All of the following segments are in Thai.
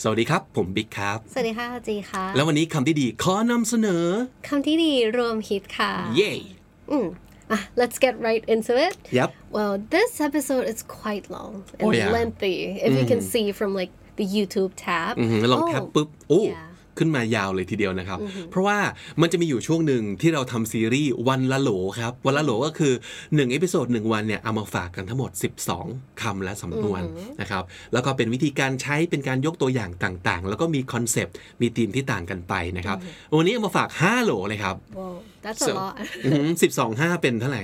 สวัสดีครับผมบิ๊กครับสวัสดีค่ะจีค่ะแล้ววันนี้คำที่ดีขอนำเสนอคำที่ดีรวมฮิตค่ะเย้ Let's get right into it. Yep. Well, this episode is quite long and lengthy. If you can see from like the YouTube tab. ลองแท็บปุ๊บขึ้นมายาวเลยทีเดียวนะครับเพราะว่ามันจะมีอยู่ช่วงหนึ่งที่เราทำซีรีส์วันละโหลครับวันละโหลก็คือ1เอพิโซด1วันเนี่ยเอามาฝากกันทั้งหมด12คำและสำนวนนะครับแล้วก็เป็นวิธีการใช้เป็นการยกตัวอย่างต่างๆแล้วก็มีคอนเซปต์มีธีมที่ต่างกันไปนะครับวันนี้เอามาฝาก5โหลเลยครับ Wow, that's a lot. 12 5เป็นเท่าไหร่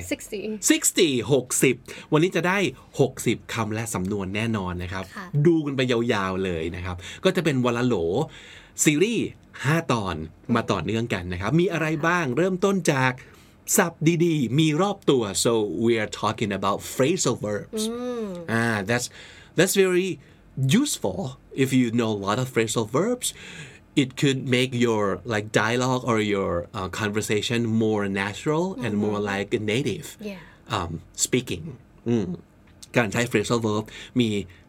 60 วันนี้จะได้60คำและสำนวนแน่นอนนะครับดูกันไปยาวๆเลยนะครับก็จะเป็นวันละโหลซีรีส์5ตอนมาต่อเนื่องกันนะครับมีอะไรบ้างเริ่มต้นจากศัพท์ดีๆมีรอบตัว so we are talking about phrasal verbs that's very useful if you know a lot of phrasal verbs it could make your like dialogue or your conversation more natural and more like a native speaking การใช้ phrasal verb มี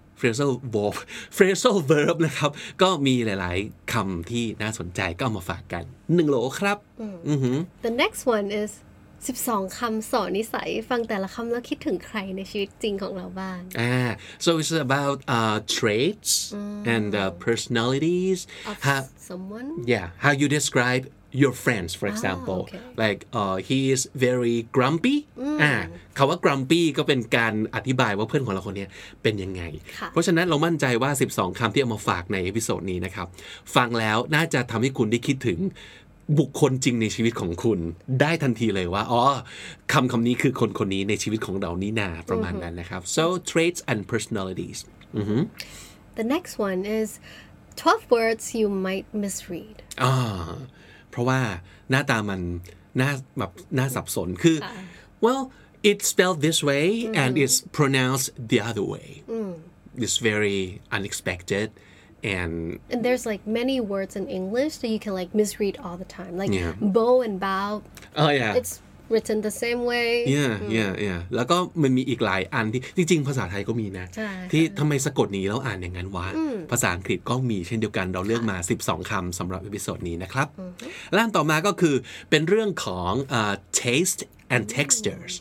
phrasal verb นะครับก็มีหลายๆคำที่น่าสนใจก็เอามาฝากกัน1โหลครับ The next one is 12คำสอนนิสัยฟังแต่ละคำแล้วคิดถึงใครในชีวิตจริงของเราบ้าง so it's about traits and personalities of someone how you describe your friends for example like he is very grumpy คำว่า grumpy ก็เป็นการอธิบายว่าเพื่อนของเราคนนี้เป็นยังไงเพราะฉะนั้นเรามั่นใจว่า12คำที่เอามาฝากในเอพิโซดนี้นะครับฟังแล้วน่าจะทำให้คุณได้คิดถึงบุคคลจริงในชีวิตของคุณได้ทันทีเลยว่าคำนี้คือคนนี้ในชีวิตของเรานี่นาประมาณนั้นนะครับ so traits and personalities The next one is 12 words you might misread เพราะว่าหน้าตามันน่าสับสนคือ well it's spelled this way and it's pronounced the other way it's very unexpected and there's like many words in English that you can like misread all the time like bow and bow it's written the same way แล้วก็มันมีอีกหลายอันที่จริงๆภาษาไทยก็มีนะที่ทำไมสะกดนี้แล้วอ่านอย่างนั้นวะภาษาอังกฤษก็มีเช่นเดียวกันเราเลือกมา12คำสำหรับเอพิโซดนี้นะครับและอันต่อมาก็คือเป็นเรื่องของ taste and textures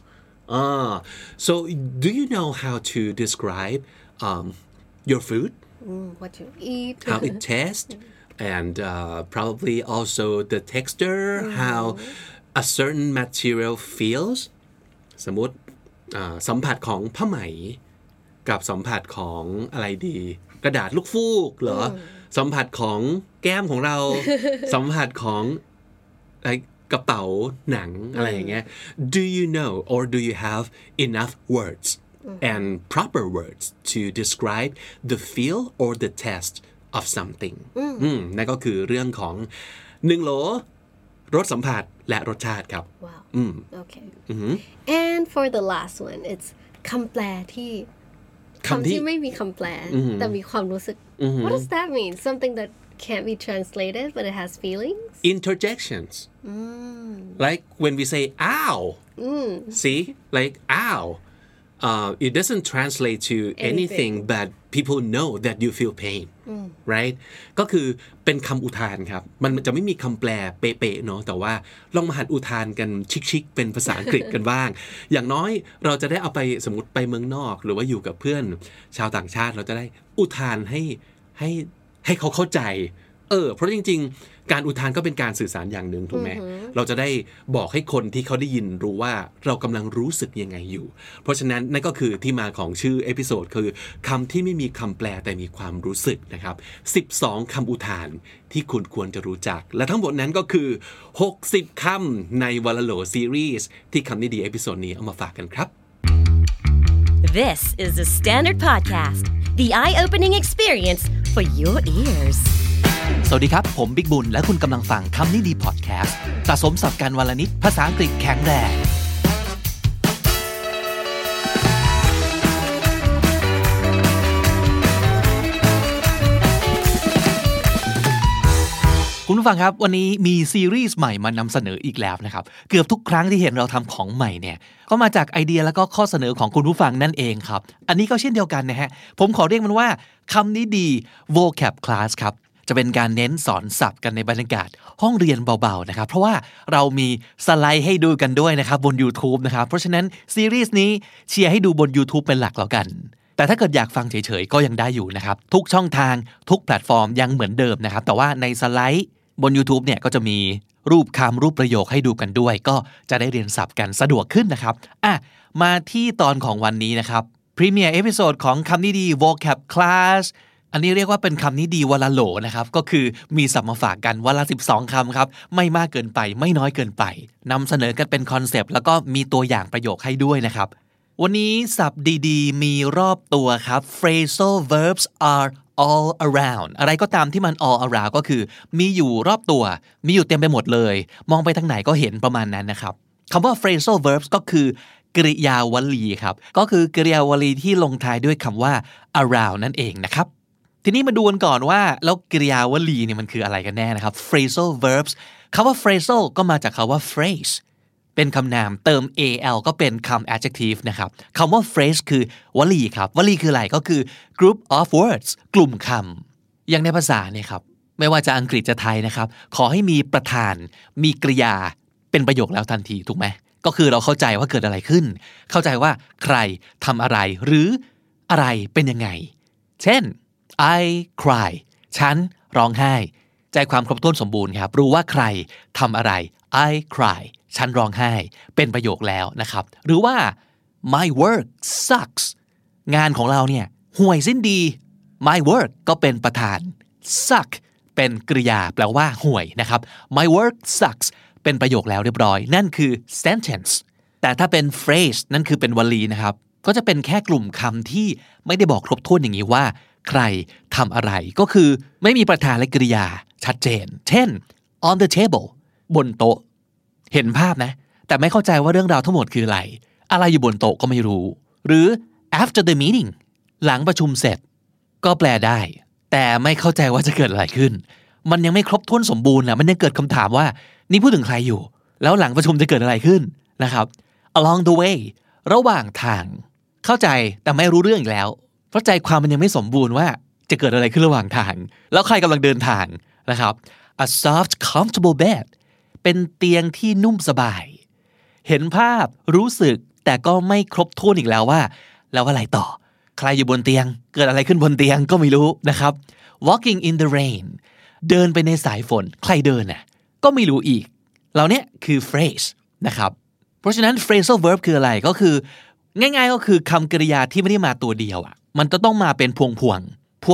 so do you know how to describe your food what you eat how it tastes and probably also the texture how a certain material feels สมมติสัมผัสของผ้าไหมกับสัมผัสของอะไรดีกระดาษลูกฟูกเหรอสัมผัสของแก้มของเรา สัมผัสของกระเป๋าหนังอะไรอย่างเงี้ย Do you know or do you have enough words and proper words to describe the feel or the taste of something นั่นก็คือเรื่องของ1โหลรสสัมผัสและรสชาติครับ Wow okay and for the last one it's คำแปลที่คำที่ไม่มีคำแปลแต่มีความรู้สึก What does that mean something that can't be translated but it has feelings interjections like when we say ow see like ow it doesn't translate to anything but people know that you feel pain right ก็คือเป็นคำอุทานครับมันจะไม่มีคำแปลเป๊ะๆเนาะแต่ว่าลองมาหัดอุทานกันชิคๆเป็นภาษาอังกฤษกันบ้างอย่างน้อยเราจะได้เอาไปสมมติไปเมืองนอกหรือว่าอยู่กับเพื่อนชาวต่างชาติเราจะได้อุทานให้เขาเข้าใจเพราะจริงๆการอุทานก็เป็นการสื่อสารอย่างหนึ่งถูกไหมเราจะได้บอกให้คนที่เขาได้ยินรู้ว่าเรากำลังรู้สึกยังไงอยู่เพราะฉะนั้นนั่นก็คือที่มาของชื่อเอพิโซดคือคำที่ไม่มีคำแปลแต่มีความรู้สึกนะครับ12คำอุทานที่คุณควรจะรู้จักและทั้งหมดนั้นก็คือ60คำในวันละโหลซีรีส์ที่คำนี้ดีเอพิโซดนี้เอามาฝากกันครับ This is the Standard Podcast the eye-opening experience for your ears สวัสดีครับผมบิ๊กบุญและคุณกำลังฟังคำนี้ดีพอดแคสต์สะสมศัพท์กันวันละนิดภาษาอังกฤษแข็งแรงคุณผู้ฟังครับวันนี้มีซีรีส์ใหม่มานำเสนออีกแล้วนะครับเกือบทุกครั้งที่เห็นเราทำของใหม่เนี่ยก็มาจากไอเดียแล้วก็ข้อเสนอของคุณผู้ฟังนั่นเองครับอันนี้ก็เช่นเดียวกันนะฮะผมขอเรียกมันว่าคำนี้ดี vocab class ครับจะเป็นการเน้นสอนศัพท์กันในบรรยากาศห้องเรียนเบาๆนะครับเพราะว่าเรามีสไลด์ให้ดูกันด้วยนะครับบน YouTube นะครับเพราะฉะนั้นซีรีส์นี้เชียร์ให้ดูบน YouTube เป็นหลักแล้วกันแต่ถ้าเกิดอยากฟังเฉยๆก็ยังได้อยู่นะครับทุกช่องทางทุกแพลตฟอร์มยังเหมือนเดิมนะครับแต่ว่าในสไลด์บน YouTube เนี่ยก็จะมีรูปคำรูปประโยคให้ดูกันด้วยก็จะได้เรียนศัพท์กันสะดวกขึ้นนะครับมาที่ตอนของวันนี้นะครับพรีเมียร์เอพิโซดของคำนี้ดี vocab class อันนี้เรียกว่าเป็นคำนี้ดีวันละโหลนะครับก็คือมีศัพท์มาฝากกันวันละ12คำครับไม่มากเกินไปไม่น้อยเกินไปนำเสนอกันเป็นคอนเซปต์แล้วก็มีตัวอย่างประโยคให้ด้วยนะครับวันนี้ศัพท์ดีๆมีรอบตัวครับ phrasal verbs are all around อะไรก็ตามที่มัน all around ก็คือมีอยู่รอบตัวมีอยู่เต็มไปหมดเลยมองไปทางไหนก็เห็นประมาณนั้นนะครับคำว่า phrasal verbs ก็คือกริยาวลีครับก็คือกริยาวลีที่ลงท้ายด้วยคำว่า around นั่นเองนะครับทีนี้มาดูกันก่อนว่าแล้วกริยาวลีเนี่ยมันคืออะไรกันแน่นะครับ phrasal verbs คำว่า phrasal ก็มาจากคำว่า phrase เป็นคำนามเติม al ก็เป็นคำ adjective นะครับคำว่า phrase คือวลีครับวลีคืออะไรก็คือ group of words กลุ่มคำอย่างในภาษาเนี่ยครับไม่ว่าจะอังกฤษจะไทยนะครับขอให้มีประธานมีกริยาเป็นประโยคแล้วทันทีถูกไหมก็คือเราเข้าใจว่าเกิดอะไรขึ้นเข้าใจว่าใครทำอะไรหรืออะไรเป็นยังไงเช่น I cry ฉันร้องไห้ใจความครบถ้วนสมบูรณ์ครับรู้ว่าใครทำอะไร I cry ฉันร้องไห้เป็นประโยคแล้วนะครับหรือว่า my work sucks งานของเราเนี่ยห่วยสิ้นดี my work ก็เป็นประธาน suck เป็นกริยาแปลว่าห่วยนะครับ my work sucks เป็นประโยคแล้วเรียบร้อยนั่นคือ sentence แต่ถ้าเป็น phrase นั่นคือเป็นวลีนะครับก็จะเป็นแค่กลุ่มคำที่ไม่ได้บอกครบถ้วนอย่างนี้ว่าใครทำอะไรก็คือไม่มีประธานและกริยาชัดเจนเช่น on the table บนโต๊ะเห็นภาพนะแต่ไม่เข้าใจว่าเรื่องราวทั้งหมดคืออะไรอยู่บนโต๊ะก็ไม่รู้หรือ after the meeting หลังประชุมเสร็จก็แปลได้แต่ไม่เข้าใจว่าจะเกิดอะไรขึ้นมันยังไม่ครบถ้วนสมบูรณ์นะมันยังเกิดคำถามว่านี่พูดถึงใครอยู่แล้วหลังประชุมจะเกิดอะไรขึ้นนะครับ along the way ระหว่างทางเข้าใจแต่ไม่รู้เรื่องอีกแล้วเพราะใจความมันยังไม่สมบูรณ์ว่าจะเกิดอะไรขึ้นระหว่างทางแล้วใครกำลังเดินทางนะครับ a soft comfortable bed เป็นเตียงที่นุ่มสบายเห็นภาพรู้สึกแต่ก็ไม่ครบถ้วนอีกแล้วว่าแล้วอะไรต่อใครอยู่บนเตียงเกิดอะไรขึ้นบนเตียงก็ไม่รู้นะครับ walking in the rain เดินไปในสายฝนใครเดินน่ะก็ไม่รู้อีกเหล่านี้คือ phrase นะครับเพราะฉะนั้น phrasal verb คืออะไรก็คือง่ายๆก็คือคำกริยาที่ไม่ได้มาตัวเดียวมันจะต้องมาเป็นพวง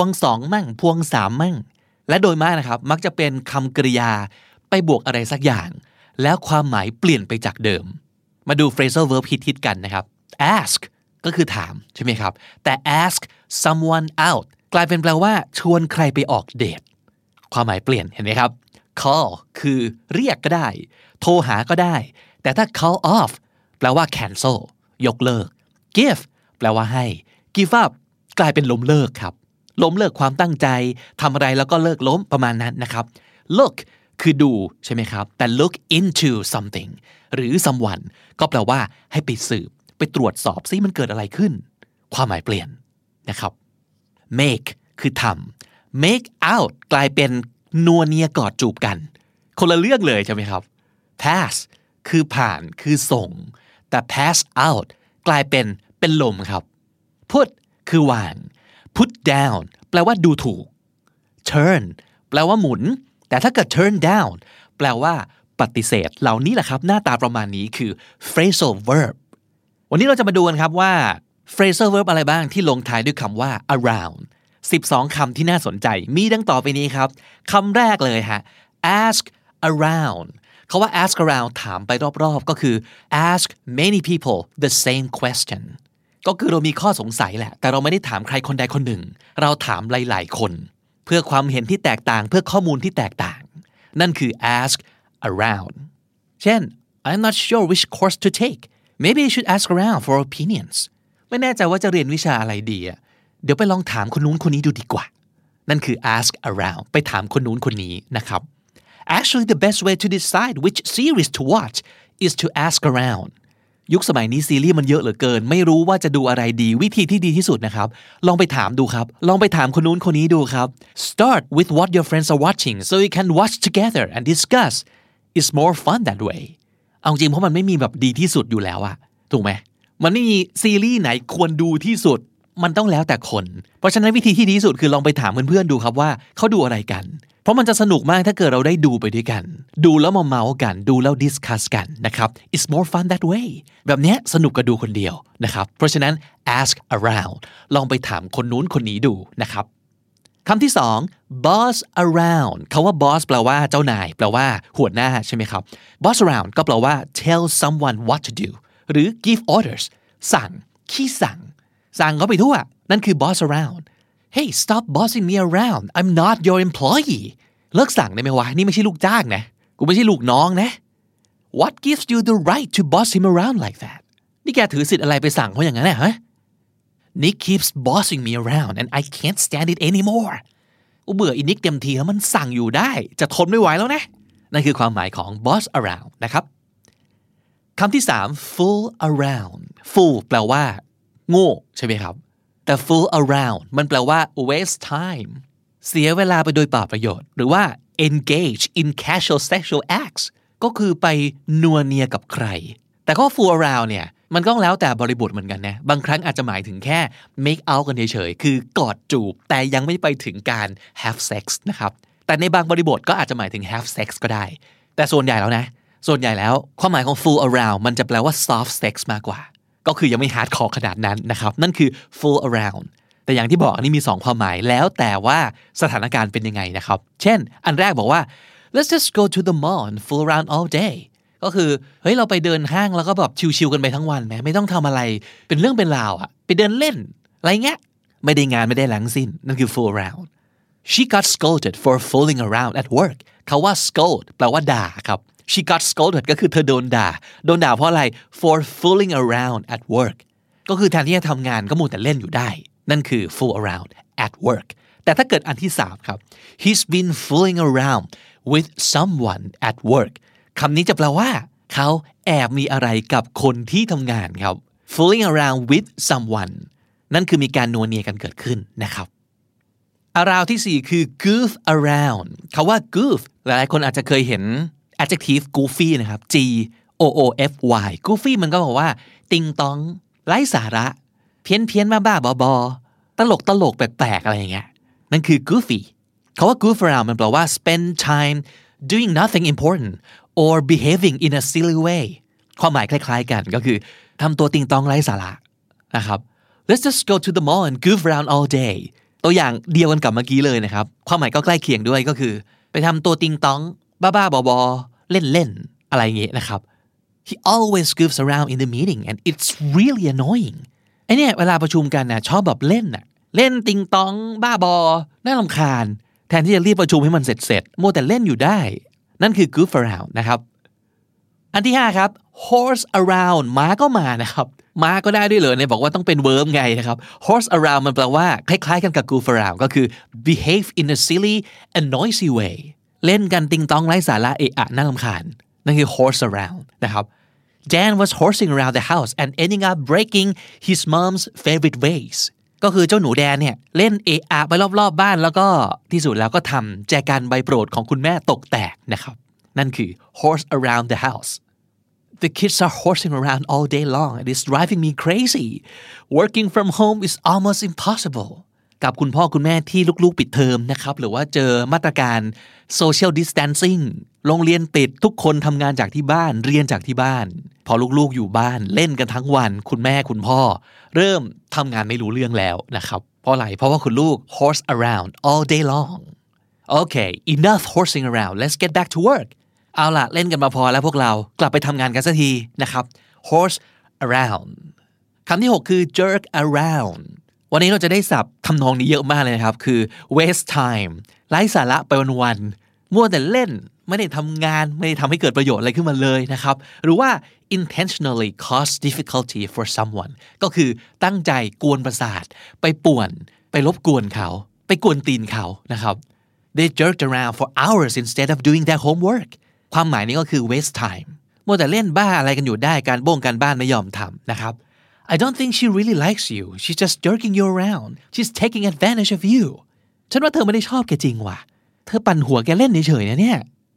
2มั่งพวง3มั่งและโดยมากนะครับมักจะเป็นคำกริยาไปบวกอะไรสักอย่างแล้วความหมายเปลี่ยนไปจากเดิมมาดู phrasal verb ฮิตๆกันนะครับ ask ก็คือถามใช่ไหมครับแต่ ask someone out กลายเป็นแปลว่าชวนใครไปออกเดทความหมายเปลี่ยนเห็นไหมครับ call คือเรียกก็ได้โทรหาก็ได้แต่ถ้า call off แปลว่า cancel ยกเลิก give แปลว่าให้ give up กลายเป็นล้มเลิกครับล้มเลิกความตั้งใจทำอะไรแล้วก็เลิกล้มประมาณนั้นนะครับ look คือดูใช่ไหมครับแต่ look into something หรือ someone ก็แปลว่าให้ไปสืบไปตรวจสอบซิมันเกิดอะไรขึ้นความหมายเปลี่ยนนะครับ make คือทำ make out กลายเป็นนัวเนียกอดจูบกันคนละเรื่องเลยใช่ไหมครับ pass คือผ่านคือส่งแต่ pass out กลายเป็นลมครับ put คือวาง put down แปลว่าดูถูก turn แปลว่าหมุนแต่ถ้าเกิด turn down แปลว่าปฏิเสธเหล่านี้แหละครับหน้าตาประมาณนี้คือ phrasal verb วันนี้เราจะมาดูกันครับว่า phrasal verb อะไรบ้างที่ลงท้ายด้วยคำว่า around 12 คำที่น่าสนใจมีดังต่อไปนี้ครับคำแรกเลยฮะ ask around เขาว่า ask around ถามไปรอบๆก็คือ ask many people the same question ก็คือเรามีข้อสงสัยแหละแต่เราไม่ได้ถามใครคนใดคนหนึ่งเราถามหลายๆคนเพื่อความเห็นที่แตกต่างเพื่อข้อมูลที่แตกต่างนั่นคือ ask around เช่น I'm not sure which course to take maybe I should ask around for opinions ไม่แน่ใจว่าจะเรียนวิชาอะไรดีเดี๋ยวไปลองถามคนนู้นคนนี้ดูดีกว่านั่นคือ ask around ไปถามคนนู้นคนนี้นะครับ Actually the best way to decide which series to watch is to ask around ยุคสมัยนี้ซีรีส์มันเยอะเหลือเกินไม่รู้ว่าจะดูอะไรดีวิธีที่ดีที่สุดนะครับลองไปถามดูครับลองไปถามคนนู้นคนนี้ดูครับ Start with what your friends are watching so you can watch together and discuss It's more fun that way เอาจริงเพราะมันไม่มีแบบดีที่สุดอยู่แล้วอะถูกไหมมันไม่มีซีรีส์ไหนควรดูที่สุดมันต้องแล้วแต่คนเพราะฉะนั้นวิธีที่ดีที่สุดคือลองไปถามเพื่อนๆดูครับว่าเขาดูอะไรกันเพราะมันจะสนุกมากถ้าเกิดเราได้ดูไปด้วยกันดูแล้วมาเมาส์กันดูแล้วดิสคัสกันนะครับ It's more fun that way แบบนี้สนุกกว่าดูคนเดียวนะครับเพราะฉะนั้น ask around ลองไปถามคนนู้นคนนี้ดูนะครับคำที่สอง boss around คำว่า boss แปลว่าเจ้านายแปลว่าหัวหน้าใช่ไหมครับ boss around ก็แปลว่า tell someone what to do หรือ give orders สั่งขี้สั่งเขาไปทั่วนั่นคือ boss around Hey stop bossing me around I'm not your employee เลิกสั่งได้ไหมวะนี่ไม่ใช่ลูกจ้างนะกูไม่ใช่ลูกน้องนะ What gives you the right to boss him around like that นี่แกถือสิทธิ์อะไรไปสั่งเขาอย่างนั้นนะฮะ Nick keeps bossing me around and I can't stand it anymore เบื่ออีนิกเต็มทีแล้วมันสั่งอยู่ได้จะทนไม่ไหวแล้วนะนั่นคือความหมายของ boss around นะครับคำที่สาม fool around fool แปลว่าโง่ใช่ไหมครับแต่ fool around มันแปลว่า waste time เสียเวลาไปโดยเปล่าประโยชน์หรือว่า engage in casual sexual acts ก็คือไปนัวเนียกับใครแต่ก็ fool around เนี่ยมันก็แล้วแต่บริบทเหมือนกันนะบางครั้งอาจจะหมายถึงแค่ make out กันเฉยๆคือกอดจูบแต่ยังไม่ไปถึงการ have sex นะครับแต่ในบางบริบทก็อาจจะหมายถึง have sex ก็ได้แต่ส่วนใหญ่แล้วความหมายของ fool around มันจะแปลว่า soft sex มากกว่าก็คือยังไม่ฮาร์ดคอร์ขนาดนั้นนะครับนั่นคือ fool around แต่อย่างที่บอกอันนี้มี2ความหมายแล้วแต่ว่าสถานการณ์เป็นยังไงนะครับเช่นอันแรกบอกว่า let's just go to the mall and fool around all day ก็คือเฮ้ยเราไปเดินห้างแล้วก็แบบชิลๆกันไปทั้งวันไม่ต้องทำอะไรเป็นเรื่องเป็นราวอะไปเดินเล่นอะไรเงี้ยไม่ได้งานไม่ได้แหลังสิ้นนั่นคือ fool around she got scolded for fooling around at work เขาว่า scold แปลว่าด่าครับShe got scolded ก็คือเธอโดนด่าเพราะอะไร for fooling around at work ก็คือแทนที่จะทำงานก็มัวแต่เล่นอยู่ได้นั่นคือ fool around at work แต่ถ้าเกิดอันที่3ครับ He's been fooling around with someone at work คำนี้จะแปลว่าเขาแอบมีอะไรกับคนที่ทำงานครับ fooling around with someone นั่นคือมีการนัวเนียกันเกิดขึ้นนะครับ around ที่4คือ goof around คำว่า goof หลายๆคนอาจจะเคยเห็นadjective goofy นะครับ G O O F Y goofy มันก็บอกว่าติงตองไร้สาระเพี้ยนบ้าๆบอๆตลกแปลกๆอะไรอย่างเงี้ยนั่นคือ goofy คำว่า goof around มันแปลว่า spend time doing nothing important or behaving in a silly way ความหมายคล้ายๆกันก็คือทำตัวติงตองไร้สาระนะครับ let's just go to the mall and goof around all day ตัวอย่างเดียวกันกับเมื่อกี้เลยนะครับความหมายก็ใกล้เคียงด้วยก็คือไปทำตัวติงตองบ้าๆบอๆเล่นๆอะไรอย่างเงี้ยนะครับ He always goofs around in the meeting and it's really annoying ไอเนี่ยเวลาประชุมกันนะชอบแบบเล่นติงตองบ้าบอน่ารำคาญแทนที่จะรีบประชุมให้มันเสร็จมัวแต่เล่นอยู่ได้นั่นคือ goof around นะครับอันที่5ครับ horse around ม้าก็มานะครับม้าก็ได้ด้วยเลยเนี่ยบอกว่าต้องเป็น verb ไงนะครับ horse around มันแปลว่าคล้ายๆกันกับ goof around ก็คือ behave in a silly and noisy wayเล่นกันติงตองไร้สาระเอะอะน่ารำคาญนั่นคือ horse around นะครับ Dan was horsing around the house and ending up breaking his mom's favorite vase ก็คือเจ้าหนูแดนเนี่ยเล่นเอะอะไปรอบๆบ้านแล้วก็ที่สุดแล้วก็ทำแจกันใบโปรดของคุณแม่ตกแตกนะครับนั่นคือ horse around the house The kids are horsing around all day long and it's driving me crazy working from home is almost impossibleกับคุณพ่อคุณแม่ที่ลูกๆปิดเทอมนะครับหรือว่าเจอมาตรการ social distancing โรงเรียนปิดทุกคนทำงานจากที่บ้านเรียนจากที่บ้านพอลูกๆอยู่บ้านเล่นกันทั้งวันคุณแม่คุณพ่อเริ่มทำงานไม่รู้เรื่องแล้วนะครับเพราะอะไรเพราะว่าคุณลูก horse around all day long Okay enough horsing around let's get back to work เอาล่ะเล่นกันมาพอแล้วพวกเรากลับไปทำงานกันสักทีนะครับ horse around คำที่6คือ jerk aroundวันนี้เราจะได้ศัพท์ทำนองนี้เยอะมากเลยนะครับคือ waste time ไร้สาระไปวันๆมัวแต่เล่นไม่ได้ทำงานไม่ได้ทำให้เกิดประโยชน์อะไรขึ้นมาเลยนะครับหรือว่า intentionally cause difficulty for someone ก็คือตั้งใจกวนประสาทไปป่วนไปรบกวนเขาไปกวนตีนเขานะครับ they jerked around for hours instead of doing their homework ความหมายนี้ก็คือ waste time มัวแต่เล่นบ้าอะไรกันอยู่ได้การบ้านไม่ยอมทำนะครับ I don't think she really likes you she's just jerking you around she's taking advantage of you ฉันว่าเธอไม่ได้ชอบแกจริงว่ะเธอปั่นหัวแกเล่นเฉยๆนะเนี่ย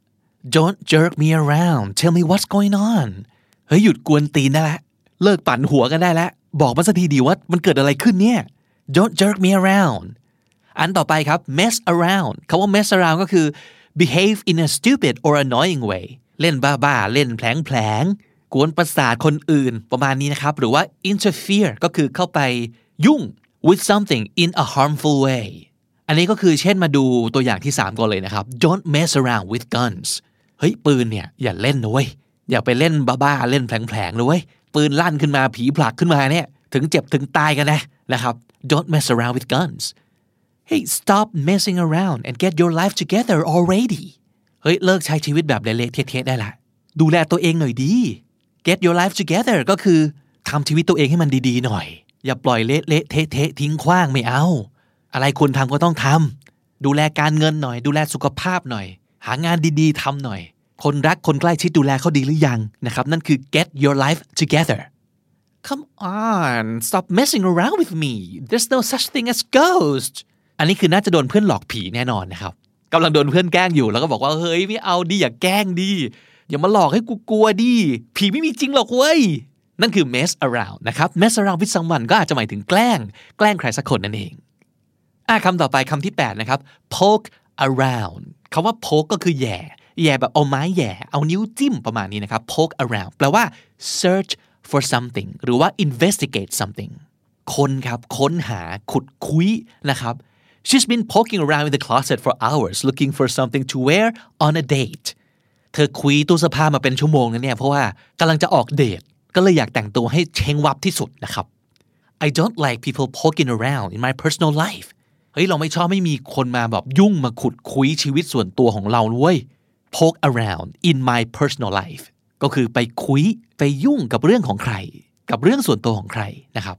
Don't jerk me around tell me what's going on เฮ้ยหยุดกวนตีนได้แล้วเลิกปั่นหัวกันได้แล้วบอกมาสักทีดีว่ามันเกิดอะไรขึ้นเนี่ย Don't jerk me around อันต่อไปครับ mess around คำว่า mess around ก็คือ behave in a stupid or annoying way เล่นบ้าๆเล่นแผลงกวนประสาทคนอื่นประมาณนี้นะครับหรือว่า interfere ก็คือเข้าไปยุ่ง with something in a harmful way อันนี้ก็คือเช่นมาดูตัวอย่างที่3ก่อนเลยนะครับ Don't mess around with guns เฮ้ยปืนเนี่ยอย่าเล่นนะเว้ยอย่าไปเล่นบ้าๆเล่นแผลงเลยเว้ยปืนลั่นขึ้นมาผีผลักขึ้นมาเนี่ยถึงเจ็บถึงตายกันนะครับ Don't mess around with guns Hey stop messing around and get your life together already เฮ้ยเลิกใช้ชีวิตแบบเละๆเทะๆได้ละดูแลตัวเองหน่อยดี Get your life together ก็คือทำชีวิตตัวเองให้มันดีๆหน่อยอย่าปล่อยเละๆเทะๆทิ้งขว้างไม่เอาอะไรคุณทำก็ต้องทำดูแลการเงินหน่อยดูแลสุขภาพหน่อยหางานดีๆทำหน่อยคนรักคนใกล้ชิดดูแลเขาดีหรือยังนะครับนั่นคือ get your life together come on stop messing around with me there's no such thing as ghost อันนี้คือน่าจะโดนเพื่อนหลอกผีแน่นอนนะครับกำลังโดนเพื่อนแกล้งอยู่แล้วก็บอกว่าเฮ้ยไม่เอาดิอย่าแกล้งดิอย่ามาหลอกให้กูกลัวดิผีไม่มีจริงหรอกเว้ยนั่นคือ mess around นะครับ mess around with someone ก็อาจจะหมายถึงแกล้งใครสักคนนั่นเองคำต่อไปคำที่8นะครับ poke around คำว่า poke ก็คือแย่แบบเอาไม้แย่เอานิ้วจิ้มประมาณนี้นะครับ poke around แปลว่า search for something หรือว่า investigate something ค้นหาขุดคุยนะครับ she's been poking around in the closet for hours looking for something to wear on a date เธอคุยตู้เสื้อผ้ามาเป็นชั่วโมงนะเนี่ยเพราะว่ากำลังจะออกเดทก็เลยอยากแต่งตัวให้เช้งวับที่สุดนะครับ I don't like people poking around in my personal life เฮ้ยเราไม่ชอบไม่มีคนมาแบบยุ่งมาขุดคุยชีวิตส่วนตัวของเราเว้ย poke around in my personal life ก็คือไปคุยไปยุ่งกับเรื่องของใครกับเรื่องส่วนตัวของใครนะครับ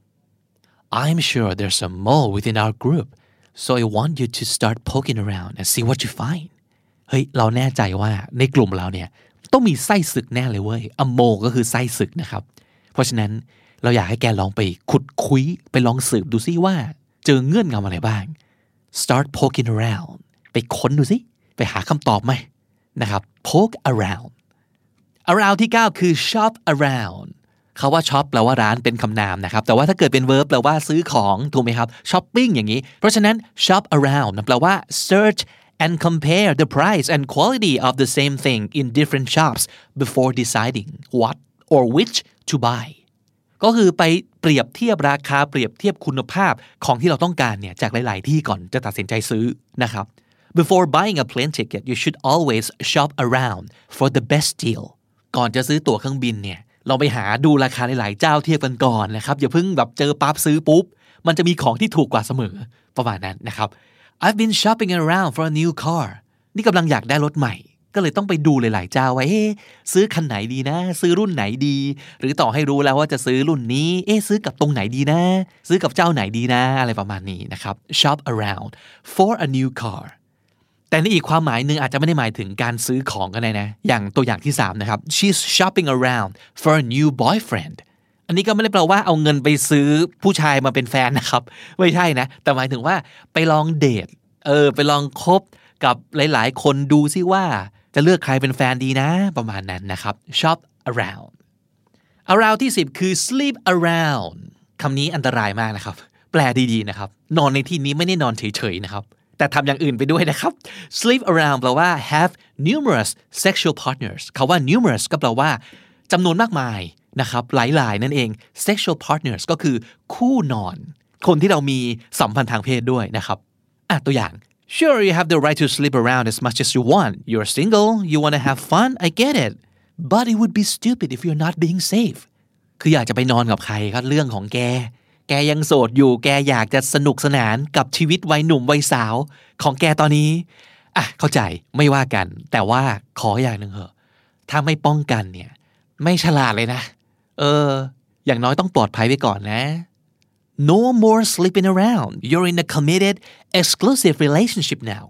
I'm sure there's some mole within our group so I want you to start poking around and see what you find เฮ้ยเราแน่ใจว่าในกลุ่มเราเนี่ยต้องมีไส้ศึกแน่เลยเว้ย a mole ก็คือไส้ศึกนะครับเพราะฉะนั้นเราอยากให้แกลองไปขุดคุยไปลองสืบดูซิว่าเจอเงื่อนงำอะไรบ้าง start poking around ไปค้นดูซิไปหาคำตอบไหมนะครับ poke around ที่9คือ shop around เขาว่า shop แปลว่าร้านเป็นคำนามนะครับแต่ว่าถ้าเกิดเป็น verb แปลว่าซื้อของถูกไหมครับ shopping อย่างนี้เพราะฉะนั้น shop around แปลว่า search and compare the price and quality of the same thing in different shops before deciding what or which to buy ก็คือไปเปรียบเทียบราคาเปรียบเทียบคุณภาพของที่เราต้องการเนี่ยจากหลายๆที่ก่อนจะตัดสินใจซื้อนะครับ Before buying a plane ticket you should always shop around for the best deal ก่อนจะซื้อตั๋วเครื่องบินเนี่ยเราไปหาดูราคาหลายๆเจ้าเทียบกันก่อนนะครับอย่าเพิ่งแบบเจอปั๊บซื้อปุ๊บมันจะมีของที่ถูกกว่าเสมอประมาณนั้นนะครับ I've been shopping around for a new car นี่กำลังอยากได้รถใหม่ก็เลยต้องไปดูหลายๆเจ้าว่าซื้อคันไหนดีนะซื้อรุ่นไหนดีหรือต่อให้รู้แล้วว่าจะซื้อรุ่นนี้ซื้อกับตรงไหนดีนะซื้อกับเจ้าไหนดีนะอะไรประมาณนี้นะครับ shop around for a new car แต่ในอีกความหมายหนึ่งอาจจะไม่ได้หมายถึงการซื้อของกันนะอย่างตัวอย่างที่3นะครับ she's shopping around for a new boyfriend อันนี้ก็ไม่ได้แปลว่าเอาเงินไปซื้อผู้ชายมาเป็นแฟนนะครับไม่ใช่นะแต่หมายถึงว่าไปลองเดทไปลองคบกับหลายๆคนดูซิว่าจะเลือกใครเป็นแฟนดีนะประมาณนั้นนะครับ shop around ที่10คือ sleep around คำนี้อันตรายมากนะครับแปลดีๆนะครับนอนในที่นี้ไม่ได้นอนเฉยๆนะครับแต่ทำอย่างอื่นไปด้วยนะครับ sleep around แปลว่า have numerous sexual partners คำว่า numerous ก็แปลว่าจำนวนมากมายนะครับหลายๆนั่นเอง sexual partners ก็คือคู่นอนคนที่เรามีสัมพันธ์ทางเพศด้วยนะครับตัวอย่างSure, you have the right to sleep around as much as you want. You're single, you want to have fun, I get it. But it would be stupid if you're not being safe. คืออยากจะไปนอนกับใครก็เรื่องของแกยังโสดอยู่แกอยากจะสนุกสนานกับชีวิตวัยหนุ่มวัยสาวของแกตอนนี้เข้าใจไม่ว่ากันแต่ว่าขออย่างนึงเหอะถ้าไม่ป้องกันเนี่ยไม่ฉลาดเลยนะอย่างน้อยต้องปลอดภัยไว้ก่อนนะNo more sleeping around. You're in a committed, exclusive relationship now.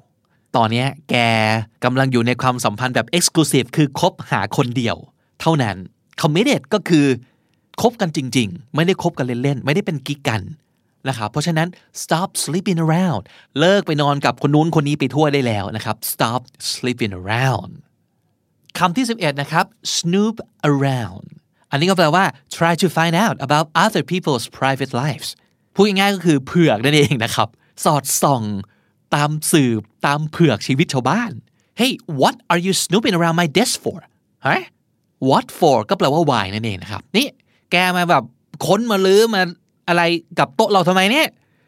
ตอนนี้แกกำลังอยู่ในความสัมพันธ์แบบ exclusive คือคบหาคนเดียวเท่านั้น committed ก็คือคบกันจริงๆไม่ได้คบกันเล่นๆไม่ได้เป็นกิ๊กกันนะครับเพราะฉะนั้น stop sleeping around เลิกไปนอนกับคนนู้นคนนี้ไปทั่วได้แล้วนะครับ stop sleeping around คำที่11นะครับ snoop around อันนี้ก็แปลว่า try to find out about other people's private lives พูดง่ายๆก็คือเผือกนั่นเองนะครับสอดส่องตามสืบตามเผือกชีวิตชาวบ้าน Hey what are you snooping around my desk for huh what for ก็แปลว่า why นั่นเองนะครับนี่แกมาแบบค้นมาลื้อมาอะไรกับโต๊ะเราทำไมเนี่ย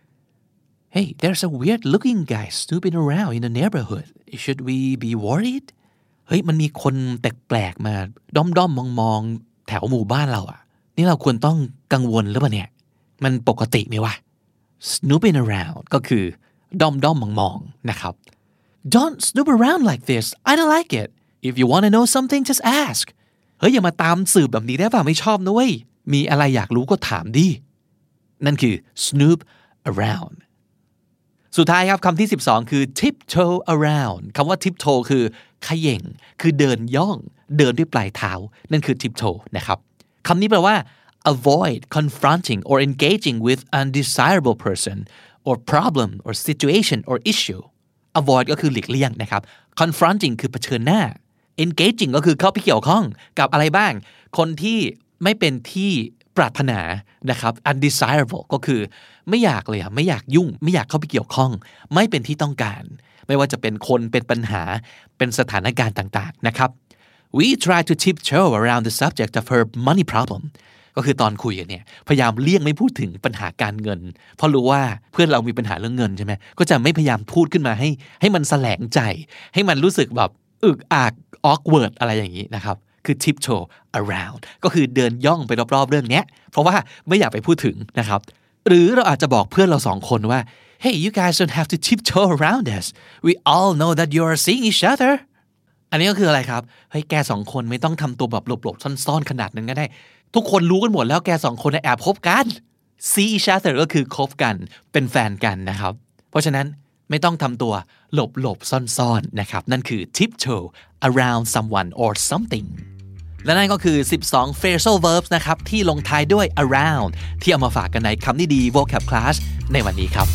Hey there's a weird looking guy snooping around in the neighborhood should we be worried เฮ้ยมันมีคนแปลกๆมาด้อมๆมองๆแถวหมู่บ้านเราอ่ะนี่เราควรต้องกังวลหรือเปล่าเนี่ยมันปกติไหมวะ snooping around ก็คือด้อมๆมองๆนะครับ Don't snoop around like this I don't like it if you want to know something just ask เฮ้ยอย่ามาตามสืบแบบนี้ได้ป่ะไม่ชอบนะเว้ยมีอะไรอยากรู้ก็ถามดินั่นคือ snoop around สุดท้ายครับคำที่12คือ tiptoe around คำว่า tiptoe คือเขย่งคือเดินย่องเดินด้วยปลายเท้านั่นคือ tiptoe นะครับคำนี้แปลว่า avoid confronting or engaging with undesirable person or problem or situation or issue avoid ก็คือหลีกเลี่ยงนะครับ confronting คือเผชิญหน้า engaging ก็คือเข้าไปเกี่ยวข้องกับอะไรบ้างคนที่ไม่เป็นที่ปรารถนานะครับ undesirable ก็คือไม่อยากเลยไม่อยากยุ่งไม่อยากเข้าไปเกี่ยวข้องไม่เป็นที่ต้องการไม่ว่าจะเป็นคนเป็นปัญหาเป็นสถานการณ์ต่างๆนะครับ we try to tiptoe around the subject of her money problem ก็คือตอนคุยกันเนี่ยพยายามเลี่ยงไม่พูดถึงปัญหาการเงินเพราะรู้ว่าเพื่อนเรามีปัญหาเรื่องเงินใช่ไหมก็จะไม่พยายามพูดขึ้นมาให้มันแสลงใจให้มันรู้สึกแบบอึกอัก awkward อะไรอย่างนี้นะครับคือ tiptoe around ก็คือเดินย่องไปรอบๆเรื่องนี้เพราะว่าไม่อยากไปพูดถึงนะครับหรือเราอาจจะบอกเพื่อนเราสองคนว่า Hey you guys don't have to tiptoe around us we all know that you are seeing each other อันนี้ก็คืออะไรครับเฮ้ยแกสองคนไม่ต้องทำตัวแบบหลบๆซ่อนๆขนาดนั้นก็ได้ทุกคนรู้กันหมดแล้วแกสองคนแอบคบกัน see each other ก็คือคบกันเป็นแฟนกันนะครับเพราะฉะนั้นไม่ต้องทำตัวหลบๆซ่อนๆนะครับนั่นคือ tiptoe around someone or something และนั่นก็คือ12 phrasal verbs นะครับที่ลงท้ายด้วย around ที่เอามาฝากกันในคำนี้ดี vocab class ในวันนี้ครับ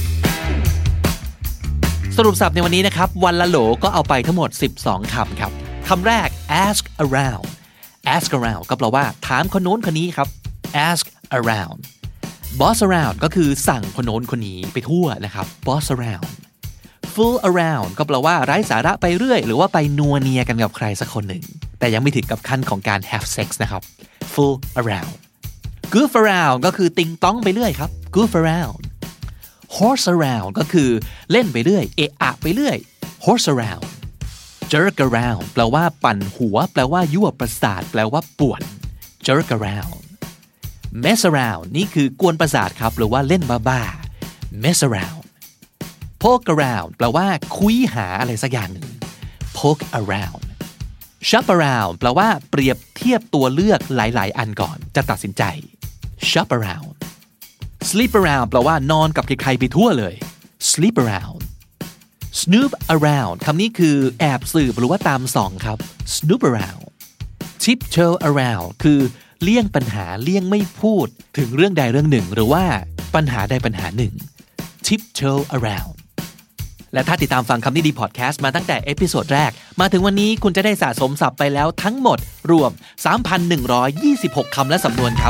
สรุปศัพท์ในวันนี้นะครับวันละโหลก็เอาไปทั้งหมด12คำครับคำแรก ask around ask around ก็แปลว่าถามคนโน้นคนนี้ครับ ask around boss around ก็คือสั่งคนโน้นคนนี้ไปทั่วนะครับ boss around fool around ก็แปลว่าไร้สาระไปเรื่อยหรือว่าไปนัวเนียกันกับใครสักคนหนึ่งแต่ยังไม่ถึงกับขั้นของการ have sex นะครับ fool around goof around ก็คือติงต้องไปเรื่อยครับ goof around horse around ก็คือเล่นไปเรื่อยเอะอะไปเรื่อย horse around jerk around แปลว่าปั่นหัวแปลว่ายั่วประสาทแปลว่าป่วน jerk around mess around นี่คือกวนประสาทครับหรือว่าเล่นบ้าๆ mess around poke around แปลว่าคุยหาอะไรสักอย่างหนึ่ง poke around shop around แปลว่าเปรียบเทียบตัวเลือกหลายๆอันก่อนจะตัดสินใจ shop around sleep around แปลว่านอนกับใครๆไปทั่วเลย sleep around snoop around คำนี้คือแอบสืบหรือว่าตามส่องครับ snoop around tiptoe around คือเลี่ยงปัญหาเลี่ยงไม่พูดถึงเรื่องใดเรื่องหนึ่งหรือว่าปัญหาใดปัญหาหนึ่ง tiptoe around และถ้าติดตามฟังคำนี้ดีพอดแคสต์มาตั้งแต่เอพิโซดแรกมาถึงวันนี้คุณจะได้สะสมศัพท์ไปแล้วทั้งหมดรวม 3,126 คำและสำนวนครับ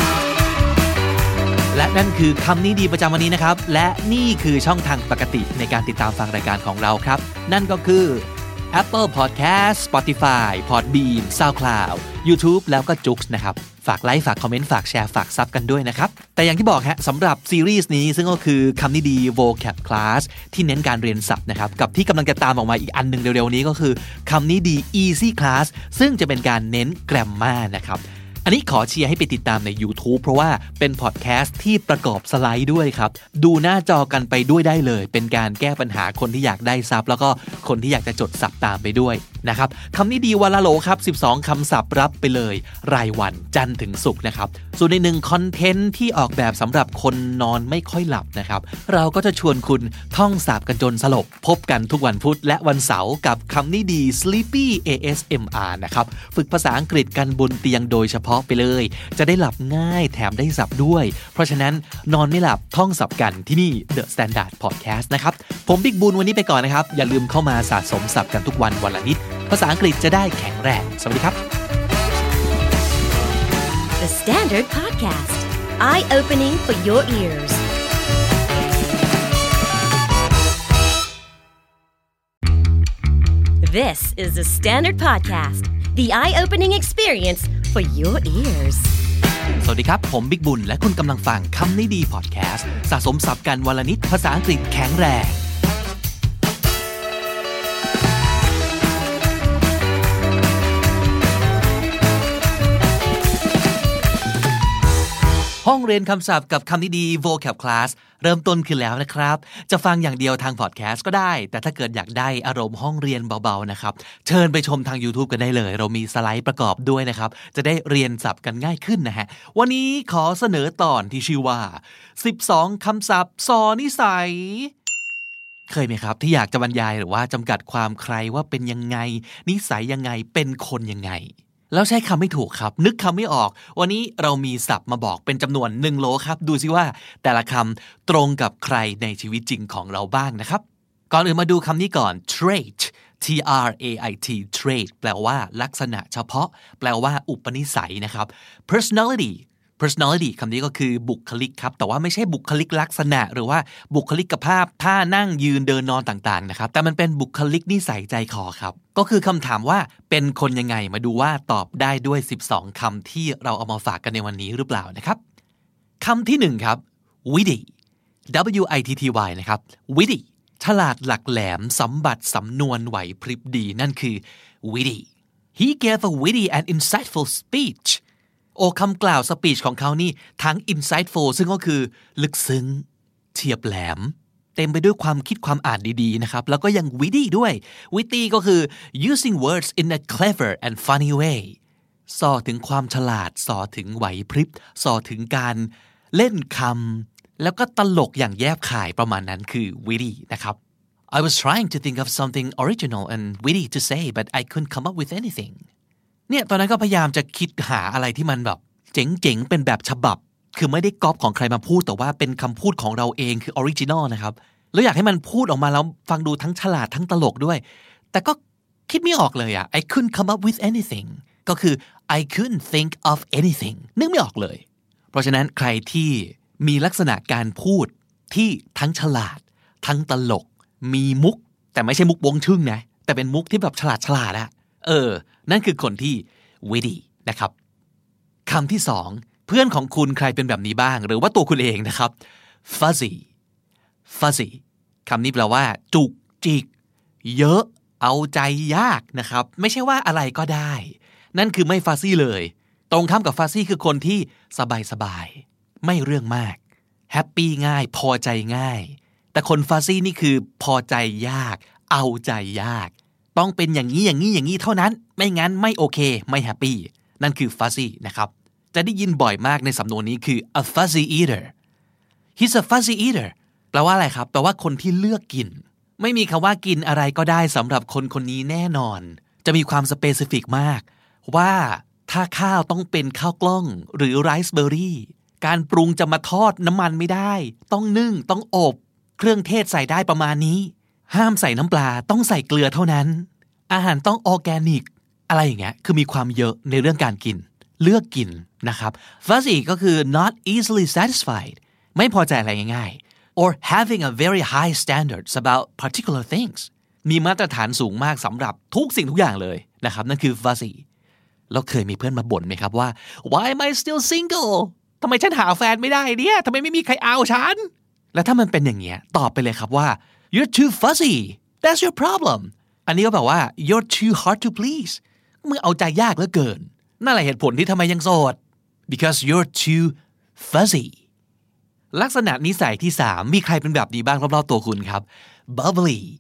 และนั่นคือคำนี้ดีประจำวันนี้นะครับและนี่คือช่องทางปกติในการติดตามฟังรายการของเราครับนั่นก็คือ Apple Podcast Spotify Podbean SoundCloud YouTube แล้วก็ Joox นะครับฝากไลค์ฝากคอมเมนต์ฝากแชร์ฝากซับกันด้วยนะครับแต่อย่างที่บอกฮะสำหรับซีรีส์นี้ซึ่งก็คือคำนี้ดี vocab class ที่เน้นการเรียนศัพท์นะครับกับที่กำลังจะตามออกมาอีกอันนึงเร็วๆนี้ก็คือคำนี้ดี easy class ซึ่งจะเป็นการเน้น grammar นะครับอันนี้ขอเชียร์ให้ไปติดตามใน YouTube เพราะว่าเป็นพอดแคสต์ที่ประกอบสไลด์ด้วยครับดูหน้าจอกันไปด้วยได้เลยเป็นการแก้ปัญหาคนที่อยากได้ซับแล้วก็คนที่อยากจะจดศัพท์ตามไปด้วยนะครับคำนี้ดีวันละโหลครับ12คำศัพท์รับไปเลยรายวันจันทร์ถึงศุกร์นะครับส่วนในหนึ่งคอนเทนต์ที่ออกแบบสำหรับคนนอนไม่ค่อยหลับนะครับเราก็จะชวนคุณท่องศัพท์กันจนสลบพบกันทุกวันพุธและวันเสาร์กับคำนี้ดี Sleepy ASMR นะครับฝึกภาษาอังกฤษกันบนเตียงโดยเฉพาะไปเลยจะได้หลับง่ายแถมได้ศัพท์ด้วยเพราะฉะนั้นนอนไม่หลับท่องศัพท์กันที่นี่ The Standard Podcast นะครับผมบิ๊กบุญวันนี้ไปก่อนนะครับอย่าลืมเข้ามาสะสมศัพท์กันทุกวันวันละนิดภาษาอังกฤษจะได้แข็งแรงสวัสดีครับ The Standard Podcast Eye-opening for your ears This is the Standard Podcast The eye-opening experience for your ears สวัสดีครับผมบิ๊กบุญและคุณกำลังฟังคำนี้ดีพอดแคสต์สะสมศัพท์กันวันละนิดภาษาอังกฤษแข็งแรงห้องเรียนคำศัพท์กับคำนี้ดี vocab class เริ่มต้นขึ้นแล้วนะครับจะฟังอย่างเดียวทางพอดแคสต์ก็ได้แต่ถ้าเกิดอยากได้อารมณ์ห้องเรียนเบาๆนะครับเชิญไปชมทาง YouTube กันได้เลยเรามีสไลด์ประกอบด้วยนะครับจะได้เรียนศัพท์กันง่ายขึ้นนะฮะวันนี้ขอเสนอตอนที่ชื่อว่า12คำศัพท์สอนิสัยเคยไหมครับที่อยากจะบรรยายหรือว่าจำกัดความใครว่าเป็นยังไงนิสัยยังไงเป็นคนยังไงแล้วใช้คำไม่ถูกครับนึกคำไม่ออกวันนี้เรามีศัพท์มาบอกเป็นจำนวน1โหลครับดูซิว่าแต่ละคำตรงกับใครในชีวิตจริงของเราบ้างนะครับก่อนอื่นมาดูคำนี้ก่อน trait T-R-A-I-T trait แปลว่าลักษณะเฉพาะแปลว่าอุปนิสัยนะครับ personality คำนี้ก็คือบุคลิกครับแต่ว่าไม่ใช่บุคลิกลักษณะหรือว่าบุคลิกภาพท่านั่งยืนเดินนอนต่างๆนะครับแต่มันเป็นบุคลิกนิสัยใจคอครับก็คือคำถามว่าเป็นคนยังไงมาดูว่าตอบได้ด้วย12คำที่เราเอามาฝากกันในวันนี้หรือเปล่านะครับคำที่1ครับ witty W-I-T-T-Y นะครับ witty ฉลาดหลักแหลมสมบัติสำนวนไหวพริบดีนั่นคือ witty He gave a witty and insightful speechโอ้คำกล่าวสปีชของเขานี่ทั้ง insightful ซึ่งก็คือลึกซึ้งเฉียบแหลมเต็มไปด้วยความคิดความอ่านดีๆนะครับแล้วก็ยัง witty ด้วย witty ก็คือ using words in a clever and funny way ส่อถึงความฉลาดส่อถึงไหวพริบส่อถึงการเล่นคำแล้วก็ตลกอย่างแยบคายประมาณนั้นคือ witty นะครับ I was trying to think of something original and witty to say but I couldn't come up with anythingเนี่ยตอนนั้นก็พยายามจะคิดหาอะไรที่มันแบบเจ๋งๆเป็นแบบฉบับคือไม่ได้ก๊อปของใครมาพูดแต่ว่าเป็นคำพูดของเราเองคือออริจินอลนะครับแล้วอยากให้มันพูดออกมาแล้วฟังดูทั้งฉลาดทั้งตลกด้วยแต่ก็คิดไม่ออกเลยอ่ะ I couldn't come up with anything ก็คือ I couldn't think of anything นึกไม่ออกเลยเพราะฉะนั้นใครที่มีลักษณะการพูดที่ทั้งฉลาดทั้งตลกมีมุกแต่ไม่ใช่มุกวงชึ่งนะแต่เป็นมุกที่แบบฉลาดอะนั่นคือคนที่ witty นะครับคำที่2เพื่อนของคุณใครเป็นแบบนี้บ้างหรือว่าตัวคุณเองนะครับ fuzzy คำนี้แปลว่าจุกจิกเยอะเอาใจยากนะครับไม่ใช่ว่าอะไรก็ได้นั่นคือไม่ fuzzy เลยตรงข้ามกับ fuzzy คือคนที่สบายๆไม่เรื่องมากแฮปปี้ง่ายพอใจง่ายแต่คน fuzzy นี่คือพอใจยากเอาใจยากต้องเป็นอย่างนี้เท่านั้นไม่งั้นไม่โอเคไม่แฮปปี้นั่นคือ fuzzy นะครับจะได้ยินบ่อยมากในสำนวนนี้คือ a fuzzy eater he's a fuzzy eater แปลว่าอะไรครับแปลว่าคนที่เลือกกินไม่มีคำว่ากินอะไรก็ได้สำหรับคนคนนี้แน่นอนจะมีความสเปซิฟิกมากว่าถ้าข้าวต้องเป็นข้าวกล้องหรือไรซ์เบอร์รี่การปรุงจะมาทอดน้ำมันไม่ได้ต้องนึ่งต้องอบเครื่องเทศใส่ได้ประมาณนี้ห้ามใส่น้ำปลาต้องใส่เกลือเท่านั้นอาหารต้องออร์แกนิกอะไรอย่างเงี้ยคือมีความเยอะในเรื่องการกินเลือกกินนะครับ fuzzy ก็คือ not easily satisfied ไม่พอใจอะไรง่ายๆ or having a very high standards about particular things มีมาตรฐานสูงมากสำหรับทุกสิ่งทุกอย่างเลยนะครับนั่นคือ fuzzy แล้วเคยมีเพื่อนมาบ่นไหมครับว่า why am I still single ทำไมฉันหาแฟนไม่ได้เนี่ยทำไมไม่มีใครเอาฉันแล้วถ้ามันเป็นอย่างเงี้ยตอบไปเลยครับว่า you're too fuzzy that's your problem อันนี้ก็แบบว่า you're too hard to please มึงเอาใจยากเหลือเกินนั่นแหละเหตุผลที่ทำไมยังโสด because you're too fuzzy ลักษณะนิสัยที่3มีใครเป็นแบบนี้บ้างรอบๆตัวคุณครับ bubbly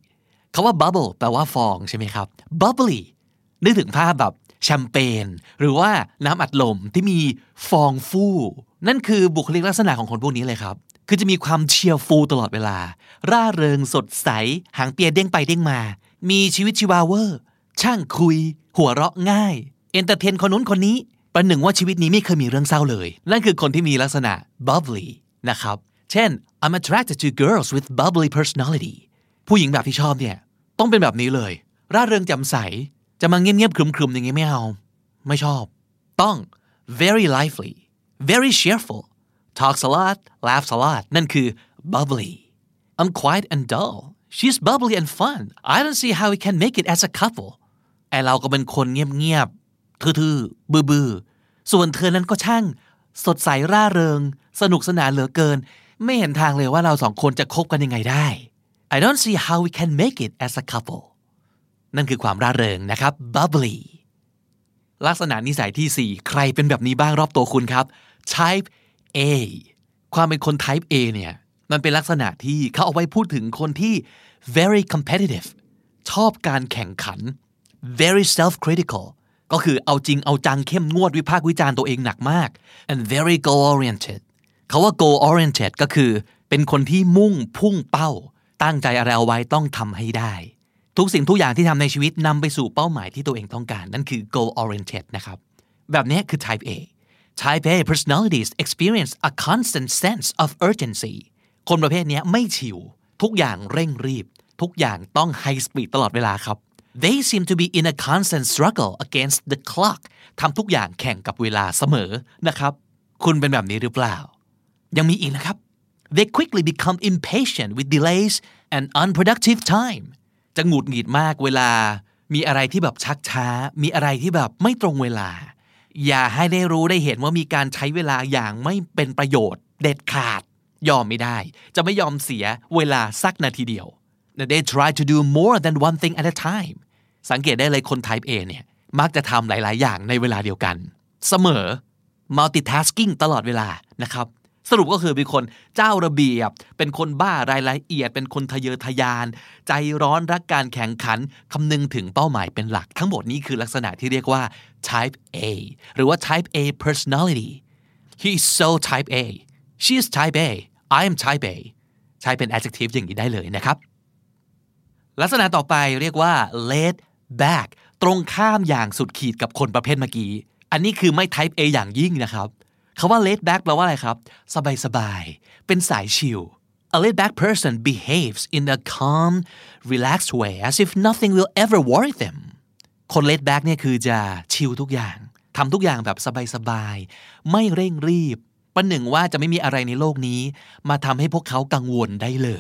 คำว่า bubble แปลว่าฟองใช่ไหมครับ bubbly นึกถึงภาพแบบแชมเปญหรือว่าน้ำอัดลมที่มีฟองฟู่นั่นคือบุคลิกลักษณะของคนพวกนี้เลยครับคือจะมีความเชียร์ฟูลตลอดเวลาร่าเริงสดใสหางเปียเด้งไปเด้งมามีชีวิตชีวาเวอร์ช่างคุยหัวเราะง่ายเอนเตอร์เทนคนนู้นคนนี้ประหนึ่งว่าชีวิตนี้ไม่เคยมีเรื่องเศร้าเลยนั่นคือคนที่มีลักษณะ bubbly นะครับเช่น I'm attracted to girls with bubbly personality ผู้หญิงแบบที่ชอบเนี่ยต้องเป็นแบบนี้เลยร่าเริงแจ่มใสจะมาเงียบๆครึมๆอย่างงี้ไม่เอาไม่ชอบต้อง very lively very cheerful talks a lot laughs a lot นั่นคือ bubbly I'm quiet and dull she's bubbly and fun I don't see how we can make it as a couple ไอ้เราก็เป็นคนเงียบๆทื่อๆบื้อๆส่วนเธอนั้นก็ช่างสดใสร่าเริงสนุกสนานเหลือเกินไม่เห็นทางเลยว่าเราสองคนจะคบกันยังไงได้ I don't see how we can make it as a couple นั่นคือความร่าเริงนะครับ bubbly ลักษณะนิสัยที่4ใครเป็นแบบนี้บ้างรอบตัวคุณครับ type A ความเป็นคน type A เนี่ยมันเป็นลักษณะที่เขาเอาไว้พูดถึงคนที่ very competitive ชอบการแข่งขัน very self-critical ก็คือเอาจริงเอาจังเข้มงวดวิพากษ์วิจารณ์ตัวเองหนักมาก and very goal-oriented เขาว่า goal-oriented ก็คือเป็นคนที่มุ่งพุ่งเป้าตั้งใจอะไรเอาไว้ต้องทำให้ได้ทุกสิ่งทุกอย่างที่ทำในชีวิตนำไปสู่เป้าหมายที่ตัวเองต้องการนั่นคือ goal-oriented นะครับแบบนี้คือ type A Type A personalities experience a constant sense of urgency คนประเภทนี้ไม่ชิวทุกอย่างเร่งรีบทุกอย่างต้อง high speed ตลอดเวลาครับ They seem to be in a constant struggle against the clock ทำทุกอย่างแข่งกับเวลาเสมอนะครับคุณเป็นแบบนี้หรือเปล่ายังมีอีกนะครับ They quickly become impatient with delays and unproductive time จะหงุดหงิดมากเวลามีอะไรที่แบบชักช้ามีอะไรที่แบบไม่ตรงเวลาอย่าให้ได้รู้ได้เห็นว่ามีการใช้เวลาอย่างไม่เป็นประโยชน์เด็ดขาดยอมไม่ได้จะไม่ยอมเสียเวลาสักนาทีเดียว They try to do more than one thing at a time สังเกตได้เลยคน type A เนี่ยมักจะทำหลายๆอย่างในเวลาเดียวกันเสมอ multitasking ตลอดเวลานะครับสรุปก็คือเป็นคนเจ้าระเบียบเป็นคนบ้ารายละเอียดเป็นคนทะเยอทะยานใจร้อนรักการแข่งขันคำนึงถึงเป้าหมายเป็นหลักทั้งหมดนี้คือลักษณะที่เรียกว่า type A หรือว่า type A personality he is so type A she is type A I am type A ใช้เป็น adjective อย่างนี้ได้เลยนะครับลักษณะต่อไปเรียกว่า laid back ตรงข้ามอย่างสุดขีดกับคนประเภทเมื่อกี้อันนี้คือไม่ type A อย่างยิ่งนะครับคำว่า laid back แปลว่าอะไรครับสบายๆเป็นสายชิล A laid back person behaves in a calm relaxed way as if nothing will ever worry them คน laid back เนี่ยคือจะชิลทุกอย่างทำทุกอย่างแบบสบายๆไม่เร่งรีบประหนึ่งว่าจะไม่มีอะไรในโลกนี้มาทำให้พวกเขากังวลได้เลย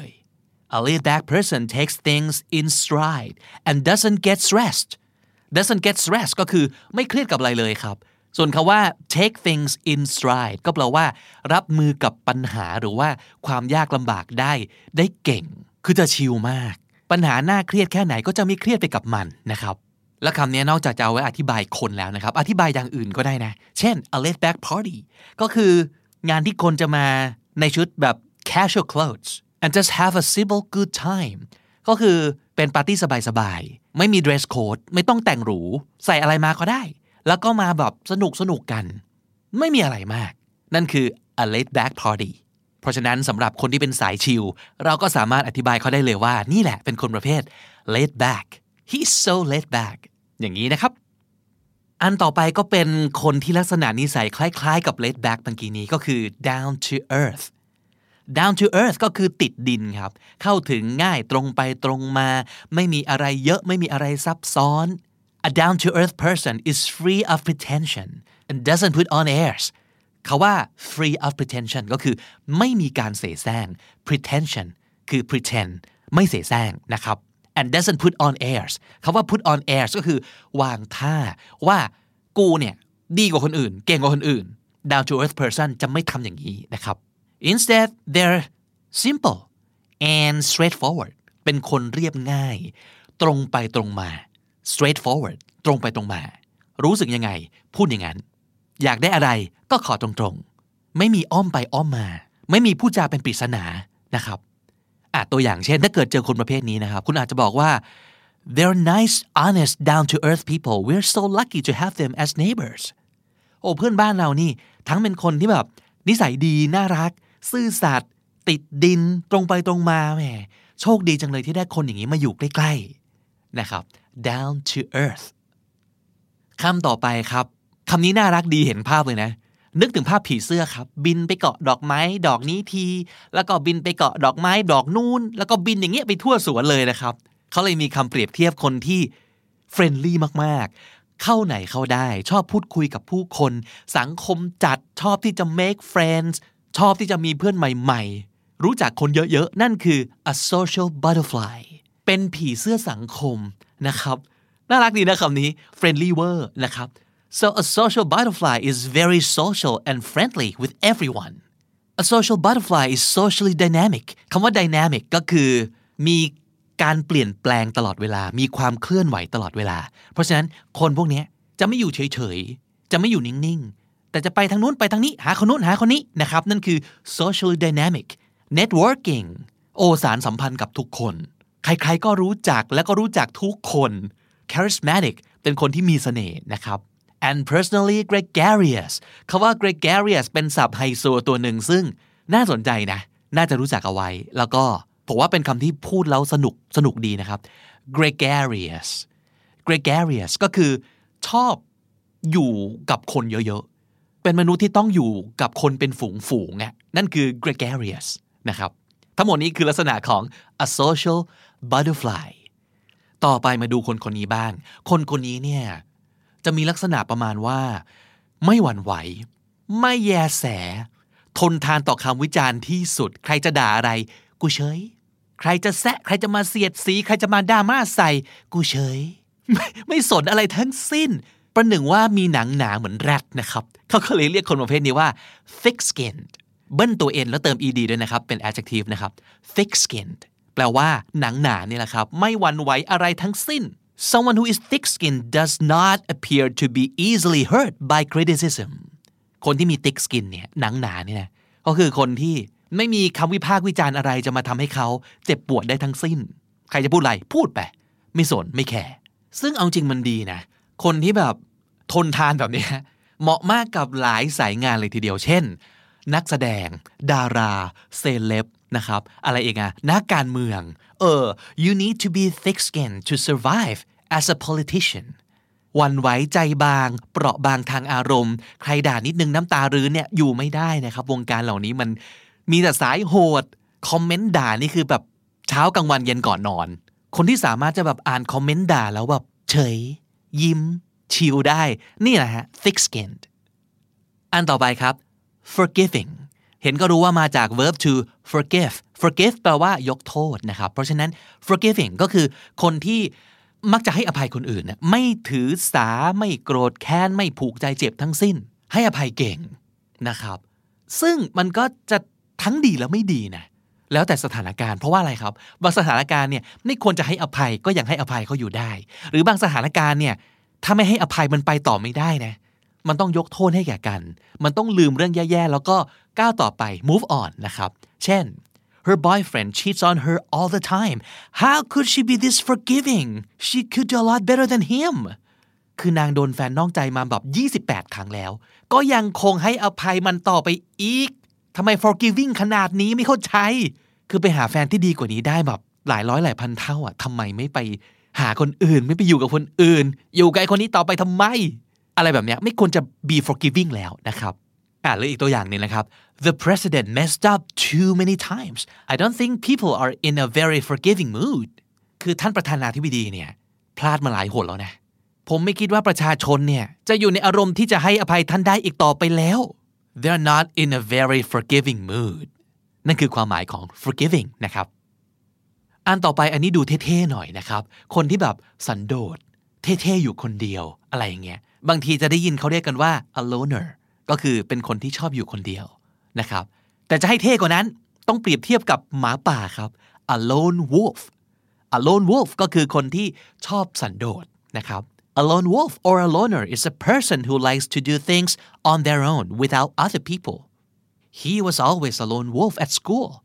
A laid back person takes things in stride and doesn't get stressed ก็คือไม่เครียดกับอะไรเลยครับส่วนคำว่า take things in stride ก็แปลว่ารับมือกับปัญหาหรือว่าความยากลำบากได้เก่งคือจะชิลมากปัญหาน่าเครียดแค่ไหนก็จะไม่เครียดไปกับมันนะครับและคำนี้นอกจากจะเอาไว้อธิบายคนแล้วนะครับอธิบายอย่างอื่นก็ได้นะเช่น a laid back party ก็คืองานที่คนจะมาในชุดแบบ casual clothes and just have a simple good time ก็คือเป็นปาร์ตี้สบายๆไม่มี dress code ไม่ต้องแต่งหรูใส่อะไรมาก็ได้แล้วก็มาแบบสนุกกันไม่มีอะไรมากนั่นคือ a laid back party เพราะฉะนั้นสำหรับคนที่เป็นสายชิลเราก็สามารถอธิบายเขาได้เลยว่านี่แหละเป็นคนประเภท laid back he's so laid back อย่างนี้นะครับอันต่อไปก็เป็นคนที่ลักษณะนิสัยคล้ายๆกับ laid back เมื่อกี้นี้ก็คือ down to earth ก็คือติดดินครับเข้าถึงง่ายตรงไปตรงมาไม่มีอะไรเยอะไม่มีอะไรซับซ้อน A down-to-earth person is free of pretension and doesn't put on airs คำว่า free of pretension ก็คือไม่มีการเสแสร้ง pretension คือ pretend ไม่เสแสร้งนะครับ and doesn't put on airs คำว่า put on airs ก็คือวางท่าว่ากูเนี่ยดีกว่าคนอื่นเก่งกว่าคนอื่น down-to-earth person จะไม่ทำอย่างนี้นะครับ instead they're simple and straightforward เป็นคนเรียบง่ายตรงไปตรงมาstraightforward ตรงไปตรงมารู้สึกยังไงพูดอย่างนั้นอยากได้อะไรก็ขอตรงๆไม่มีอ้อมไปอ้อมมาไม่มีพูดจาเป็นปริศนานะครับตัวอย่างเช่นถ้าเกิดเจอคนประเภทนี้นะครับคุณอาจจะบอกว่า they're nice honest down to earth people we're so lucky to have them as neighbors โอ้เพื่อนบ้านเรานี่ทั้งเป็นคนที่แบบนิสัยดีน่ารักซื่อสัตย์ติดดินตรงไปตรงมาแหมโชคดีจังเลยที่ได้คนอย่างนี้มาอยู่ใกล้ๆนะครับ down to earth คำต่อไปครับคำนี้น่ารักดีเห็นภาพเลยนะนึกถึงภาพผีเสื้อครับบินไปเกาะดอกไม้ดอกนี้ทีแล้วก็บินไปเกาะดอกไม้ดอกนู้นแล้วก็บินอย่างเงี้ยไปทั่วสวนเลยนะครับเขาเลยมีคำเปรียบเทียบคนที่เฟรนลี่มากๆเข้าไหนเข้าได้ชอบพูดคุยกับผู้คนสังคมจัดชอบที่จะ make friends ชอบที่จะมีเพื่อนใหม่ๆรู้จักคนเยอะๆนั่นคือ a social butterfly เป็นผีเสื้อสังคมนะครับน่ารักดีนะคำนี้ friendly word นะครับ so a social butterfly is very social and friendly with everyone a social butterfly is socially dynamic คำว่า dynamic ก็คือมีการเปลี่ยนแปลงตลอดเวลามีความเคลื่อนไหวตลอดเวลาเพราะฉะนั้นคนพวกนี้จะไม่อยู่เฉยๆจะไม่อยู่นิ่งๆแต่จะไปทางนู้นไปทางนี้หาคนนู้นหาคนนี้นะครับนั่นคือ socially dynamic networking สารสัมพันธ์กับทุกคนใครๆก็รู้จักและก็รู้จักทุกคน charismatic เป็นคนที่มีเสน่ห์นะครับ and personally gregarious คำว่า gregarious เป็นศัพท์ไฮโซตัวหนึ่งซึ่งน่าสนใจนะน่าจะรู้จักเอาไว้แล้วก็ผมว่าเป็นคำที่พูดแล้วสนุกดีนะครับ gregarious ก็คือชอบอยู่กับคนเยอะๆเป็นมนุษย์ที่ต้องอยู่กับคนเป็นฝูงๆนั่นคือ gregarious นะครับทั้งหมดนี้คือลักษณะของ a social butterfly ต่อไปมาดูคนนี้บ้างคนนี้เนี่ยจะมีลักษณะประมาณว่าไม่หวั่นไหวไม่แยแสทนทานต่อคำวิจารณ์ที่สุดใครจะด่าอะไรกูเฉยใครจะแซะใครจะมาเสียดสีใครจะมาด่ามาใส่กูเฉย ไม่สนอะไรทั้งสิ้นประหนึ่งว่ามีหนังหนาเหมือนแรดนะครับเขาก็เลยเรียกคนประเภทนี้ว่า thick skinned เบิ้ลตัว n แล้วเติม ed ด้วยนะครับเป็น adjective นะครับ thick skinned แปลว่าหนังหนานี่แหละครับไม่หวั่นไหวอะไรทั้งสิ้น someone who is thick skinned does not appear to be easily hurt by criticism คนที่มี thick skin เนี่ยหนังหนาเนี่ยนะก็คือคนที่ไม่มีคำวิพากษ์วิจารณ์อะไรจะมาทำให้เขาเจ็บปวดได้ทั้งสิ้นใครจะพูดอะไรพูดไปไม่สนไม่แคร์ซึ่งเอาจริงมันดีนะคนที่แบบทนทานแบบนี้เหมาะมากกับหลายสายงานเลยทีเดียวเช่นนักแสดงดาราเซเลบนะครับอะไรเองนักการเมืองyou need to be thick-skinned to survive as a politician หวั่นไหวใจบางเปราะบางทางอารมณ์ใครด่านิดนึงน้ำตารื้นเนี่ยอยู่ไม่ได้นะครับวงการเหล่านี้มันมีแต่สายโหดคอมเมนต์ด่านี่คือแบบเช้ากลางวันเย็นก่อนนอนคนที่สามารถจะแบบอ่านคอมเมนต์ด่าแล้วแบบเฉยยิ้มชิลได้นี่แหละฮะ thick skinned อันต่อไปครับ forgiving เห็นก็รู้ว่ามาจาก verb to forgive แปลว่ายกโทษนะครับเพราะฉะนั้น forgiving ก็คือคนที่มักจะให้อภัยคนอื่นนะไม่ถือสาไม่โกรธแค้นไม่ผูกใจเจ็บทั้งสิ้นให้อภัยเก่งนะครับซึ่งมันก็จะทั้งดีและไม่ดีนะแล้วแต่สถานการณ์เพราะว่าอะไรครับบางสถานการณ์เนี่ยไม่ควรจะให้อภัยก็ยังให้อภัยเขาอยู่ได้หรือบางสถานการณ์เนี่ยถ้าไม่ให้อภัยมันไปต่อไม่ได้นะมันต้องยกโทษให้แก่กันมันต้องลืมเรื่องแย่ๆแล้วก็ก้าวต่อไป move on นะครับเช่น her boyfriend cheats on her all the time how could she be this forgiving she could do a lot better than him คือนางโดนแฟนนอกใจมาแบบ28ครั้งแล้วก็ยังคงให้อภัยมันต่อไปอีกทำไม forgiving ขนาดนี้ไม่เข้าใจคือไปหาแฟนที่ดีกว่านี้ได้แบบหลายร้อยหลายพันเท่าทำไมไม่ไปหาคนอื่นไม่ไปอยู่กับคนอื่นอยู่กับคนนี้ต่อไปทำไมอะไรแบบนี้ไม่ควรจะ be forgiving แล้วนะครับหรืออีกตัวอย่างนึงนะครับ the president messed up too many times I don't think people are in a very forgiving mood คือท่านประธานาธิบดีเนี่ยพลาดมาหลายหนแล้วนะผมไม่คิดว่าประชาชนเนี่ยจะอยู่ในอารมณ์ที่จะให้อภัยท่านได้อีกต่อไปแล้ว they're not in a very forgiving mood นั่นคือความหมายของ forgiving นะครับอันต่อไปอันนี้ดูเท่ๆหน่อยนะครับคนที่แบบสันโดษเท่ๆอยู่คนเดียวอะไรอย่างเงี้ยบางทีจะได้ยินเขาเรียกกันว่า a loner ก็คือเป็นคนที่ชอบอยู่คนเดียวนะครับแต่จะให้เท่กว่านั้นต้องเปรียบเทียบกับหมาป่าครับ a lone wolf ก็คือคนที่ชอบสันโดษนะครับA lone wolf or a loner is a person who likes to do things on their own without other people. He was always a lone wolf at school.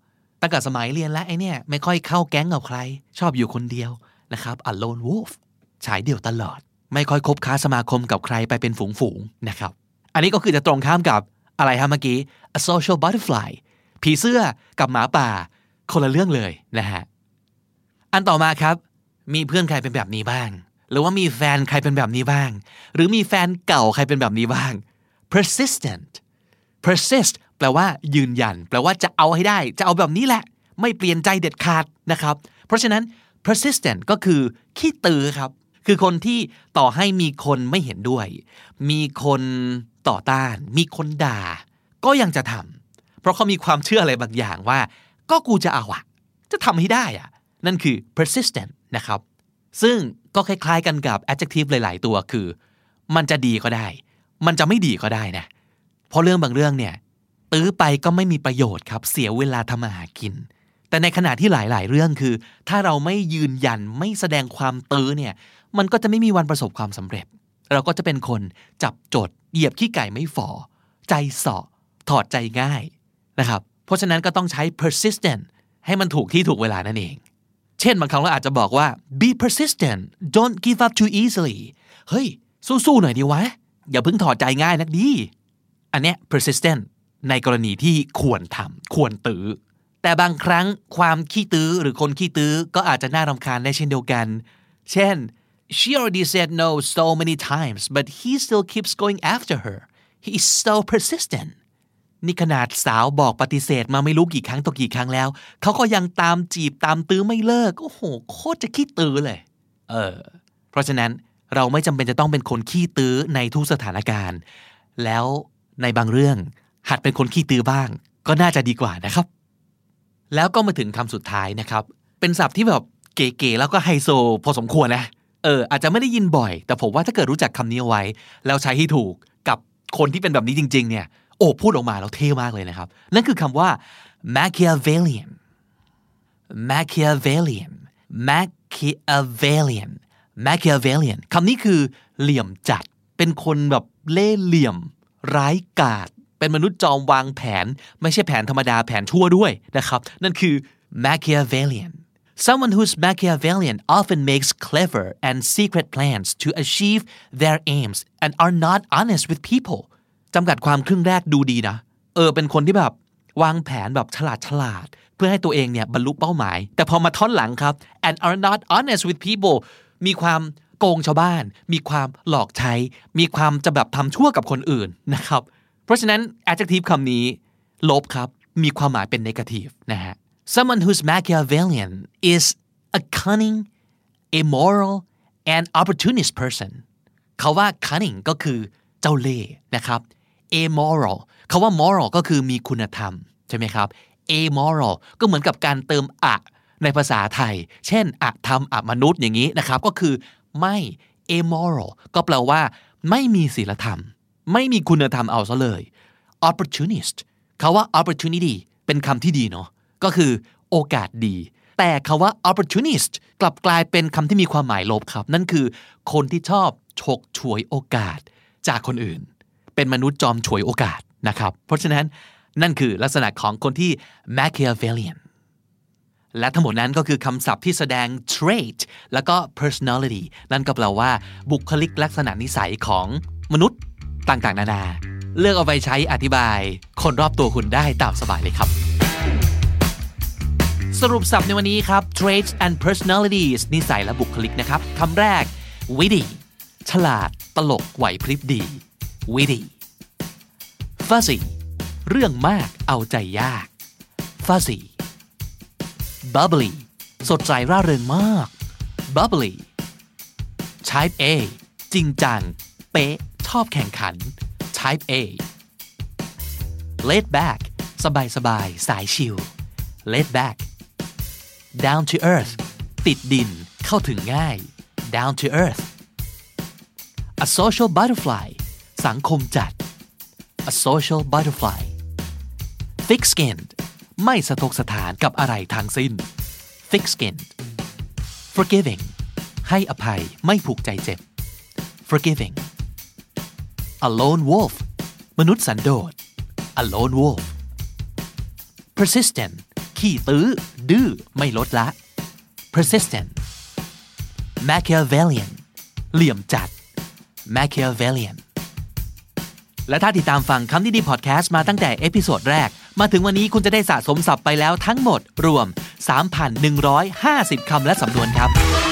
ตั้งแต่สมัยเรียนแล้วไอ้เนี่ยไม่ค่อยเข้าแก๊งกับใครชอบอยู่คนเดียวนะครับ a lone wolf ชายเดี่ยวตลอดไม่ค่อยคบค้าสมาคมกับใครไปเป็นฝูงๆนะครับอันนี้ก็คือจะตรงข้ามกับอะไรฮะเมื่อกี้ a social butterfly ผีเสื้อกับหมาป่าคนละเรื่องเลยนะฮะอันต่อมาครับมีเพื่อนใครเป็นแบบนี้บ้างหรือว่ามีแฟนใครเป็นแบบนี้บ้างหรือมีแฟนเก่าใครเป็นแบบนี้บ้าง persistent persist แปลว่ายืนยันแปลว่าจะเอาให้ได้จะเอาแบบนี้แหละไม่เปลี่ยนใจเด็ดขาดนะครับเพราะฉะนั้น persistent ก็คือขี้ตื้อครับคือคนที่ต่อให้มีคนไม่เห็นด้วยมีคนต่อต้านมีคนด่าก็ยังจะทำเพราะเขามีความเชื่ออะไรบางอย่างว่าก็กูจะเอาอะจะทำให้ได้อะนั่นคือ persistent นะครับซึ่งก็คล้ายๆกันกับ adjective หลายๆตัวคือมันจะดีก็ได้มันจะไม่ดีก็ได้นะเพราะเรื่องบางเรื่องเนี่ยตื้อไปก็ไม่มีประโยชน์ครับเสียเวลาทำมาหากินแต่ในขณะที่หลายๆเรื่องคือถ้าเราไม่ยืนยันไม่แสดงความตื้อเนี่ยมันก็จะไม่มีวันประสบความสำเร็จเราก็จะเป็นคนจับจดเหยียบขี้ไก่ไม่ฝ่อใจเสาะถอดใจง่ายนะครับเพราะฉะนั้นก็ต้องใช้ persistent ให้มันถูกที่ถูกเวลานั่นเองเช่นบางครั้งเราอาจจะบอกว่า be persistent don't give up too easily เฮ้ยสู้ๆหน่อยดีวะอย่าเพิ่งถอดใจง่ายนักดีอันเนี้ย persistent ในกรณีที่ควรทำควรตื้อแต่บางครั้งความขี้ตื้อหรือคนขี้ตื้อก็อาจจะน่ารำคาญได้เช่นเดียวกันเช่น she already said no so many times but he still keeps going after her he is so persistent นี่ขนาดสาวบอกปฏิเสธมาไม่รู้กี่ครั้งต่อกี่ครั้งแล้วเขาก็ยังตามจีบตามตื้อไม่เลิกโอ้โหโคตรจะขี้ตื้อเลยเพราะฉะนั้นเราไม่จำเป็นจะต้องเป็นคนขี้ตื้อในทุกสถานการณ์แล้วในบางเรื่องหัดเป็นคนขี้ตื้อบ้างก็น่าจะดีกว่านะครับแล้วก็มาถึงคำสุดท้ายนะครับเป็นศัพท์ที่แบบเก๋ๆแล้วก็ไฮโซพอสมควรนะอาจจะไม่ได้ยินบ่อยแต่ผมว่าถ้าเกิดรู้จักคำนี้เอาไว้แล้วใช้ให้ถูกกับคนที่เป็นแบบนี้จริงๆเนี่ยโอ้พูดออกมาแล้วเท่มากเลยนะครับนั่นคือคำว่า Machiavellian Machiavellian Machiavellian Machiavellian คำนี้คือเหลี่ยมจัดเป็นคนแบบเล่ห์เหลี่ยมร้ายกาจเป็นมนุษย์จอมวางแผนไม่ใช่แผนธรรมดาแผนชั่วด้วยนะครับนั่นคือ Machiavellian Someone who's Machiavellian often makes clever and secret plans to achieve their aims and are not honest with people จำกัดความครึ่งแรกดูดีนะเป็นคนที่แบบวางแผนแบบฉลาดเพื่อให้ตัวเองเนี่ยบรรลุเป้าหมายแต่พอมาท่อนหลังครับ and are not honest with people มีความโกงชาวบ้านมีความหลอกใช้มีความจะแบบทำชั่วกับคนอื่นนะครับเพราะฉะนั้น adjective คำนี้ลบครับมีความหมายเป็น negative นะฮะ Someone who's Machiavellian is a cunning, immoral, and opportunist person เขาว่า cunning ก็คือเจ้าเล่ห์นะครับ amoral เขาว่า moral ก็คือมีคุณธรรมใช่ไหมครับ amoral ก็เหมือนกับการเติมอะในภาษาไทยเช่นอะธรรมอะมนุษย์อย่างนี้นะครับก็คือไม่ amoral ก็แปลว่าไม่มีศีลธรรมไม่มีคุณธรรมเอาซะเลย opportunist เขาว่า opportunity เป็นคำที่ดีเนาะก็คือโอกาสดีแต่คำว่า opportunist กลับกลายเป็นคำที่มีความหมายลบครับนั่นคือคนที่ชอบฉกฉวยโอกาสจากคนอื่นเป็นมนุษย์จอมฉวยโอกาสนะครับเพราะฉะนั้นนั่นคือลักษณะของคนที่ Machiavellian และทั้งหมดนั้นก็คือคำศัพท์ที่แสดง trait แล้วก็ personality นั่นก็แปลว่าบุคลิกลักษณะนิสัยของมนุษย์ต่างๆนานาเลือกเอาไปใช้อธิบายคนรอบตัวคุณได้ตามสบายเลยครับสรุปศัพท์ในวันนี้ครับ traits and personalities นิสัยและบุคลิกนะครับคำแรก witty ฉลาดตลกไหวพริบดี witty fuzzy เรื่องมากเอาใจยาก fuzzy bubbly สดใสร่าเริงมาก bubbly type A จริงจังเป๊ะชอบแข่งขัน type A laid back สบายๆสายชิล laid back down to earth ติดดินเข้าถึงง่าย down to earth a social butterfly สังคมจัด a social butterfly thick skinned ไม่สะทกสถานกับอะไรทั้งสิ้น thick skinned forgiving ให้อภัยไม่ผูกใจเจ็บ forgiving a lone wolf มนุษย์สันโดษ a lone wolf persistent ขขี้ตื้อดื้อไม่ลดละ persistent Machiavellian เหลี่ยมจัด Machiavellian และถ้าติดตามฟังคำนี้ดีพอดแคสต์มาตั้งแต่เอพิโซดแรกมาถึงวันนี้คุณจะได้สะสมศัพท์ไปแล้วทั้งหมดรวม 3,150 คำและสำนวนครับ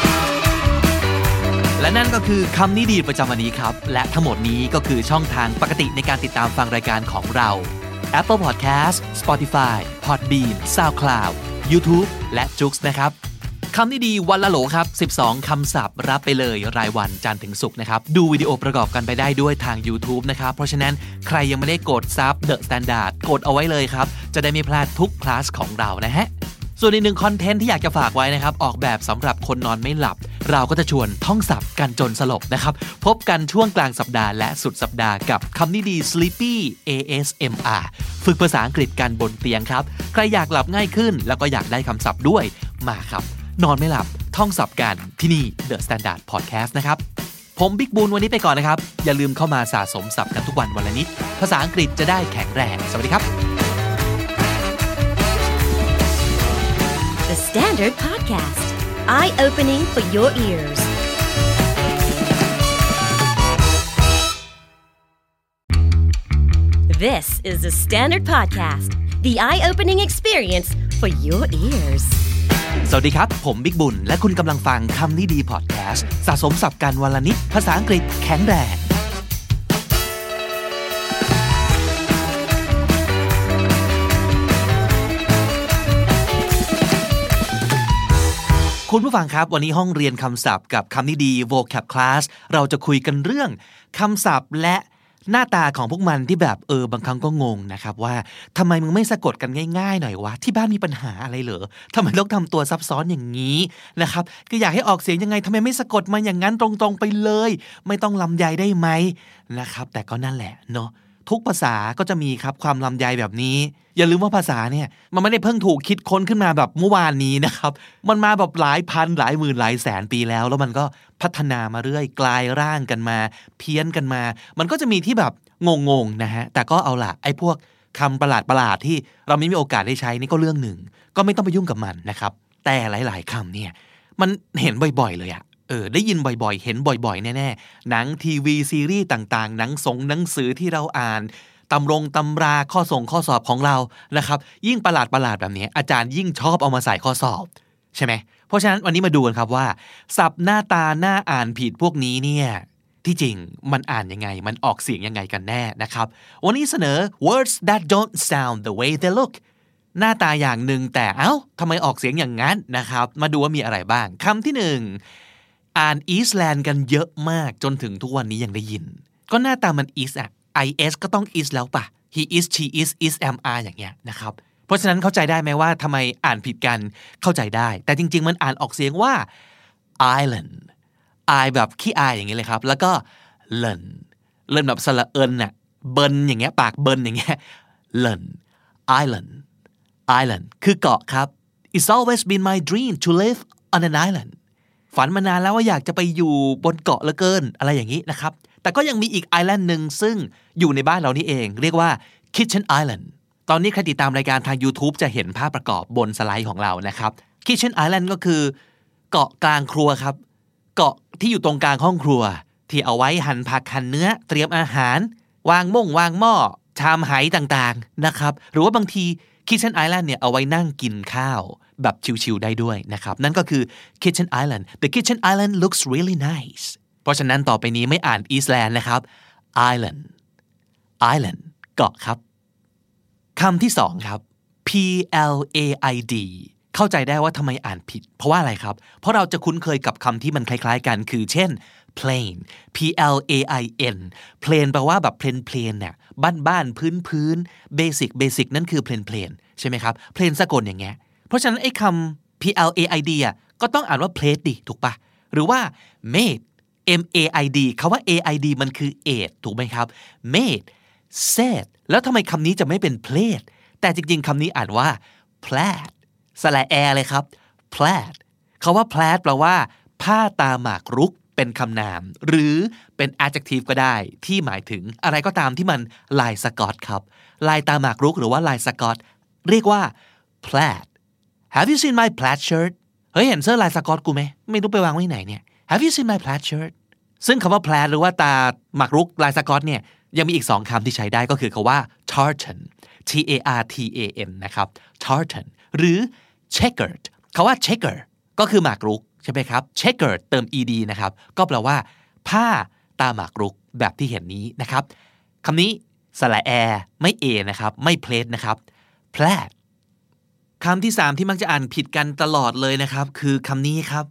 และนั่นก็คือคำนี้ดีประจำวันนี้ครับและทั้งหมดนี้ก็คือช่องทางปกติในการติดตามฟังรายการของเรา Apple Podcast Spotify Podbean SoundCloud YouTube และ Joox นะครับคำนี้ดีวันละโหลครับ12คำศัพท์รับไปเลยรายวันจันทร์ถึงศุกร์นะครับดูวิดีโอประกอบกันไปได้ด้วยทาง YouTube นะครับเพราะฉะนั้นใครยังไม่ได้กดซับ The Standard กดเอาไว้เลยครับจะได้ไม่พลาดทุกคลาสของเรานะฮะส่วนอีกหนึ่งคอนเทนต์ที่อยากจะฝากไว้นะครับออกแบบสำหรับคนนอนไม่หลับเราก็จะชวนท่องศัพท์กันจนสลบนะครับพบกันช่วงกลางสัปดาห์และสุดสัปดาห์กับคำนี้ดี Sleepy ASMR ฝึกภาษาอังกฤษกันบนเตียงครับใครอยากหลับง่ายขึ้นแล้วก็อยากได้คำศัพท์ด้วยมาครับนอนไม่หลับท่องศัพท์กันที่นี่ The Standard Podcast นะครับผมบิ๊กบูนวันนี้ไปก่อนนะครับอย่าลืมเข้ามาสะสมศัพท์กันทุกวันวันละนิดภาษาอังกฤษจะได้แข็งแรงสวัสดีครับ The Standard Podcast Eye-opening for your ears This is the Standard Podcast The eye-opening experience for your ears สวัสดีครับผมบิ๊กบุญและคุณกำลังฟังคำนี้ดีพอดแคสต์สะสมศัพท์กันวันละนิดภาษาอังกฤษแข็งแรงคุณผู้ฟังครับวันนี้ห้องเรียนคำศัพท์กับคำนี้ดี vocab class เราจะคุยกันเรื่องคำศัพท์และหน้าตาของพวกมันที่แบบบางครั้งก็งงนะครับว่าทำไมมึงไม่สะกดกันง่ายๆหน่อยวะที่บ้านมีปัญหาอะไรเหรอทำไมต้องทำตัวซับซ้อนอย่างนี้นะครับก็อยากให้ออกเสียงยังไงทำไมไม่สะกดมาอย่างนั้นตรงๆไปเลยไม่ต้องลำไยได้ไหมนะครับแต่ก็นั่นแหละเนาะทุกภาษาก็จะมีครับความลำไยแบบนี้อย่าลืมว่าภาษาเนี่ยมันไม่ได้เพิ่งถูกคิดค้นขึ้นมาแบบเมื่อวานนี้นะครับมันมาแบบหลายพันหลายหมื่นหลายแสนปีแล้วมันก็พัฒนามาเรื่อยกลายร่างกันมาเพี้ยนกันมามันก็จะมีที่แบบงงๆนะฮะแต่ก็เอาล่ะไอ้พวกคำประหลาดๆที่เราไม่มีโอกาสได้ใช้นี่ก็เรื่องหนึ่งก็ไม่ต้องไปยุ่งกับมันนะครับแต่หลายๆคำเนี่ยมันเห็นบ่อยๆเลยอะได้ยินบ่อยๆเห็นบ่อยๆแน่ๆหนังทีวีซีรีส์ต่างๆหนังสือที่เราอ่านตำราข้อสอบของเรานะครับยิ่งประหลาดแบบนี้อาจารย์ยิ่งชอบเอามาใส่ข้อสอบใช่ไหมเพราะฉะนั้นวันนี้มาดูกันครับว่าศัพท์หน้าตาหน้าอ่านผิดพวกนี้เนี่ยที่จริงมันอ่านยังไงมันออกเสียงยังไงกันแน่นะครับวันนี้เสนอ words that don't sound the way they look หน้าตาอย่างหนึ่งแต่ทำไมออกเสียงอย่างนั้นนะครับมาดูว่ามีอะไรบ้างคำที่หนึ่งอ่าน Eastland กันเยอะมากจนถึงทุกวันนี้ยังได้ยินก็หน้าตามัน East อะ is ก็ต้อง is แล้วป่ะ he is she is am are อย่างเงี้ยนะครับเพราะฉะนั้นเข้าใจได้ไหมว่าทำไมอ่านผิดกันเข้าใจได้แต่จริงๆมันอ่านออกเสียงว่า island I แบบขี้อายอย่างเงี้ยเลยครับแล้วก็ learn แบบสระเอิญน่ะเบินอย่างเงี้ยปากเบินอย่างเงี้ย learn island คือเกาะครับ It's always been my dream to live on an island ฝันมานานแล้วว่าอยากจะไปอยู่บนเกาะเหลือเกินอะไรอย่างนี้นะครับแต่ก็ยังมีอีกไอแลนด์นึงซึ่งอยู่ในบ้านเรานี่เองเรียกว่า Kitchen Island ตอนนี้ใครติดตามรายการทาง YouTube จะเห็นภาพประกอบบนสไลด์ของเรานะครับ Kitchen Island ก็คือเกาะกลางครัวครับเกาะที่อยู่ตรงกลางห้องครัวที่เอาไว้หั่นผักหั่นเนื้อเตรียมอาหารวางหม้อชามไหต่างๆนะครับหรือว่าบางที Kitchen Island เนี่ยเอาไว้นั่งกินข้าวแบบชิลๆได้ด้วยนะครับนั่นก็คือ Kitchen Island The Kitchen Island looks really nice เพราะฉะนั้นต่อไปนี้ไม่อ่าน Eastland นะครับ Island เกาะครับคำที่สองครับ PLAID เข้าใจได้ว่าทำไมอ่านผิดเพราะว่าอะไรครับเพราะเราจะคุ้นเคยกับคำที่มันคล้ายๆกันคือเช่น plain plain plain แปลว่าแบบplainเนี่ยบ้านพื้นbasic นั่นคือ plain ใช่ไหมครับ plain สะกดอย่างเงี้ยเพราะฉะนั้นไอ้คำ plaid อ่ะก็ต้องอ่านว่า plate ดิถูกปะหรือว่า made maid คำว่า aid มันคือ aid ถูกไหมครับ made said แล้วทำไมคำนี้จะไม่เป็น plate แต่จริงๆคำนี้อ่านว่า plaid สระแอเลยครับ plaid คำว่า plaid แปลว่าผ้าตาหมากรุกเป็นคำนามหรือเป็น adjective ก็ได้ที่หมายถึงอะไรก็ตามที่มันลายสกอตครับลายตาหมากรุกหรือว่าลายสกอตเรียกว่า plaid Have you seen my plaid shirt เฮ้ยเห็นเสื้อลายสก๊อตกูไหมไม่รู้ไปวางไว้ไหนเนี่ย Have you seen my plaid shirt ซึ่งคำว่า plaid หรือว่าตาหมากรุกลายสก๊อตเนี่ยยังมีอีก2คำที่ใช้ได้ก็คือคำว่า tartan T-A-R-T-A-N นะครับ tartan หรือ checkered คำว่า checker ก็คือหมากรุกใช่ไหมครับ checkered เติม ed นะครับก็แปลว่าผ้าตาหมากรุกแบบที่เห็นนี้นะครับคำนี้สระแอไม่ a นะครับไม่ plaid นะครับ plaid คำที่3ที่มักจะอ่านผิดกันตลอดเลยนะครับคือคำนี้ครับ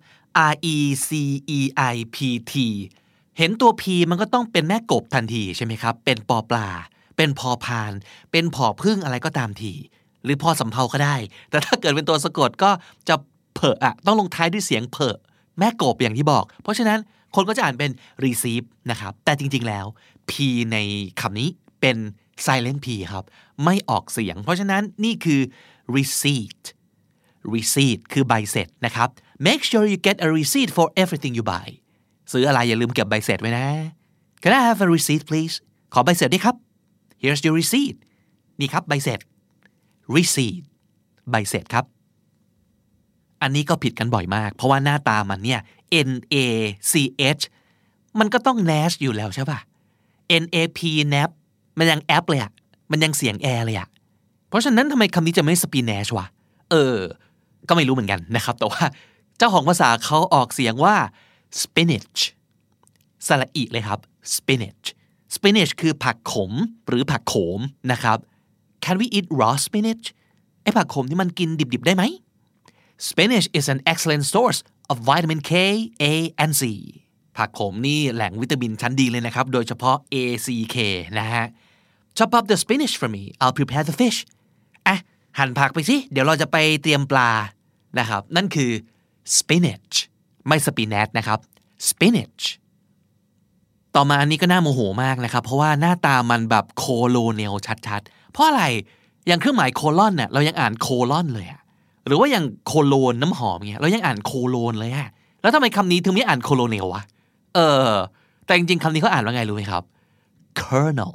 R-E-C-E-I-P-T เห็นตัว P มันก็ต้องเป็นแม่กบทันทีใช่ไหมครับเป็นปอปลาเป็นพอพานเป็นผอพึ่งอะไรก็ตามทีหรือพอสำเภาก็ได้แต่ถ้าเกิดเป็นตัวสะกดก็จะเผอะต้องลงท้ายด้วยเสียงเผอะแม่กบอย่างที่บอกเพราะฉะนั้นคนก็จะอ่านเป็น receive นะครับแต่จริงๆแล้ว P ในคำนี้เป็น silent P ครับไม่ออกเสียงเพราะฉะนั้นนี่คือ receipt คือใบเสร็จนะครับ make sure you get a receipt for everything you buy ซื้ออะไรอย่าลืมเก็บใบเสร็จไว้นะ Can I have a receipt please ขอใบเสร็จด้วยครับ Here's your receipt นี่ครับใบเสร็จ receipt ใบเสร็จครับอันนี้ก็ผิดกันบ่อยมากเพราะว่าหน้าตามันเนี่ย N-A-C-H มันก็ต้อง nash อยู่แล้วใช่ป่ะ N-A-P nap มันยังแอปเลยอะมันยังเสียงแอร์เลยอะเพราะฉะนั้นทำไมคำนี้จะไม่ spinash วะก็ไม่รู้เหมือนกันนะครับแต่ว่าเจ้าของภาษาเขาออกเสียงว่า spinach สระอีเลยครับ spinach คือผักขมหรือผักโขมนะครับ Can we eat raw spinach ไอ้ผักขมที่มันกินดิบๆได้ไหม Spinach is an excellent source of vitamin K, A and C ผักขมนี่แหล่งวิตามินชั้นดีเลยนะครับโดยเฉพาะ A, C, K นะฮะ Chop up the spinach for me I'll prepare the fish หั่นผักไปสิเดี๋ยวเราจะไปเตรียมปลานะครับนั่นคือ spinach ไม่ spinach นะครับ spinach ต่อมาอันนี้ก็น่าโมโหมากนะครับเพราะว่าหน้าตามันแบบโคโลเนลชัดๆเพราะอะไรอย่างเครื่องหมายโคลอนเนี่ยเรายังอ่านโคลอนเลยอะหรือว่าอย่างโคโลนน้ำหอมเงี้ยเรายังอ่านโคโลนเลยอะแล้วทำไมคำนี้ถึงไม่อ่านโคโลเนลวะแต่จริงๆคำนี้เขาอ่านว่าไงรู้ไหมครับ kernel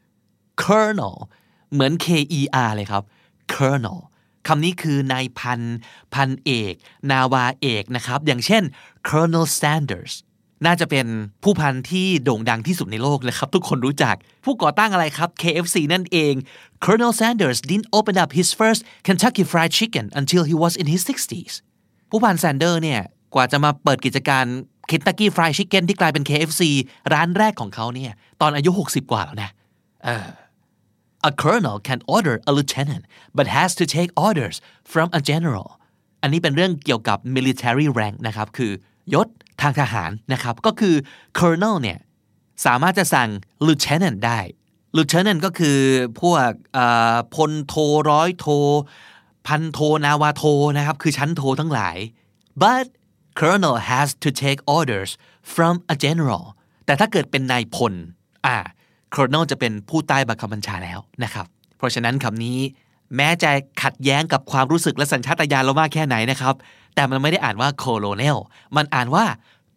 เหมือน K-E-R เลยครับ kernel คำนี้คือนายพันเอกนาวาเอกนะครับอย่างเช่น Colonel Sanders น่าจะเป็นผู้พันที่โด่งดังที่สุดในโลกเลยครับทุกคนรู้จักผู้ก่อตั้งอะไรครับ KFC นั่นเอง Colonel Sanders didn't open up his first Kentucky Fried Chicken until he was in his 60s ผู้พัน Sanders เนี่ยกว่าจะมาเปิดกิจการ Kentucky Fried Chicken ที่กลายเป็น KFC ร้านแรกของเขาเนี่ยตอนอายุ60กว่าแล้วนะA colonel can order a lieutenant but has to take orders from a general อันนี้เป็นเรื่องเกี่ยวกับ military rank นะครับคือยศทางทหารนะครับก็คือ colonel เนี่ยสามารถจะสั่ง lieutenant ได้ lieutenant ก็คือพวกพลโทร้อยโทพันโทนาวาโทนะครับคือชั้นโททั้งหลาย but colonel has to take orders from a general แต่ถ้าเกิดเป็นนายพลColonel จะเป็นผู้ใต้บังคับบัญชาแล้วนะครับเพราะฉะนั้นคำนี้แม้จะขัดแย้งกับความรู้สึกและสัญชาตญาณเรามากแค่ไหนนะครับแต่มันไม่ได้อ่านว่า Colonel มันอ่านว่า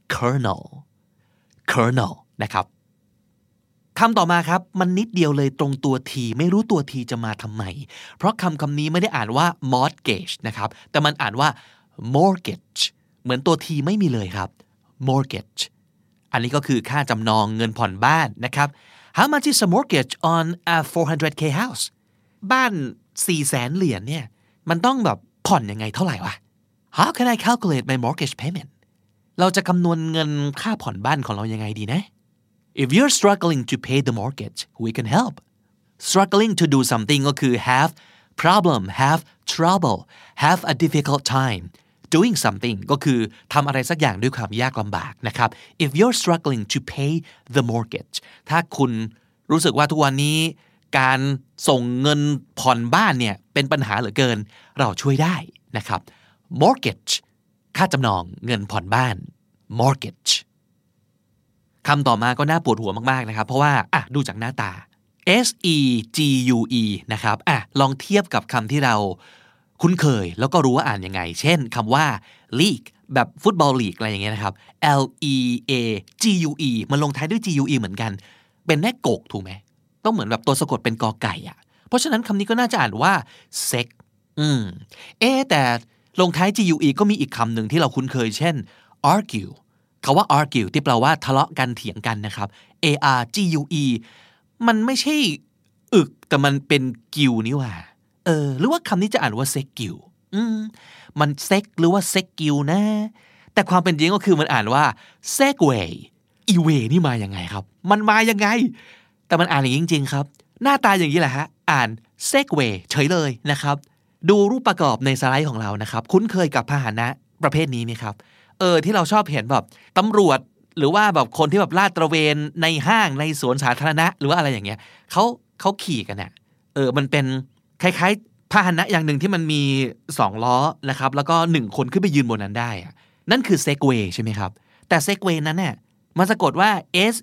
Colonel นะครับคำต่อมาครับมันนิดเดียวเลยตรงตัวทีไม่รู้ตัวทีจะมาทำไมเพราะคำนี้ไม่ได้อ่านว่า mortgage นะครับแต่มันอ่านว่า mortgage เหมือนตัวทีไม่มีเลยครับ mortgage อันนี้ก็คือค่าจำนองเงินผ่อนบ้านนะครับHow much is a mortgage on a 400k house บ้าน 400,000 เหรียญเนี่ยมันต้องแบบผ่อนยังไงเท่าไหร่วะ How can I calculate my mortgage payment เราจะคำนวณเงินค่าผ่อนบ้านของเรายังไงดีนะ If you're struggling to pay the mortgage we can help struggling to do something ก็คือ have problem have trouble have a difficult time doing something ก็คือทำอะไรสักอย่างด้วยความยากลำบากนะครับ if you're struggling to pay the mortgage ถ้าคุณรู้สึกว่าทุกวันนี้การส่งเงินผ่อนบ้านเนี่ยเป็นปัญหาเหลือเกินเราช่วยได้นะครับ mortgage ค่าจำนองเงินผ่อนบ้าน mortgage คำต่อมาก็น่าปวดหัวมากๆนะครับเพราะว่าดูจากหน้าตา S-E-G-U-E นะครับลองเทียบกับคำที่เราคุ้นเคยแล้วก็รู้ว่าอ่านยังไงเช่นคำว่า league แบบฟุตบอลลีกอะไรอย่างเงี้ยนะครับ L-E-A-G-U-E มันลงท้ายด้วย G-U-E เหมือนกันเป็นแม่กกถูกไหมต้องเหมือนแบบตัวสะกดเป็นกอไก่เพราะฉะนั้นคำนี้ก็น่าจะอ่านว่า sex แต่ลงท้าย gue ก็มีอีกคำหนึ่งที่เราคุ้นเคยเช่น argue คำว่า argue ที่แปลว่าทะเลาะกันเถียงกันนะครับ argue มันไม่ใช่อึกแต่มันเป็นกิวนี่หว่าหรือว่าคำนี้จะอ่านว่าเซ็กกิวมันเซ็กหรือว่าเซ็กกิวนะแต่ความเป็นจริงก็คือมันอ่านว่า segway อีเวนี่มายังไงครับมันมายังไงแต่มันอ่านอย่างนี้จริงๆครับหน้าตาอย่างนี้แหละฮะอ่าน segway เฉยเลยนะครับดูรูปประกอบในสไลด์ของเรานะครับคุ้นเคยกับพาหนะประเภทนี้ไหมครับที่เราชอบเห็นแบบตำรวจหรือว่าแบบคนที่แบบลาดตระเวนในห้างในสวนสาธารณะหรือว่าอะไรอย่างเงี้ยเขาขี่กันน่ะมันเป็นคล้ายๆพาหนะอย่างหนึ่งที่มันมี2ล้อนะครับแล้วก็1คนขึ้นไปยืนบนนั้นได้อะนั่นคือ Segway ใช่ไหมครับแต่ Segway นั้นเนี่ยมันสะกดว่า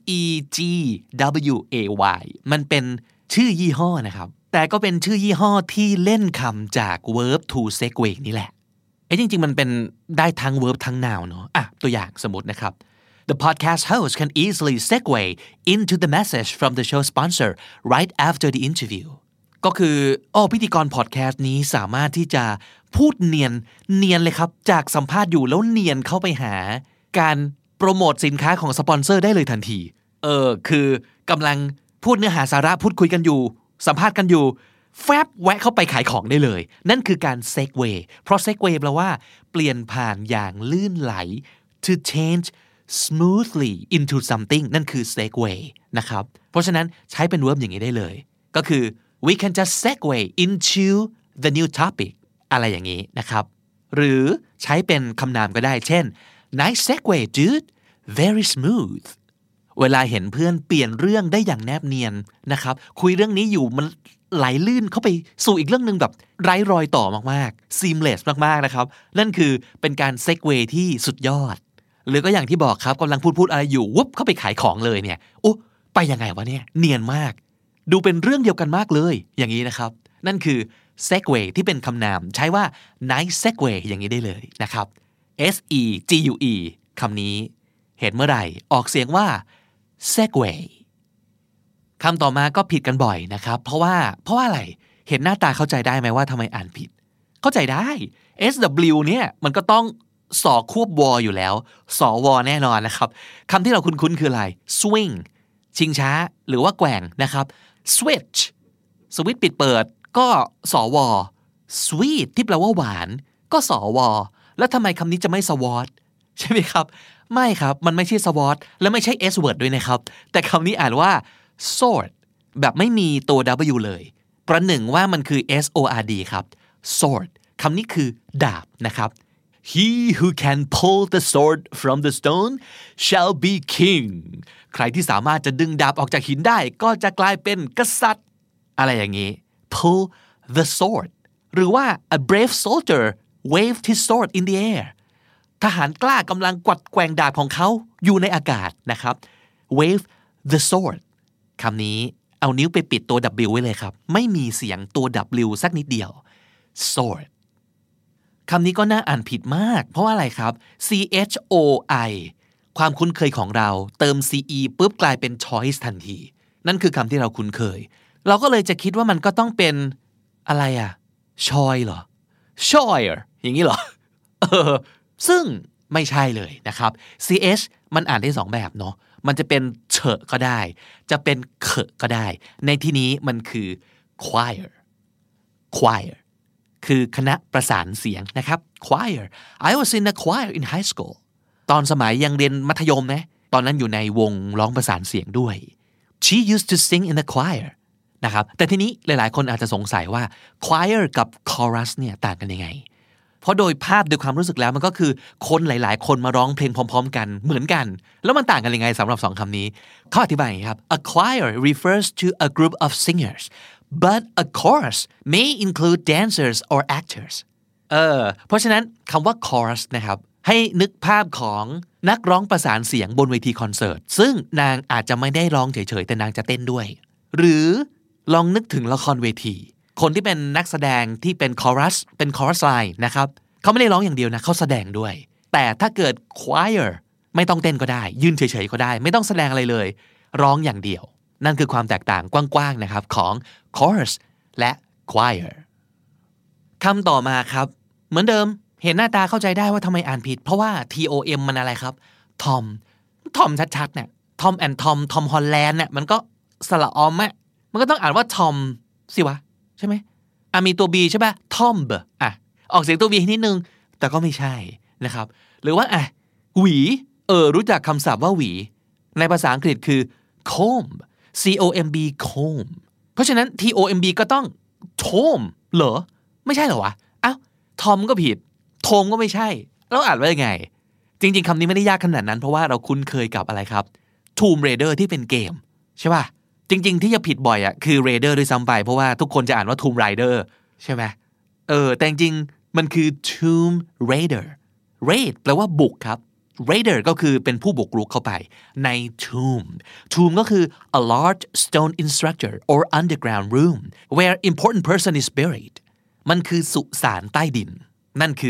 segway มันเป็นชื่อยี่ห้อนะครับแต่ก็เป็นชื่อยี่ห้อที่เล่นคำจาก verb to segway นี่แหละจริงๆมันเป็นได้ทั้ง verb ทั้ง noun เนาะตัวอย่างสมมตินะครับ The podcast host can easily segue into the message from the show sponsor right after the interview ก็คือพิธีกรพอดแคสต์นี้สามารถที่จะพูดเนียนเลยครับจากสัมภาษณ์อยู่แล้วเนียนเข้าไปหาการโปรโมทสินค้าของสปอนเซอร์ได้เลยทันทีคือกำลังพูดเนื้อหาสาระพูดคุยกันอยู่สัมภาษณ์กันอยู่แฟบแวะเข้าไปขายของได้เลยนั่นคือการ segue เพราะ segue แปลว่าเปลี่ยนผ่านอย่างลื่นไหล to change smoothly into something นั่นคือ segue นะครับเพราะฉะนั้นใช้เป็น verb อย่างนี้ได้เลยก็คือ we can just segue into the new topic อะไรอย่างนี้นะครับหรือใช้เป็นคำนามก็ได้เช่น nice segue dude very smooth เวลาเห็นเพื่อนเปลี่ยนเรื่องได้อย่างแนบเนียนนะครับคุยเรื่องนี้อยู่มันไหลลื่นเข้าไปสู่อีกเรื่องนึงแบบไร้รอยต่อมากๆ seamless มากๆนะครับนั่นคือเป็นการ segue ที่สุดยอดหรือก็อย่างที่บอกครับกำลังพูดอะไรอยู่วุบเข้าไปขายของเลยเนี่ยไปยังไงวะเนี่ยเนียนมากดูเป็นเรื่องเดียวกันมากเลยอย่างนี้นะครับนั่นคือ segue ที่เป็นคำนามใช้ว่า nice segue อย่างนี้ได้เลยนะครับ segue คำนี้เห็นเมื่อไหร่ออกเสียงว่า segway คำต่อมาก็ผิดกันบ่อยนะครับเพราะว่าอะไรเห็นหน้าตาเข้าใจได้ไหมว่าทำไมอ่านผิดเข้าใจได้ sw เนี่ยมันก็ต้องสอควบวออยู่แล้วสอวอแน่นอนนะครับคำที่เราคุ้นๆคืออะไร swing ชิงช้าหรือว่าแกว่งนะครับ switch สวิตช์ปิดเปิดก็สอวอ sweet ที่แปลว่าหวานก็สอวอแล้วทำไมคำนี้จะไม่สวอตใช่ไหมครับไม่ครับมันไม่ใช่สวอตและไม่ใช่ s word ด้วยนะครับแต่คำนี้อ่านว่า sword แบบไม่มีตัว w เลยประหนึ่งว่ามันคือ sword ครับ sword คำนี้คือดาบนะครับ He who can pull the sword from the stone shall be king ใครที่สามารถจะดึงดาบออกจากหินได้ก็จะกลายเป็นกษัตริย์อะไรอย่างนี้ pull the sword หรือว่า a brave soldier waved his sword in the air ทหารกล้ากำลังกวัดแกว่งดาบของเขาอยู่ในอากาศนะครับ wave the sword คำนี้เอานิ้วไปปิดตัว w ไว้เลยครับไม่มีเสียงตัว w สักนิดเดียว sword คำนี้ก็น่าอ่านผิดมากเพราะว่าอะไรครับ choi ความคุ้นเคยของเราเติม ce ปุ๊บกลายเป็น choice ทันทีนั่นคือคำที่เราคุ้นเคยเราก็เลยจะคิดว่ามันก็ต้องเป็นอะไรchoy เหรอ choir อย่างนี้เหรอซึ่งไม่ใช่เลยนะครับ ch มันอ่านได้2แบบเนาะมันจะเป็นเฉะก็ได้จะเป็นเขะก็ได้ในที่นี้มันคือ choir คือคณะประสานเสียงนะครับ choir I was in a choir in high school ตอนสมัยยังเรียนมัธยมนะตอนนั้นอยู่ในวงร้องประสานเสียงด้วย she used to sing in the choir นะครับแต่ทีนี้หลายๆคนอาจจะสงสัยว่า choir กับ chorus เนี่ยต่างกันยังไงเพราะโดยภาพโดยความรู้สึกแล้วมันก็คือคนหลายๆคนมาร้องเพลงพร้อมๆกันเหมือนกันแล้วมันต่างกันยังไงสำหรับ2คำนี้เขาอธิบายอย่างนี้ครับ A choir refers to a group of singers but a chorus may include dancers or actors เพราะฉะนั้นคำว่า chorus นะครับให้นึกภาพของนักร้องประสานเสียงบนเวทีคอนเสิร์ตซึ่งนางอาจจะไม่ได้ร้องเฉยๆแต่นางจะเต้นด้วยหรือลองนึกถึงละครเวทีคนที่เป็นนักแสดงที่เป็นคอรัสไลน์นะครับเขาไม่ได้ร้องอย่างเดียวนะเขาแสดงด้วยแต่ถ้าเกิด choir ไม่ต้องเต้นก็ได้ยืนเฉยๆก็ได้ไม่ต้องแสดงอะไรเลยร้องอย่างเดียวนั่นคือความแตกต่างกว้างๆนะครับของ chorus และ choir คำต่อมาครับเหมือนเดิมเห็นหน้าตาเข้าใจได้ว่าทำไมอ่านผิดเพราะว่า TOM มันอะไรครับทอมชัดๆเนี่ยทอมแอนทอมฮอลแลนด์เนี่ยมันก็สระออมอ่ะมันก็ต้องอ่านว่าทอมสิวะใช่ไหมมีตัว B ใช่ป่ะทอมเบออกเสียงตัว B นิดนึงแต่ก็ไม่ใช่นะครับหรือว่าหวีรู้จักคำศัพท์ว่าหวีในภาษาอังกฤษคือ comb comb comb เพราะฉะนั้น tomb ก็ต้อง tom เหรอไม่ใช่เหรอวะทอมก็ผิดโทมก็ไม่ใช่แล้วอ่านว่ายังไงจริงๆคำนี้ไม่ได้ยากขนาดนั้นเพราะว่าเราคุ้นเคยกับอะไรครับ Tomb Raider ที่เป็นเกมใช่ป่ะจริงๆที่จะผิดบ่อยคือ Raider ด้วยซ้ำไปเพราะว่าทุกคนจะอ่านว่า Tomb Raider ใช่ไหมแต่จริงๆมันคือ Tomb Raider raid แปลว่าบุกครับ Raider ก็คือเป็นผู้บุกรุกเข้าไปใน tomb ก็คือ a large stone structure or underground room where important person is buried มันคือสุสานใต้ดินนั่นคือ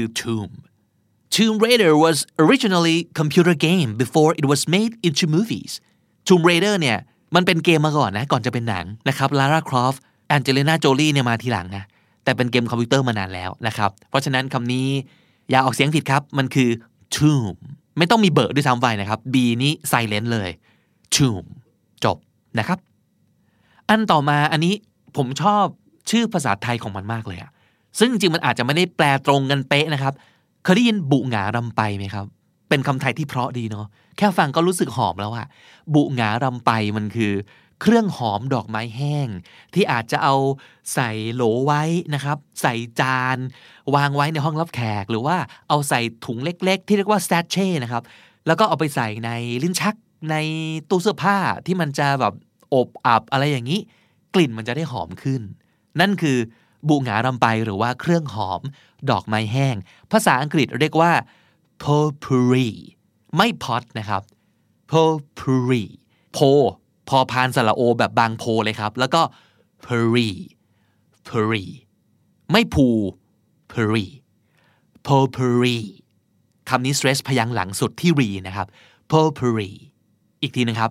Tomb Raider was originally computer game before it was made into movies Tomb Raider เนี่ยมันเป็นเกมมาก่อนนะก่อนจะเป็นหนังนะครับ Lara Croft Angelina Jolie เนี่ยมาทีหลังนะแต่เป็นเกมคอมพิวเตอร์มานานแล้วนะครับเพราะฉะนั้นคำนี้อย่าออกเสียงผิดครับมันคือ Tomb ไม่ต้องมีเบอร์ด้วยซ้ำไปนะครับ B นี้ silent เลย Tomb จบนะครับอันต่อมาอันนี้ผมชอบชื่อภาษาไทยของมันมากเลยอะซึ่งจริงมันอาจจะไม่ได้แปลตรงกันเป๊ะนะครับเคยได้ยินบุหงารำไปไหมครับเป็นคำไทยที่เพราะดีเนาะแค่ฟังก็รู้สึกหอมแล้วอะบุหงารำไปมันคือเครื่องหอมดอกไม้แห้งที่อาจจะเอาใส่โหลไว้นะครับใส่จานวางไว้ในห้องรับแขกหรือว่าเอาใส่ถุงเล็กๆที่เรียกว่าสแตชเช่นะครับแล้วก็เอาไปใส่ในลิ้นชักในตู้เสื้อผ้าที่มันจะแบบอบอับอะไรอย่างนี้กลิ่นมันจะได้หอมขึ้นนั่นคือบุหงารำไปหรือว่าเครื่องหอมดอกไม้แห้งภาษาอังกฤษเรียกว่า potpourri ไม่ pot นะครับ potpourri โพพอพานสระโอแบบบางโพเลยครับแล้วก็ pourri ไม่พู potpourri คำนี้ stress พยางค์หลังสุดที่ re นะครับ potpourri อีกทีนึงครับ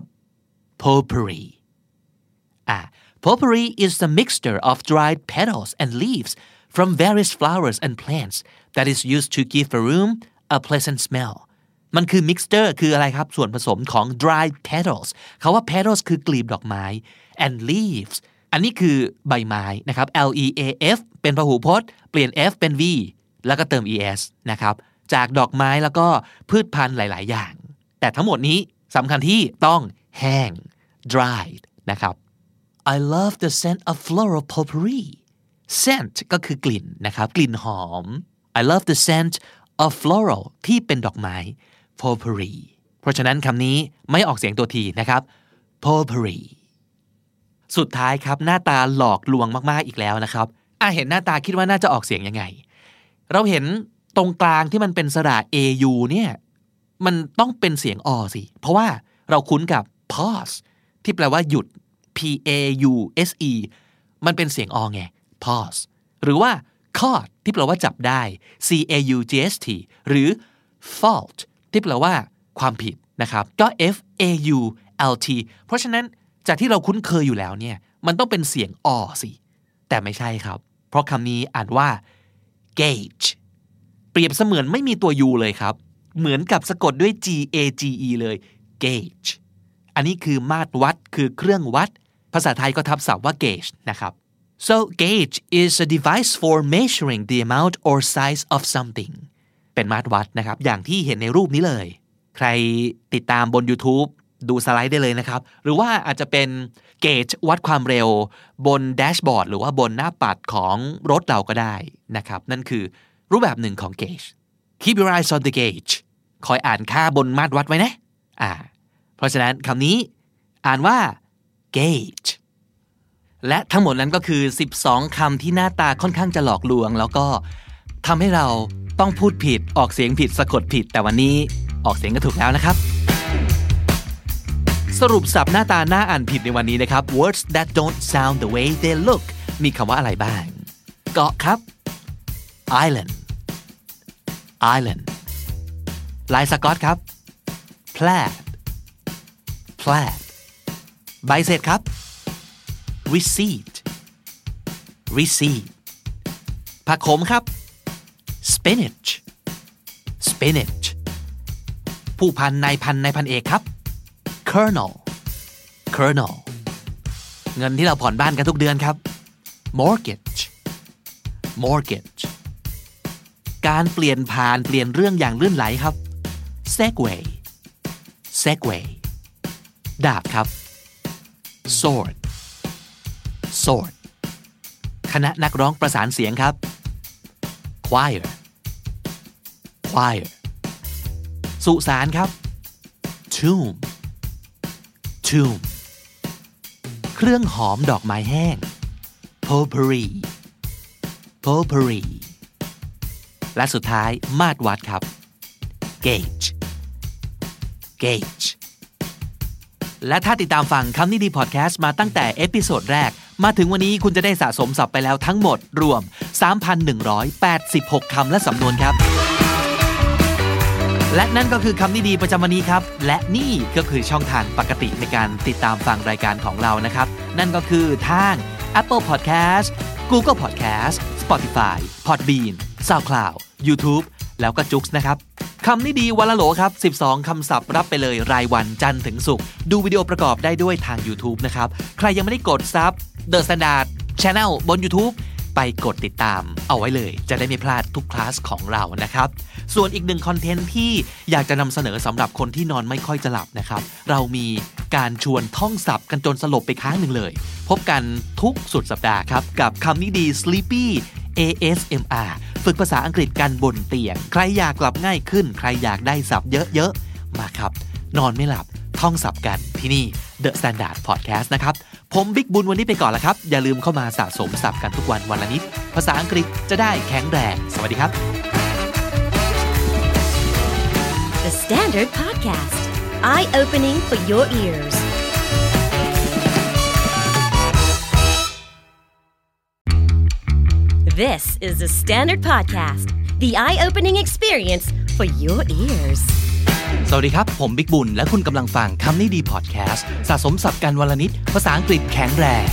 potpourri is the mixture of dried petals and leaves from various flowers and plants that is used to give a room a pleasant smell มันคือ mixture คืออะไรครับส่วนผสมของ dried petals คำว่า petals คือกลีบดอกไม้ and leaves อันนี้คือใบไม้นะครับ leaf เป็นพหูพจน์เปลี่ยน f เป็น v แล้วก็เติม es นะครับจากดอกไม้แล้วก็พืชพันธุ์หลายๆอย่างแต่ทั้งหมดนี้สำคัญที่ต้องแห้ง dried นะครับ I love the scent of floral potpourri scent ก็คือกลิ่นนะครับกลิ่นหอม I love the scent of floral ที่เป็นดอกไม้ potpourri เพราะฉะนั้นคำนี้ไม่ออกเสียงตัวทีนะครับ potpourri สุดท้ายครับหน้าตาหลอกลวงมากๆอีกแล้วนะครับเห็นหน้าตาคิดว่าน่าจะออกเสียงยังไงเราเห็นตรงกลางที่มันเป็นสระ au เนี่ยมันต้องเป็นเสียงอสิเพราะว่าเราคุ้นกับ pause ที่แปลว่าหยุด pause มันเป็นเสียงอไง pause หรือว่า caught ที่แปลว่าจับได้ caugst หรือ fault ที่แปลว่าความผิดนะครับก็ fault เพราะฉะนั้นจากที่เราคุ้นเคยอยู่แล้วเนี่ยมันต้องเป็นเสียงอสิแต่ไม่ใช่ครับเพราะคำนี้อ่านว่า gauge เปรียบเสมือนไม่มีตัว u เลยครับเหมือนกับสะกดด้วย gage เลย gauge อันนี้คือมาตรวัดคือเครื่องวัดภาษาไทยก็ทับศัพท์ว่า gauge นะครับ so gauge is a device for measuring the amount or size of something เป็นมาตรวัดนะครับอย่างที่เห็นในรูปนี้เลยใครติดตามบน YouTube ดูสไลด์ได้เลยนะครับหรือว่าอาจจะเป็น gauge วัดความเร็วบนแดชบอร์ดหรือว่าบนหน้าปัดของรถเราก็ได้นะครับนั่นคือรูปแบบหนึ่งของ gauge keep your eyes on the gauge คอยอ่านค่าบนมาตรวัดไว้นะเพราะฉะนั้นคำนี้อ่านว่า gauge และทั้งหมดนั้นก็คือ12คำที่หน้าตาค่อนข้างจะหลอกลวงแล้วก็ทำให้เราต้องพูดผิดออกเสียงผิดสะกดผิดแต่วันนี้ออกเสียงก็ถูกแล้วนะครับสรุปศัพท์หน้าตาหน้าอ่านผิดในวันนี้นะครับ words that don't sound the way they look มีคำว่าอะไรบ้างเกาะครับ island ลายสก๊อตครับ plaid ใบเสร็จครับ receipt ผักขมครับ spinach spinach ผู้พันนายพันเอกครับ colonel เงินที่เราผ่อนบ้านกันทุกเดือนครับ mortgage การเปลี่ยนผ่านเปลี่ยนเรื่องอย่างลื่นไหลครับ segway ดาบครับ sword คณะนักร้องประสานเสียงครับ choir สุสานครับ tomb เครื่องหอมดอกไม้แห้ง potpourri และสุดท้ายมาตรวัดครับ gauge และถ้าติดตามฟังคำนี้ดีพอดแคสต์มาตั้งแต่เอพิโซดแรกมาถึงวันนี้คุณจะได้สะสมศัพท์ไปแล้วทั้งหมดรวม 3,186 คำและสำนวนครับและนั่นก็คือคำนี้ดีประจำวันนี้ครับและนี่ก็คือช่องทางปกติในการติดตามฟังรายการของเรานะครับนั่นก็คือทาง Apple Podcast Google Podcast Spotify Podbean SoundCloud YouTube แล้วก็จุ๊กนะครับคำนี้ดีวันละโหลครับ12คำศัพท์รับไปเลยรายวันจันทร์ถึงศุกร์ดูวิดีโอประกอบได้ด้วยทาง YouTube นะครับใครยังไม่ได้กดซับ The Standard Channel บน YouTube ไปกดติดตามเอาไว้เลยจะได้ไม่พลาดทุกคลาสของเรานะครับส่วนอีกหนึ่งคอนเทนต์ที่อยากจะนำเสนอสำหรับคนที่นอนไม่ค่อยจะหลับนะครับเรามีการชวนท่องศัพท์กันจนสลบไปค้างหนึ่งเลยพบกันทุกสุดสัปดาห์ครับกับคำนี้ดี Sleepy ASMR ฝึกภาษาอังกฤษกันบนเตียงใครอยากหลับง่ายขึ้นใครอยากได้ศัพท์เยอะๆมาครับนอนไม่หลับท่องศัพท์กันที่นี่ The Standard Podcast นะครับผมบิ๊กบุญวันนี้ไปก่อนละครับอย่าลืมเข้ามาสะสมศัพท์กันทุกวันวันละนิดภาษาอังกฤษจะได้แข็งแรงสวัสดีครับ The Standard Podcast Eye-opening for your ears This is the Standard Podcast The eye-opening experience for your ears สวัสดีครับผมบิ๊กบุญและคุณกำลังฟังคำนี้ดีพอดแคสต์สะสมศัพท์กันวันละนิดภาษาอังกฤษแข็งแรง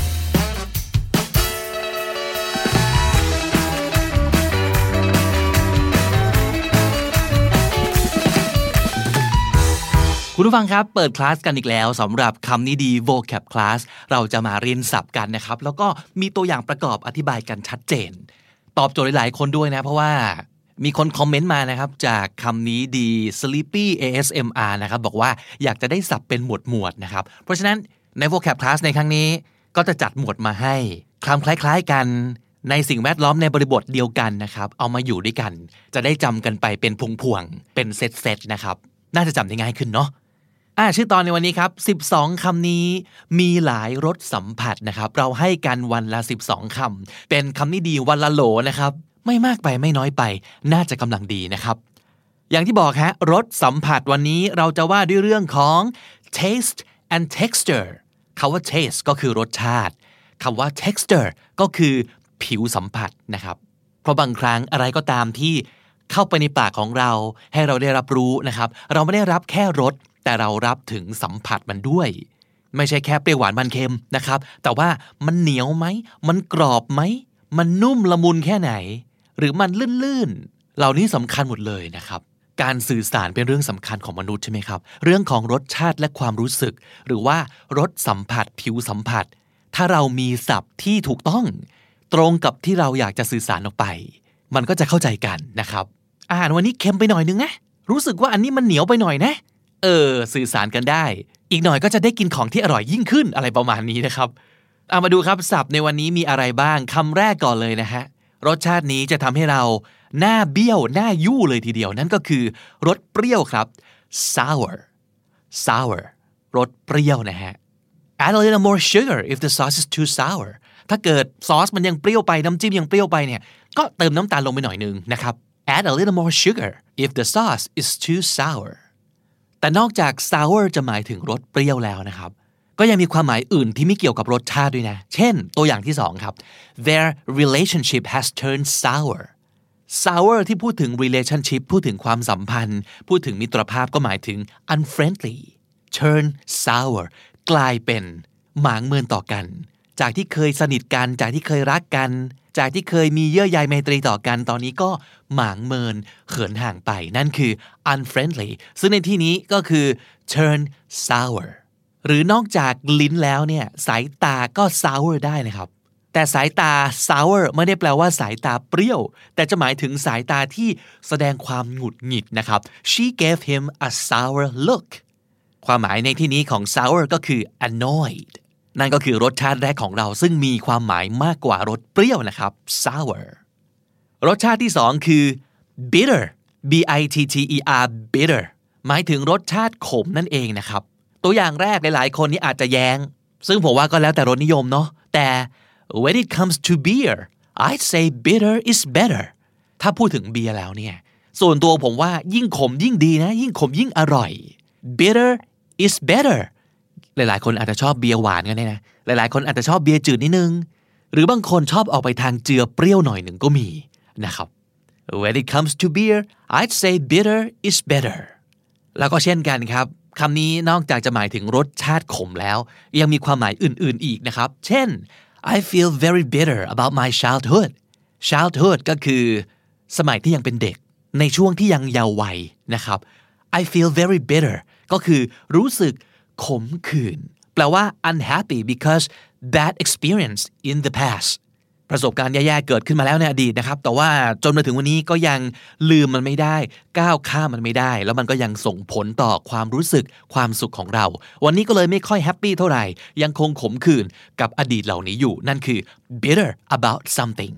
คุณผู้ฟังครับเปิดคลาสกันอีกแล้วสำหรับคำนี้ดี vocab class เราจะมาเรียนศัพท์กันนะครับแล้วก็มีตัวอย่างประกอบอธิบายกันชัดเจนตอบโจทย์หลายๆคนด้วยนะเพราะว่ามีคนคอมเมนต์มานะครับจากคำนี้ดี Sleepy ASMR นะครับบอกว่าอยากจะได้ศัพท์เป็นหมวดนะครับเพราะฉะนั้นใน vocab class ในครั้งนี้ก็จะจัดหมวดมาให้คำคล้ายๆกันในสิ่งแวดล้อมในบริบทเดียวกันนะครับเอามาอยู่ด้วยกันจะได้จำกันไปเป็นพวงๆเป็นเซตๆนะครับน่าจะจำได้ง่ายขึ้นเนาะชื่อตอนในวันนี้ครับ12คำนี้มีหลายรสสัมผัสนะครับเราให้กันวันละ12คำเป็นคำนี้ดีวันละโหลนะครับไม่มากไปไม่น้อยไปน่าจะกำลังดีนะครับอย่างที่บอกฮะรสสัมผัสวันนี้เราจะว่าด้วยเรื่องของ taste and texture คำว่า taste ก็คือรสชาติคำว่า texture ก็คือผิวสัมผัสนะครับเพราะบางครั้งอะไรก็ตามที่เข้าไปในปากของเราให้เราได้รับรู้นะครับเราไม่ได้รับแค่รสแต่เรารับถึงสัมผัสมันด้วยไม่ใช่แค่เปรี้ยวหวานมันเค็มนะครับแต่ว่ามันเหนียวไหมมันกรอบไหมมันนุ่มละมุนแค่ไหนหรือมันลื่นๆเหล่านี้สำคัญหมดเลยนะครับการสื่อสารเป็นเรื่องสำคัญของมนุษย์ใช่ไหมครับเรื่องของรสชาติและความรู้สึกหรือว่ารสสัมผัสผิวสัมผัสถ้าเรามีศัพท์ที่ถูกต้องตรงกับที่เราอยากจะสื่อสารออกไปมันก็จะเข้าใจกันนะครับอาหารวันนี้เค็มไปหน่อยนึงนะรู้สึกว่าอันนี้มันเหนียวไปหน่อยนะสื่อสารกันได้อีกหน่อยก็จะได้กินของที่อร่อยยิ่งขึ้นอะไรประมาณนี้นะครับเอามาดูครับศัพท์ในวันนี้มีอะไรบ้างคำแรกก่อนเลยนะฮะรสชาตินี้จะทำให้เราหน้าเบี้ยวหน้ายู่เลยทีเดียวนั่นก็คือรสเปรี้ยวครับ sour รสเปรี้ยวนะฮะ add a little more sugar if the sauce is too sour ถ้าเกิดซอสมันยังเปรี้ยวไปน้ำจิ้มยังเปรี้ยวไปเนี่ยก็เติมน้ำตาลลงไปหน่อยนึงนะครับ add a little more sugar if the sauce is too sourแต่นอกจาก sour จะหมายถึงรสเปรี้ยวแล้วนะครับก็ยังมีความหมายอื่นที่ไม่เกี่ยวกับรสชาติด้วยนะเช่นตัวอย่างที่2ครับ their relationship has turned sour ที่พูดถึง relationship พูดถึงความสัมพันธ์พูดถึงมิตรภาพก็หมายถึง unfriendly turn sour กลายเป็นหมางเมินต่อกันจากที่เคยสนิทกันจากที่เคยรักกันจากที่เคยมีเยื่อใยไมตรีต่อกันตอนนี้ก็หมางเมินเขินห่างไปนั่นคือ unfriendly ซึ่งในที่นี้ก็คือ turn sour หรือนอกจากลิ้นแล้วเนี่ยสายตาก็ sour ได้นะครับแต่สายตา sour ไม่ได้แปลว่าสายตาเปรี้ยวแต่จะหมายถึงสายตาที่แสดงความหงุดหงิดนะครับ she gave him a sour look ความหมายในที่นี้ของ sour ก็คือ annoyed นั่นก็คือรสชาติแรกของเราซึ่งมีความหมายมากกว่ารสเปรี้ยวนะครับ sour รสชาติที่สองคือ bitter bitter bitter หมายถึงรสชาติขมนั่นเองนะครับตัวอย่างแรกหลายๆคนนี่อาจจะแย้งซึ่งผมว่าก็แล้วแต่รสนิยมเนาะแต่ when it comes to beer I'd say bitter is better ถ้าพูดถึงเบียร์แล้วเนี่ยส่วนตัวผมว่ายิ่งขมยิ่งดีนะยิ่งขมยิ่งอร่อย bitter is better หลายๆคนอาจจะชอบเบียร์หวานกันเนี่ยนะหลายๆคนอาจจะชอบเบียร์จืดนิดนึงหรือบางคนชอบออกไปทางเจือเปรี้ยวหน่อยหนึ่งก็มีนะครับ when it comes to beer I'd say bitter is better แล้วก็เช่นกันครับคำนี้นอกจากจะหมายถึงรสชาติขมแล้วยังมีความหมายอื่นๆอีกนะครับเช่น I feel very bitter about my childhood ก็คือสมัยที่ยังเป็นเด็กในช่วงที่ยังเยาว์วัยนะครับ I feel very bitter ก็คือรู้สึกขมขื่นแปลว่า unhappy because bad experience in the past ประสบการณ์แย่ๆเกิดขึ้นมาแล้วในอดีตนะครับแต่ว่าจนมาถึงวันนี้ก็ยังลืมมันไม่ได้ก้าวข้ามมันไม่ได้แล้วมันก็ยังส่งผลต่อความรู้สึกความสุขของเราวันนี้ก็เลยไม่ค่อยแฮปปี้เท่าไหร่ยังคงขมขื่นกับอดีตเหล่านี้อยู่นั่นคือ bitter about something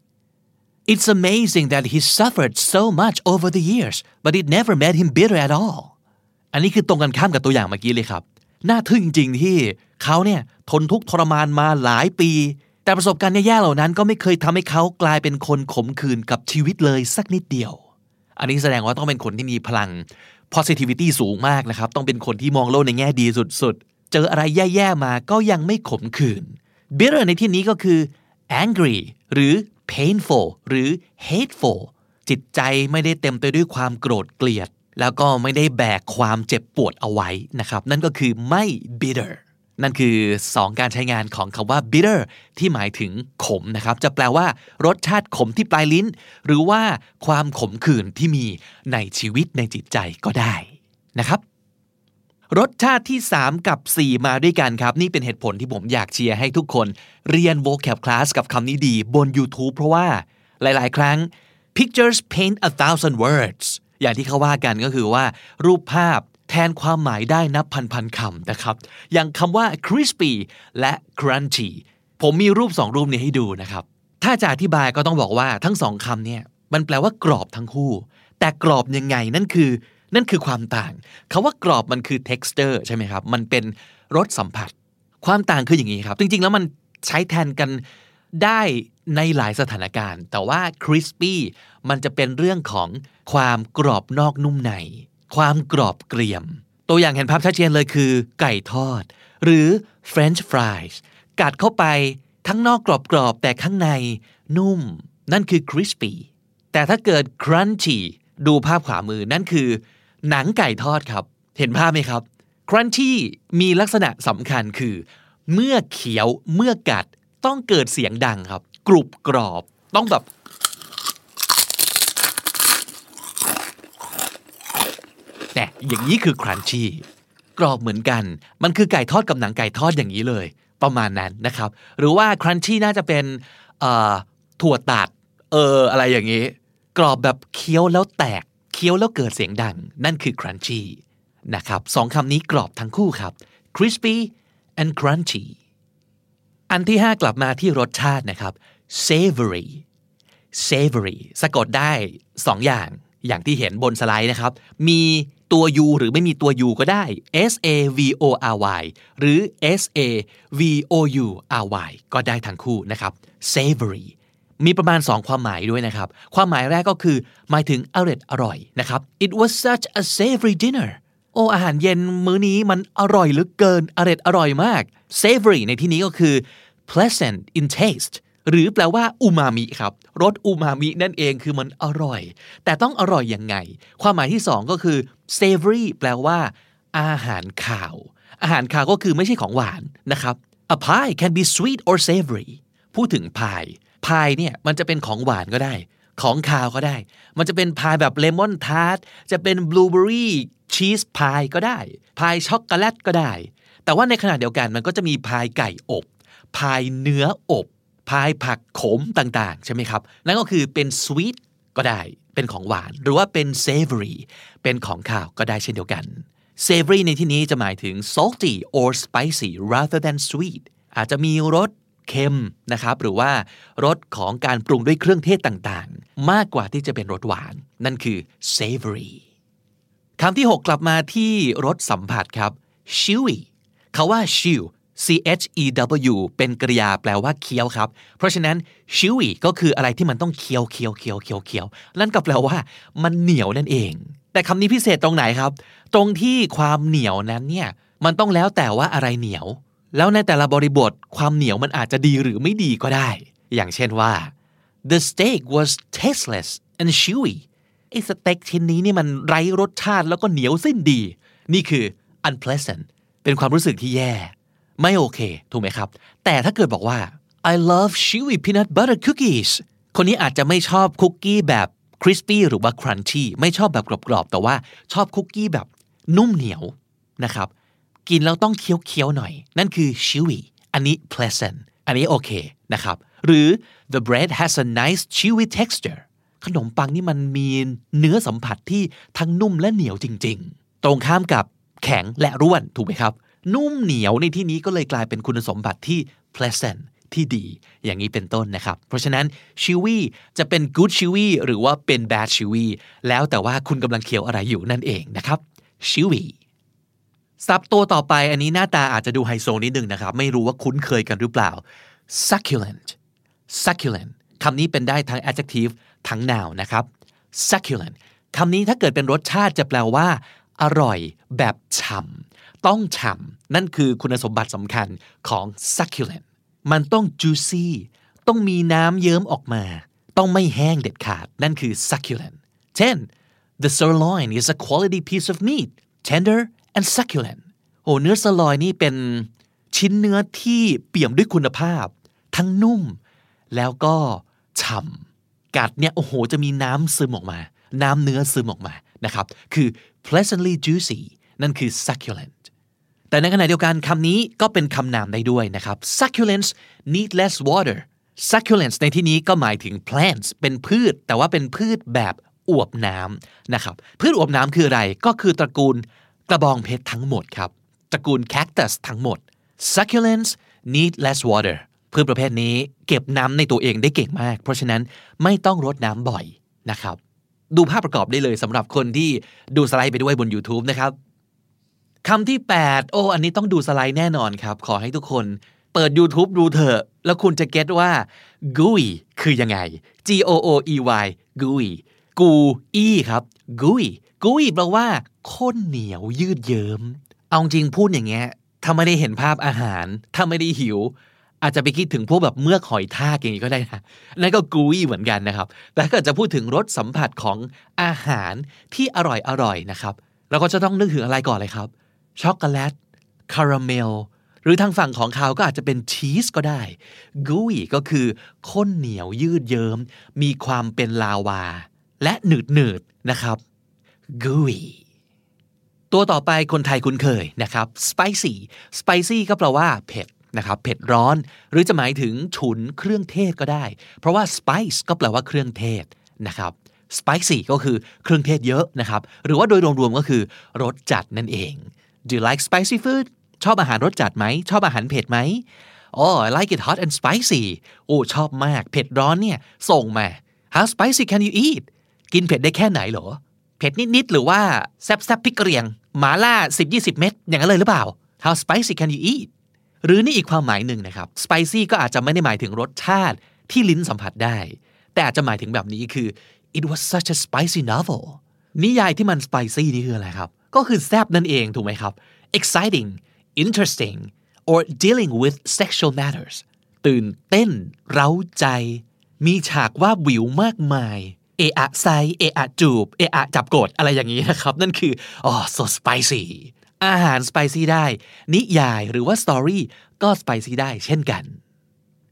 It's amazing that he suffered so much over the years but it never made him bitter at all อันนี้คือตรงกันข้ามกับตัวอย่างเมื่อกี้เลยครับน่าทึ่งจริงๆที่เขาเนี่ยทนทุกข์ทรมานมาหลายปีแต่ประสบการณ์แย่ๆเหล่านั้นก็ไม่เคยทำให้เขากลายเป็นคนขมขื่นกับชีวิตเลยสักนิดเดียวอันนี้แสดงว่าต้องเป็นคนที่มีพลัง positivity สูงมากนะครับต้องเป็นคนที่มองโลกในแง่ดีสุดๆเจออะไรแย่ๆมาก็ยังไม่ขมขื่น bitter ในที่นี้ก็คือ angry หรือ painful หรือ hateful จิตใจไม่ได้เต็มไปด้วยความโกรธเกลียดแล้วก็ไม่ได้แบกความเจ็บปวดเอาไว้นะครับนั่นก็คือไม่ bitter นั่นคือ2การใช้งานของคำว่า bitter ที่หมายถึงขมนะครับจะแปลว่ารสชาติขมที่ปลายลิ้นหรือว่าความขมขื่นที่มีในชีวิตในจิตใจก็ได้นะครับรสชาติที่3กับ4มาด้วยกันครับนี่เป็นเหตุผลที่ผมอยากเชียร์ให้ทุกคนเรียน vocab class กับคำนี้ดีบน YouTube เพราะว่าหลายๆครั้ง pictures paint 1,000 words อย่างที่เขาว่ากันก็คือว่ารูปภาพแทนความหมายได้นับพันๆคำนะครับอย่างคำว่า crispy และ crunchy ผมมีรูป2รูปนี้ให้ดูนะครับถ้าจะอธิบายก็ต้องบอกว่าทั้ง2คำเนี่ยมันแปลว่ากรอบทั้งคู่แต่กรอบยังไงนั่นคือความต่างคำว่ากรอบมันคือ texture ใช่ไหมครับมันเป็นรสสัมผัสความต่างคืออย่างนี้ครับจริงๆแล้วมันใช้แทนกันได้ในหลายสถานการณ์แต่ว่า crispy มันจะเป็นเรื่องของความกรอบนอกนุ่มในความกรอบเกรียมตัวอย่างเห็นภาพชัดเจนเลยคือไก่ทอดหรือ French fries กัดเข้าไปทั้งนอกกรอบๆแต่ข้างในนุ่มนั่นคือ crispy แต่ถ้าเกิด crunchy ดูภาพขวามือนั่นคือหนังไก่ทอดครับเห็นภาพไหมครับ crunchy มีลักษณะสำคัญคือเมื่อเคี้ยวเมื่อกัดต้องเกิดเสียงดังครับกรุบกรอบต้องแบบแต่อย่างนี้คือ crunchy กรอบเหมือนกันมันคือไก่ทอดกับหนังไก่ทอดอย่างนี้เลยประมาณนั้นนะครับหรือว่า crunchy น่าจะเป็นถั่วตัดอะไรอย่างนี้กรอบแบบเคี้ยวแล้วแตกเคี้ยวแล้วเกิดเสียงดังนั่นคือ crunchy นะครับ2คำนี้กรอบทั้งคู่ครับ crispy and crunchy อันที่5กลับมาที่รสชาตินะครับ savory สะกดได้2อย่างที่เห็นบนสไลด์นะครับมีตัว u หรือไม่มีตัว u ก็ได้ savory หรือ savoury ก็ได้ทั้งคู่นะครับ savory มีประมาณ2ความหมายด้วยนะครับความหมายแรกก็คือหมายถึงอร่อยนะครับ it was such a savory dinner อาหารเย็นมื้อนี้มันอร่อยเหลือเกินอร่อยมาก savory ในที่นี้ก็คือ pleasant in taste หรือแปลว่าอูมามิครับรสอูมามินั่นเองคือมันอร่อยแต่ต้องอร่อยยังไงความหมายที่2ก็คือ savory แปลว่าอาหารคาวก็คือไม่ใช่ของหวานนะครับ a pie can be sweet or savory พูดถึงพายพายเนี่ยมันจะเป็นของหวานก็ได้ของคาวก็ได้มันจะเป็นพายแบบเลมอนทาร์ตจะเป็นบลูเบอร์รี่ชีสพายก็ได้พายช็อกโกแลตก็ได้แต่ว่าในขณะเดียวกันมันก็จะมีพายไก่อบพายเนื้ออบพายผักขมต่างๆใช่ไหมครับนั่นก็คือเป็นสวีทก็ได้เป็นของหวานหรือว่าเป็น savory เป็นของข้าวก็ได้เช่นเดียวกัน savory ในที่นี้จะหมายถึง salty or spicy rather than sweet อาจจะมีรสเค็มนะครับหรือว่ารสของการปรุงด้วยเครื่องเทศต่างๆมากกว่าที่จะเป็นรสหวานนั่นคือ savory คำที่6กลับมาที่รสสัมผัสครับ chewy คำว่า chew chew เป็นกริยาแปลว่าเคี้ยวครับเพราะฉะนั้น chewy ก็คืออะไรที่มันต้องเคี้ยวนั่นก็แปลว่ามันเหนียวนั่นเองแต่คำนี้พิเศษตรงไหนครับตรงที่ความเหนียวนั้นเนี่ยมันต้องแล้วแต่ว่าอะไรเหนียวแล้วในแต่ละบริบทความเหนียวมันอาจจะดีหรือไม่ดีก็ได้อย่างเช่นว่า the steak was tasteless and chewy ไอ้สเต็กชิ้นนี้นี่มันไร้รสชาติแล้วก็เหนียวสิ้นดีนี่คือ unpleasant เป็นความรู้สึกที่แย่ไม่โอเคถูกไหมครับแต่ถ้าเกิดบอกว่า I love chewy peanut butter cookies คนนี้อาจจะไม่ชอบคุกกี้แบบคริสปี้หรือว่าครันชี่ไม่ชอบแบบกรอบๆแต่ว่าชอบคุกกี้แบบนุ่มเหนียวนะครับกินแล้วต้องเคี้ยวๆหน่อยนั่นคือ chewy อันนี้ pleasant อันนี้โอเคนะครับหรือ the bread has a nice chewy texture ขนมปังนี่มันมีเนื้อสัมผัสที่ทั้งนุ่มและเหนียวจริงๆตรงข้ามกับแข็งและร่วนถูกไหมครับนุ่มเหนียวในที่นี้ก็เลยกลายเป็นคุณสมบัติที่ pleasant ที่ดีอย่างนี้เป็นต้นนะครับเพราะฉะนั้น chewy จะเป็น good chewy หรือว่าเป็น bad chewy แล้วแต่ว่าคุณกำลังเคี้ยวอะไรอยู่นั่นเองนะครับ chewy ศัพท์ตัวต่อไปอันนี้หน้าตาอาจจะดูไฮโซนิดนึงนะครับไม่รู้ว่าคุ้นเคยกันหรือเปล่า succulent succulent คำนี้เป็นได้ทั้ง adjective ทั้ง noun นะครับ succulent คำนี้ถ้าเกิดเป็นรสชาติจะแปลว่าอร่อยแบบฉ่ำต้องฉ่ำนั่นคือคุณสมบัติสำคัญของ succulent มันต้อง juicy ต้องมีน้ำเยิ้มออกมาต้องไม่แห้งเด็ดขาดนั่นคือ succulent เช่น the sirloin is a quality piece of meat tender and succulent โอ้เนื้อ sirloin นี่เป็นชิ้นเนื้อที่เปี่ยมด้วยคุณภาพทั้งนุ่มแล้วก็ฉ่ำกัดเนี่ยโอ้โหจะมีน้ำซึมออกมาน้ำเนื้อซึมออกมานะครับคือ pleasantly juicy นั่นคือ succulent แต่ในขณะเดียวกันคำนี้ก็เป็นคำนามได้ด้วยนะครับ succulents need less water succulents ในที่นี้ก็หมายถึง plants เป็นพืชแต่ว่าเป็นพืชแบบอวบน้ำนะครับพืชอวบน้ำคืออะไรก็คือตระกูลกระบองเพชรทั้งหมดครับตระกูล cactus ทั้งหมด succulents need less water พืชประเภทนี้เก็บน้ำในตัวเองได้เก่งมากเพราะฉะนั้นไม่ต้องรดน้ำบ่อยนะครับดูภาพประกอบได้เลยสำหรับคนที่ดูสไลด์ไปด้วยบน YouTube นะครับคำที่8อันนี้ต้องดูสไลด์แน่นอนครับขอให้ทุกคนเปิด YouTube ดูเถอะแล้วคุณจะเก็ตว่า gooey คือยังไง gooey gooey กูอี้ครับ gooey แปลว่าข้นเหนียวยืดเยิ้มเอาจริงพูดอย่างเงี้ยถ้าไม่ได้เห็นภาพอาหารถ้าไม่ได้หิวอาจจะไปคิดถึงพวกแบบเมือกหอยทากอย่างนี้ก็ได้นะนั่นก็กูอี้เหมือนกันนะครับแต่ถ้าเกิดจะพูดถึงรสสัมผัสของอาหารที่อร่อยนะครับเราก็จะต้องนึกถึงอะไรก่อนเลยครับช็อกโกแลตคาราเมลหรือทางฝั่งของคาวก็อาจจะเป็นชีสก็ได้กูอี้ก็คือข้นเหนียวยืดเยิ้มมีความเป็นลาวาและหนืดนะครับกูอี้ตัวต่อไปคนไทยคุ้นเคยนะครับ spicy ก็แปลว่าเผ็ดนะครับเผ็ดร้อนหรือจะหมายถึงฉุนเครื่องเทศก็ได้เพราะว่า spice ก็แปลว่าเครื่องเทศนะครับ spicy ก็คือเครื่องเทศเยอะนะครับหรือว่าโดยรวมๆก็คือรสจัดนั่นเอง Do you like spicy food ชอบอาหารรสจัดไหมชอบอาหารเผ็ดไหมI like it hot and spicy ชอบมากเผ็ดร้อนเนี่ยส่งมา How spicy can you eat กินเผ็ดได้แค่ไหนเหรอเผ็ดนิดๆหรือว่าแซ่บๆพริกกระเหรี่ยงหม่าล่า 10-20 เม็ดอย่างนั้นเลยหรือเปล่า How spicy can you eatหรือนี่อีกความหมายหนึ่งนะครับ spicy ก็อาจจะไม่ได้หมายถึงรสชาติที่ลิ้นสัมผัสได้แต่อาจจะหมายถึงแบบนี้คือ it was such a spicy novel นิยายที่มัน spicy นี่คืออะไรครับก็คือแซ่บนั่นเองถูกไหมครับ exciting interesting or dealing with sexual matters ตื่นเต้นเร้าใจมีฉากว่าวิวมากมายเอะอะไซเอะอะจูบเอะอะจับกดอะไรอย่างนี้นะครับนั่นคือso spicy อาหาร spicy ได้นิยายหรือว่า story ก็ spicy ได้เช่นกัน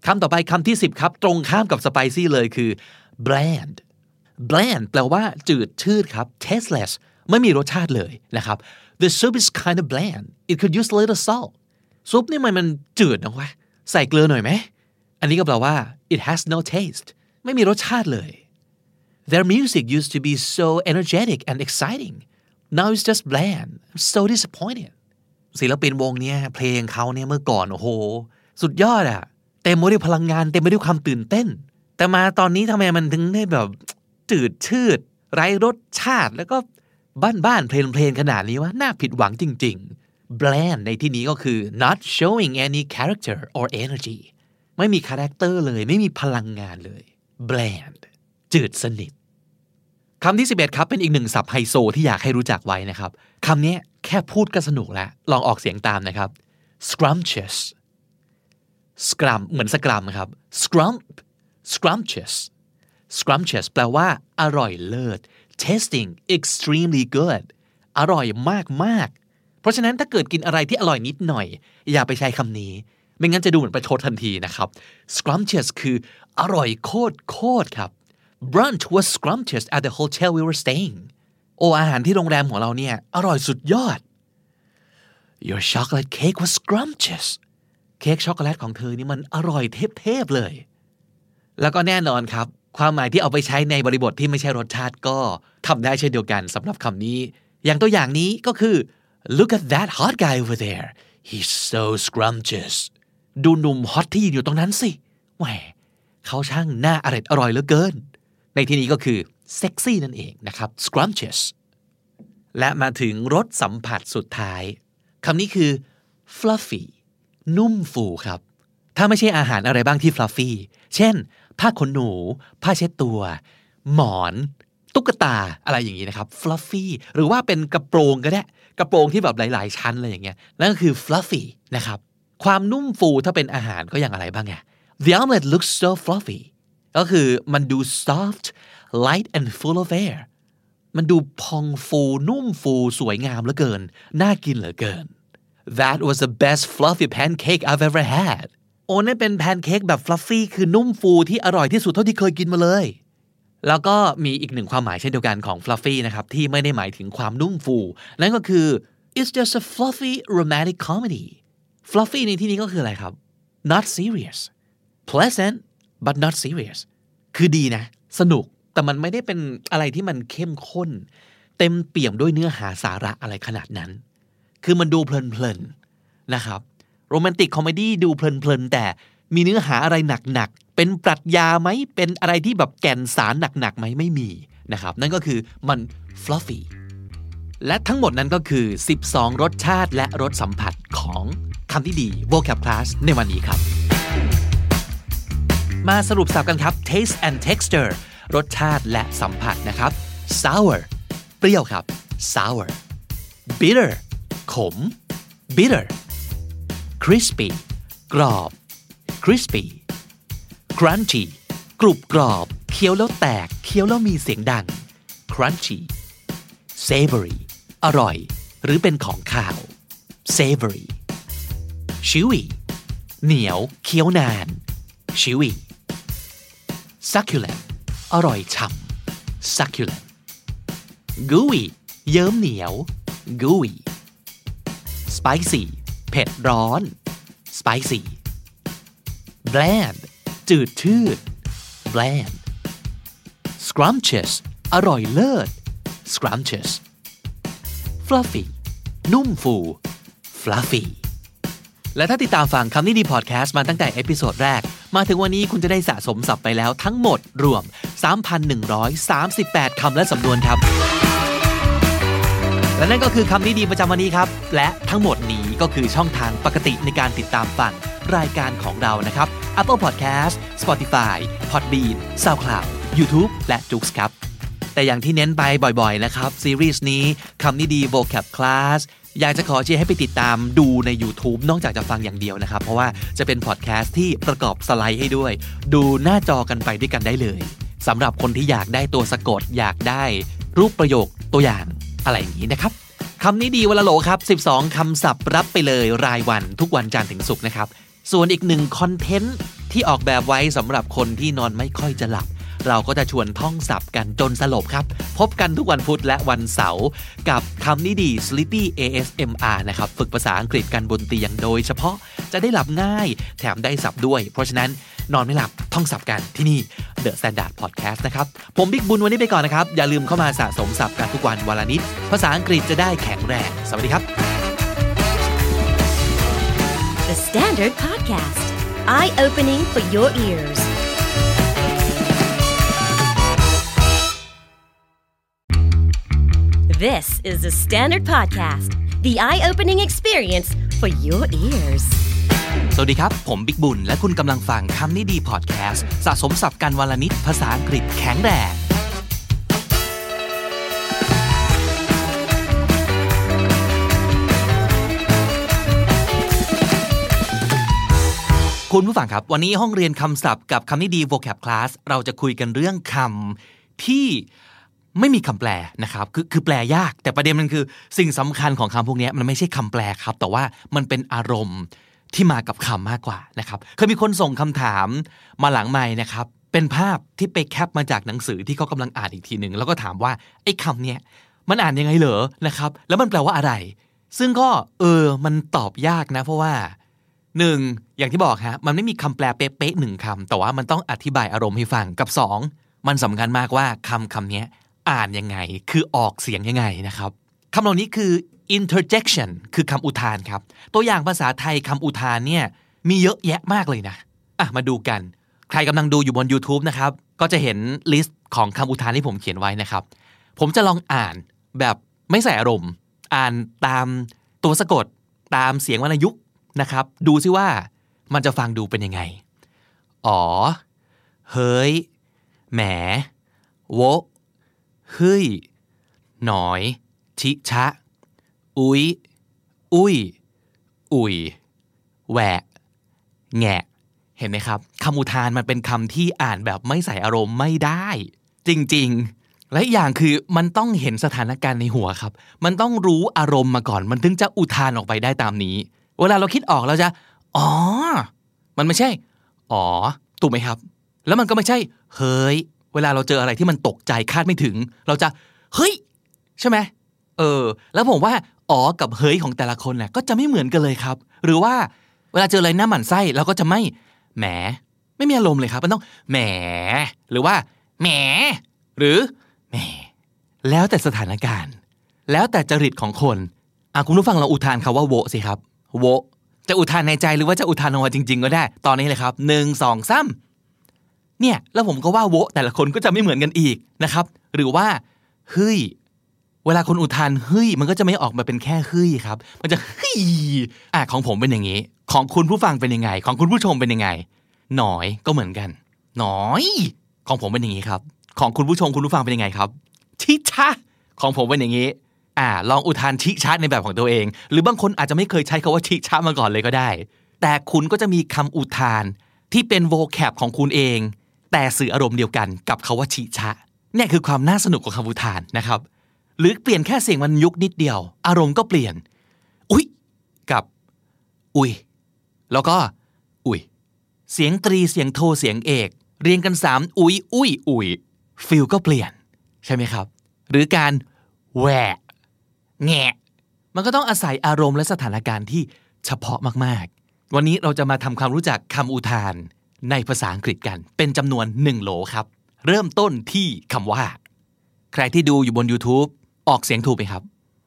คำต่อไปคำที่10ครับตรงข้ามกับ spicy เลยคือ bland bland แปลว่าจืดชืดครับ tasteless ไม่มีรสชาติเลยนะครับ the soup is kind of bland it could use a little salt ซุปนี่มันจืดนะวะใส่เกลือหน่อยไหมอันนี้ก็แปลว่า it has no taste ไม่มีรสชาติเลย their music used to be so energetic and exciting now it's just bland I'm so disappointed ศิลปินวงเนี้ยเพลงเขาเนี่ยเมื่อก่อนโอ้โหสุดยอดอะเต็มไปด้วยพลังงานเต็มไปด้วยความตื่นเต้นแต่มาตอนนี้ทำไมมันถึงได้แบบจืดชืดไร้รสชาติแล้วก็บ้านๆเพลนๆขนาดนี้วะน่าผิดหวังจริงๆ bland ในที่นี้ก็คือ not showing any character or energy ไม่มีคาแรคเตอร์เลยไม่มีพลังงานเลย bland จืดสนิทคำที่11ครับเป็นอีกหนึ่งศัพท์ไฮโซที่อยากให้รู้จักไว้นะครับคำนี้แค่พูดก็สนุกแล้วลองออกเสียงตามนะครับ scrumptious scrum เหมือนสกรัมครับ scrumptious scrumptious แปลว่าอร่อยเลิศ tasting extremely good อร่อยมากๆเพราะฉะนั้นถ้าเกิดกินอะไรที่อร่อยนิดหน่อยอย่าไปใช้คำนี้ไม่งั้นจะดูเหมือนประชดทันทีนะครับ scrumptious คืออร่อยโคตรครับ brunch was scrumptious at the hotel we were staying อาหารที่โรงแรมของเราเนี่ยอร่อยสุดยอด your chocolate cake was scrumptious เค้กช็อกโกแลตของเธอนี่มันอร่อยเทพๆเลยแล้วก็แน่นอนครับความหมายที่เอาไปใช้ในบริบทที่ไม่ใช่รสชาติก็ทำได้เช่นเดียวกันสำหรับคำนี้อย่างตัวอย่างนี้ก็คือ look at that hot guy over there he's so scrumptious ดูหนุ่มฮอตที่ยืนอยู่ตรงนั้นสิแหมเขาช่างน่าอร่อยเหลือเกินในที่นี้ก็คือเซ็กซี่นั่นเองนะครับ scrumptious และมาถึงรสสัมผัสสุดท้ายคำนี้คือ fluffy นุ่มฟูครับถ้าไม่ใช่อาหารอะไรบ้างที่ fluffy เช่นผ้าขนหนูผ้าเช็ดตัวหมอนตุ๊กตาอะไรอย่างนี้นะครับ fluffy หรือว่าเป็นกระโปรงก็ได้กระโปรงที่แบบหลายๆชั้นอะไรอย่างเงี้ยนั่นก็คือ fluffy นะครับความนุ่มฟูถ้าเป็นอาหารก็อย่างอะไรบ้างไง the omelet looks so fluffy ก็คือมันดู soft light and full of air มันดูพองฟูนุ่มฟูสวยงามเหลือเกินน่ากินเหลือเกิน that was the best fluffy pancake I've ever had นั่นเป็นแพนเค้กแบบ fluffy คือนุ่มฟูที่อร่อยที่สุดเท่าที่เคยกินมาเลยแล้วก็มีอีกหนึ่งความหมายเช่นเดียวกันของ fluffy นะครับที่ไม่ได้หมายถึงความนุ่มฟูนั่นก็คือ it's just a fluffy romantic comedy fluffy ในที่นี้ก็คืออะไรครับ not serious pleasant but not serious คือดีนะสนุกแต่มันไม่ได้เป็นอะไรที่มันเข้มข้นเต็มเปี่ยมด้วยเนื้อหาสาระอะไรขนาดนั้นคือมันดูเพลินๆนะครับโรแมนติกคอมเมดี้ดูเพลินๆแต่มีเนื้อหาอะไรหนักๆเป็นปรัชญาไหมเป็นอะไรที่แบบแก่นสารหนักๆไหมไม่มีนะครับนั่นก็คือมัน fluffy และทั้งหมดนั้นก็คือ12รสชาติและรสสัมผัสของคำที่ดี vocab class ในวันนี้ครับมาสรุปสับกันครับ taste and texture รสชาติและสัมผัสนะครับ sour เปรี้ยวครับ sour bitter ขม bitter crispy กรอบ crispy crunchy กรุบกรอบเคี้ยวแล้วแตกเคี้ยวแล้วมีเสียงดัง crunchy savory อร่อยหรือเป็นของข้าว savory chewy เหนียวเคี้ยวนาน chewy succulent อร่อยฉ่ำ succulent gooey เยิ้มเหนียว gooey spicy เผ็ดร้อน spicy bland จืดชืด bland scrumptious อร่อยเลิศ scrumptious fluffy นุ่มฟู fluffy และถ้าติดตามฟังคำนี้ดีพอดแคสต์มาตั้งแต่เอพิโซดแรกมาถึงวันนี้คุณจะได้สะสมศัพท์ไปแล้วทั้งหมดรวม 3,138 คำและสำนวนครับและนั่นก็คือคำนี้ดีประจำวันนี้ครับและทั้งหมดนี้ก็คือช่องทางปกติในการติดตามฟังรายการของเรานะครับ Apple Podcast Spotify Podbean SoundCloud YouTube และ Joox ครับแต่อย่างที่เน้นไปบ่อยๆนะครับซีรีส์นี้คำนี้ดี vocab class อยากจะขอเชียร์ให้ไปติดตามดูใน YouTube นอกจากจะฟังอย่างเดียวนะครับเพราะว่าจะเป็นพอดแคสต์ที่ประกอบสไลด์ให้ด้วยดูหน้าจอกันไปด้วยกันได้เลยสำหรับคนที่อยากได้ตัวสะกดอยากได้รูปประโยคตัวอย่างอะไรอย่างนี้นะครับคำนี้ดีวันละโหลครับ12คำศัพท์รับไปเลยรายวันทุกวันจันทร์ถึงศุกร์นะครับส่วนอีกหนึ่งคอนเทนต์ที่ออกแบบไว้สำหรับคนที่นอนไม่ค่อยจะหลับเราก็จะชวนท่องศัพท์กันจนสลบครับพบกันทุกวันพุธและวันเสาร์กับคำนี้ดี Sleepy ASMR นะครับฝึกภาษาอังกฤษกันบนเตียงโดยเฉพาะจะได้หลับง่ายแถมได้ศัพท์ด้วยเพราะฉะนั้นนอนไม่หลับท่องศัพท์กันที่นี่ The Standard Podcast นะครับผมบิ๊กบุญวันนี้ไปก่อนนะครับอย่าลืมเข้ามาสะสมศัพท์กันทุกวันวันละนิดภาษาอังกฤษจะได้แข็งแรงสวัสดีครับ The Standard Podcast Eye-opening for your ears This is the Standard Podcast The eye-opening experience for your ears สวัสดีครับผมบิ๊กบุญและคุณกำลังฟังคำนี้ดีพอดแคสต์สะสมศัพท์กันวันละนิดภาษาอังกฤษแข็งแรงคุณผู้ฟังครับวันนี้ห้องเรียนคำศัพท์กับคำนี้ดี vocab class เราจะคุยกันเรื่องคำที่ไม่มีคำแปลนะครับคือแปลยากแต่ประเด็นมันคือสิ่งสำคัญของคำพวกนี้มันไม่ใช่คำแปลครับแต่ว่ามันเป็นอารมณ์ที่มากับคำมากกว่านะครับเคยมีคนส่งคำถามมาหลังไมค์นะครับเป็นภาพที่ไปแคปมาจากหนังสือที่เขากำลังอ่านอีกทีนึงแล้วก็ถามว่าไอ้คำเนี้ยมันอ่านยังไงเหรอนะครับแล้วมันแปลว่าอะไรซึ่งก็มันตอบยากนะเพราะว่า1อย่างที่บอกฮะมันไม่มีคำแปลเป๊ะๆ1คำแต่ว่ามันต้องอธิบายอารมณ์ให้ฟังกับ2มันสำคัญมากว่าคำนี้อ่านยังไงคือออกเสียงยังไงนะครับคำเหล่านี้คือ interjection คือคำอุทานครับตัวอย่างภาษาไทยคำอุทานเนี่ยมีเยอะแยะมากเลยนะมาดูกันใครกำลังดูอยู่บน YouTube นะครับก็จะเห็นลิสต์ของคำอุทานที่ผมเขียนไว้นะครับผมจะลองอ่านแบบไม่ใส่อารมณ์อ่านตามตัวสะกดตามเสียงวรรณยุกต์นะครับดูซิว่ามันจะฟังดูเป็นยังไงอ๋อเฮ้ยแหมโวเฮ้ยหน่อยชิชะอุ๊ยอุ้ยอุ่ยแหวะแงะเห็นไหมครับคำอุทานมันเป็นคำที่อ่านแบบไม่ใส่อารมณ์ไม่ได้จริงๆและอย่างคือมันต้องเห็นสถานการณ์ในหัวครับมันต้องรู้อารมณ์มาก่อนมันถึงจะอุทานออกไปได้ตามนี้เวลาเราคิดออกเราจะอ๋อมันไม่ใช่อ๋อถูกไหมครับแล้วมันก็ไม่ใช่เฮ้ยเวลาเราเจออะไรที่มันตกใจคาดไม่ถึงเราจะเฮ้ยใช่ไหมแล้วผมว่าอ๋อกับเฮ้ยของแต่ละคนเนี่ยก็จะไม่เหมือนกันเลยครับหรือว่าเวลาเจออะไรหน้าหมั่นไส้เราก็จะไม่แหมไม่มีอารมณ์เลยครับมันต้องแหมหรือว่าแหมหรือแหมแล้วแต่สถานการณ์แล้วแต่จริตของคนคุณผู้ฟังเราอุทานคำว่าโวสิครับโวจะอุทานในใจหรือว่าจะอุทานออกมาจริงๆก็ได้ตอนนี้เลยครับ1 2 3เนี่ยแล้วผมก็ว่าโวแต่ละคนก็จะไม่เหมือนกันอีกนะครับหรือว่าเฮ้ยเวลาคนอุทานเฮ้ยมันก็จะไม่ออกมาเป็นแค่เฮ้ยครับมันจะเฮ้ยของผมเป็นอย่างนี้ของคุณผู้ฟังเป็นยังไงของคุณผู้ชมเป็นยังไงหน่อยก็เหมือนกันหน่อยของผมเป็นอย่างนี้ครับของคุณผู้ชมคุณผู้ฟังเป็นยังไงครับชิชะของผมเป็นอย่างนี้ลองอุทานชิชะในแบบของตัวเองหรือบางคนอาจจะไม่เคยใช้คำว่าชิชะมาก่อนเลยก็ได้แต่คุณก็จะมีคำอุทานที่เป็น vocab ของคุณเองแต่สื่ออารมณ์เดียวกันกับคำว่าชิชะเนี่ยคือความน่าสนุกของคำอุทานนะครับหรือเปลี่ยนแค่เสียงมันยุกนิดเดียวอารมณ์ก็เปลี่ยนอุ๊ยกับอุ๊ยแล้วก็อุ๊ยเสียงตรีเสียงโทเสียงเอกเรียงกัน3อุ๊ยอุ๊ยอุ๊ยฟีลก็เปลี่ยนใช่ไหมครับหรือการแหวะแงะมันก็ต้องอาศัยอารมณ์และสถานการณ์ที่เฉพาะมากๆวันนี้เราจะมาทำความรู้จักคำอุทานในภาษาอังกฤษกันเป็นจำนวน1โหลครับเริ่มต้นที่คำว่าใครที่ดูอยู่บน YouTube ออกเสียงถูกไหมครับ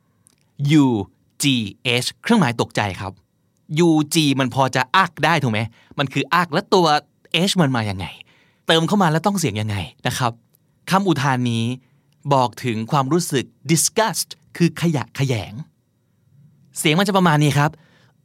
U G H เครื่องหมายตกใจครับ U G มันพอจะอักได้ถูกไหมมันคืออักแล้วตัว H มันมายังไงเติมเข้ามาแล้วต้องเสียงยังไงนะครับคำอุทานนี้บอกถึงความรู้สึก disgust คือขยะแขยงเสียงมันจะประมาณนี้ครับ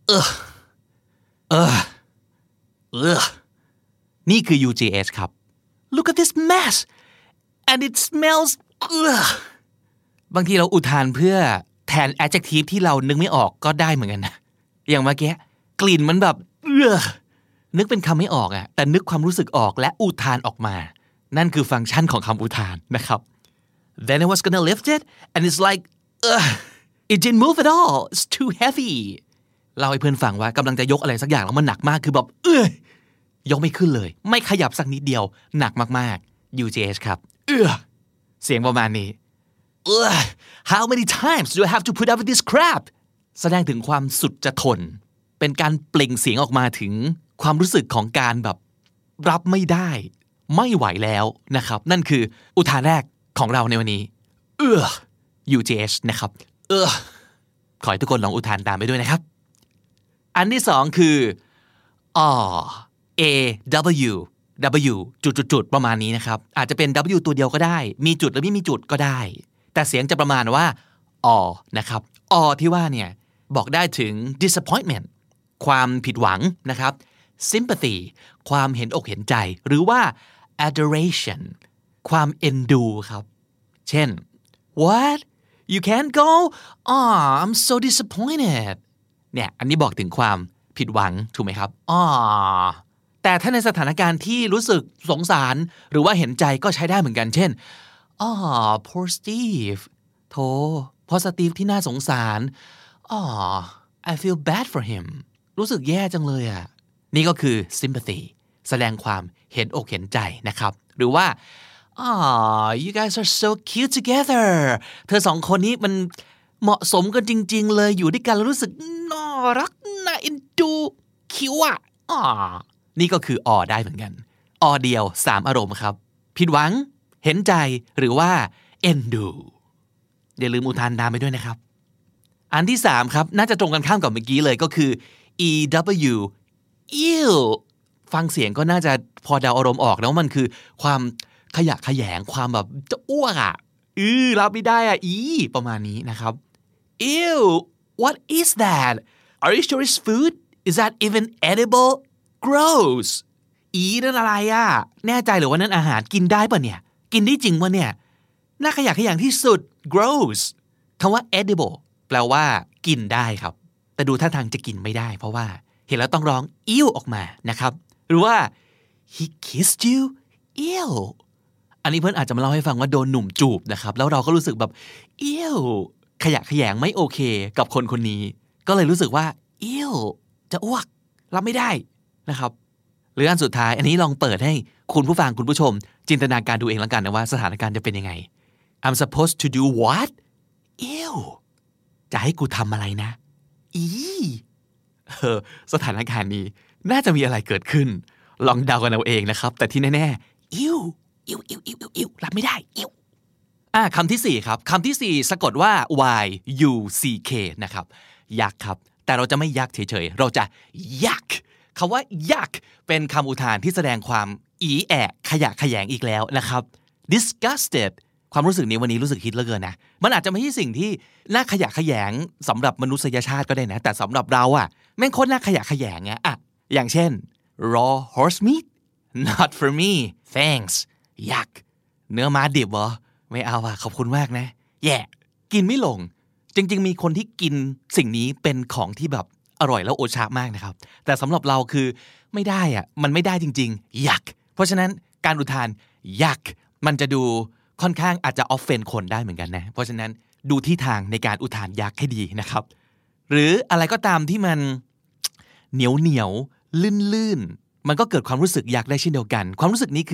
นี่คือ UGH ครับ Look at this mess and it smells บางทีเราอุทานเพื่อแทน adjective ที่เรานึกไม่ออกก็ได้เหมือนกันนะอย่างเมื่อกี้กลิ่นมันแบบนึกเป็นคำไม่ออกแต่นึกความรู้สึกออกและอุทานออกมานั่นคือฟังก์ชันของคำอุทานนะครับ Then I was gonna lift it and it's like it didn't move at all it's too heavy เล่าให้เพื่อนฟังว่ากำลังจะยกอะไรสักอย่างแล้วมันหนักมากคือแบบยกไม่ขึ้นเลยไม่ขยับสักนิดเดียวหนักมากๆ UJH ครับเสียงประมาณนี้How many times do I have to put up with this crap แสดงถึงความสุดจะทนเป็นการเปล่งเสียงออกมาถึงความรู้สึกของการแบบรับไม่ได้ไม่ไหวแล้วนะครับนั่นคืออุทานแรกของเราในวันนี้UJH นะครับขอให้ทุกคนลองอุทานตามไปด้วยนะครับอันที่สองคือW จุดๆประมาณนี้นะครับอาจจะเป็น W ตัวเดียวก็ได้มีจุดหรือไม่มีจุดก็ได้แต่เสียงจะประมาณว่านะครับที่ว่าเนี่ยบอกได้ถึง disappointment ความผิดหวังนะครับ sympathy ความเห็นอกเห็นใจหรือว่า adoration ความเอ็นดูครับเช่น What you can't go I'm so disappointed เนี่ยอันนี้บอกถึงความผิดหวังถูกไหมครับแต่ถ้าในสถานการณ์ที่รู้สึกสงสารหรือว่าเห็นใจก็ใช้ได้เหมือนกันเช่นpoor Steve โธ่พ่อสตีฟที่น่าสงสารI feel bad for him รู้สึกแย่จังเลยอ่ะนี่ก็คือ sympathy แสดงความเห็นอกเห็นใจนะครับหรือว่าyou guys are so cute together เธอสองคนนี้มันเหมาะสมกันจริงๆเลยอยู่ด้วยกันแล้วรู้สึกน่ารักน่าเอ็นดูคิ้วอ่ะนี่ก็คือได้เหมือนกันเดียว3อารมณ์ครับผิดหวังเห็นใจหรือว่าเอ็นดูอย่าลืมอุทานตามไปด้วยนะครับอันที่3ครับน่าจะตรงกันข้ามกับเมื่อกี้เลยก็คือ EW ew ฟังเสียงก็น่าจะพอเดาอารมณ์ออกแล้วมันคือความขยะแขยงความแบบจะอ้วกอ่ะรับไม่ได้อ่ะประมาณนี้นะครับ ew what is that are you sure it's food is that even edible gross นั่นอะไรอ่ะแน่ใจหรือว่านั่นอาหารกินได้ป่ะเนี่ยกินได้จริงป่ะเนี่ยน่าขยะแขยงที่สุด gross คำว่า edible แปลว่ากินได้ครับแต่ดูท่าทางจะกินไม่ได้เพราะว่าเห็นแล้วต้องร้อง ew ออกมานะครับหรือว่า he kissed you ew อันนี้เพื่อนอาจจะมาเล่าให้ฟังว่าโดนหนุ่มจูบนะครับแล้วเราก็รู้สึกแบบ ew ขยะแขยงไม่โอเคกับคนคนนี้ก็เลยรู้สึกว่า ew จะอ้วกรับไม่ได้นะครับหรืออันสุดท้ายอันนี้ลองเปิดให้คุณผู้ฟังคุณผู้ชมจินตนาการดูเองแล้วกันนะว่าสถานการณ์จะเป็นยังไง I'm supposed to do what ew จะให้กูทำอะไรนะสถานการณ์นี้น่าจะมีอะไรเกิดขึ้นลองเดากันเอาเองนะครับแต่ที่แน่ๆewรับไม่ได้คำที่4ครับคำที่4สะกดว่า y u c k นะครับยักษ์ครับแต่เราจะไม่ยักษ์เฉยๆเราจะยักษ์คำว่ายักษ์เป็นคำอุทานที่แสดงความขยะแขยงอีกแล้วนะครับ disgusted ความรู้สึกนี้วันนี้รู้สึกฮิตเหลือเกินนะมันอาจจะไม่ใช่สิ่งที่น่าขยะแขยงสำหรับมนุษยชาติก็ได้นะแต่สำหรับเราอ่ะแม่งโคตรน่าขยะแขยงอ่ะอย่างเช่น raw horse meat not for me thanks ยักษ์เนื้อม้าดิบเหรอไม่เอาขอบคุณมากนะกินไม่ลงจริงๆมีคนที่กินสิ่งนี้เป็นของที่แบบอร่อยแล้วโอชะมากนะครับแต่สำหรับเราคือไม่ได้มันไม่ได้จริงๆยักษ์เพราะฉะนั้นการอุทานยักษ์มันจะดูค่อนข้างอาจจะออฟเฟนคนได้เหมือนกันนะเพราะฉะนั้นดูที่ทางในการอุทานยักษ์ให้ดีนะครับหรืออะไรก็ตามที่มันเหนียวลื่นมันก็เกิดความรู้สึกยักษ์ได้เช่นเดียวกันความรู้สึกนี้คือ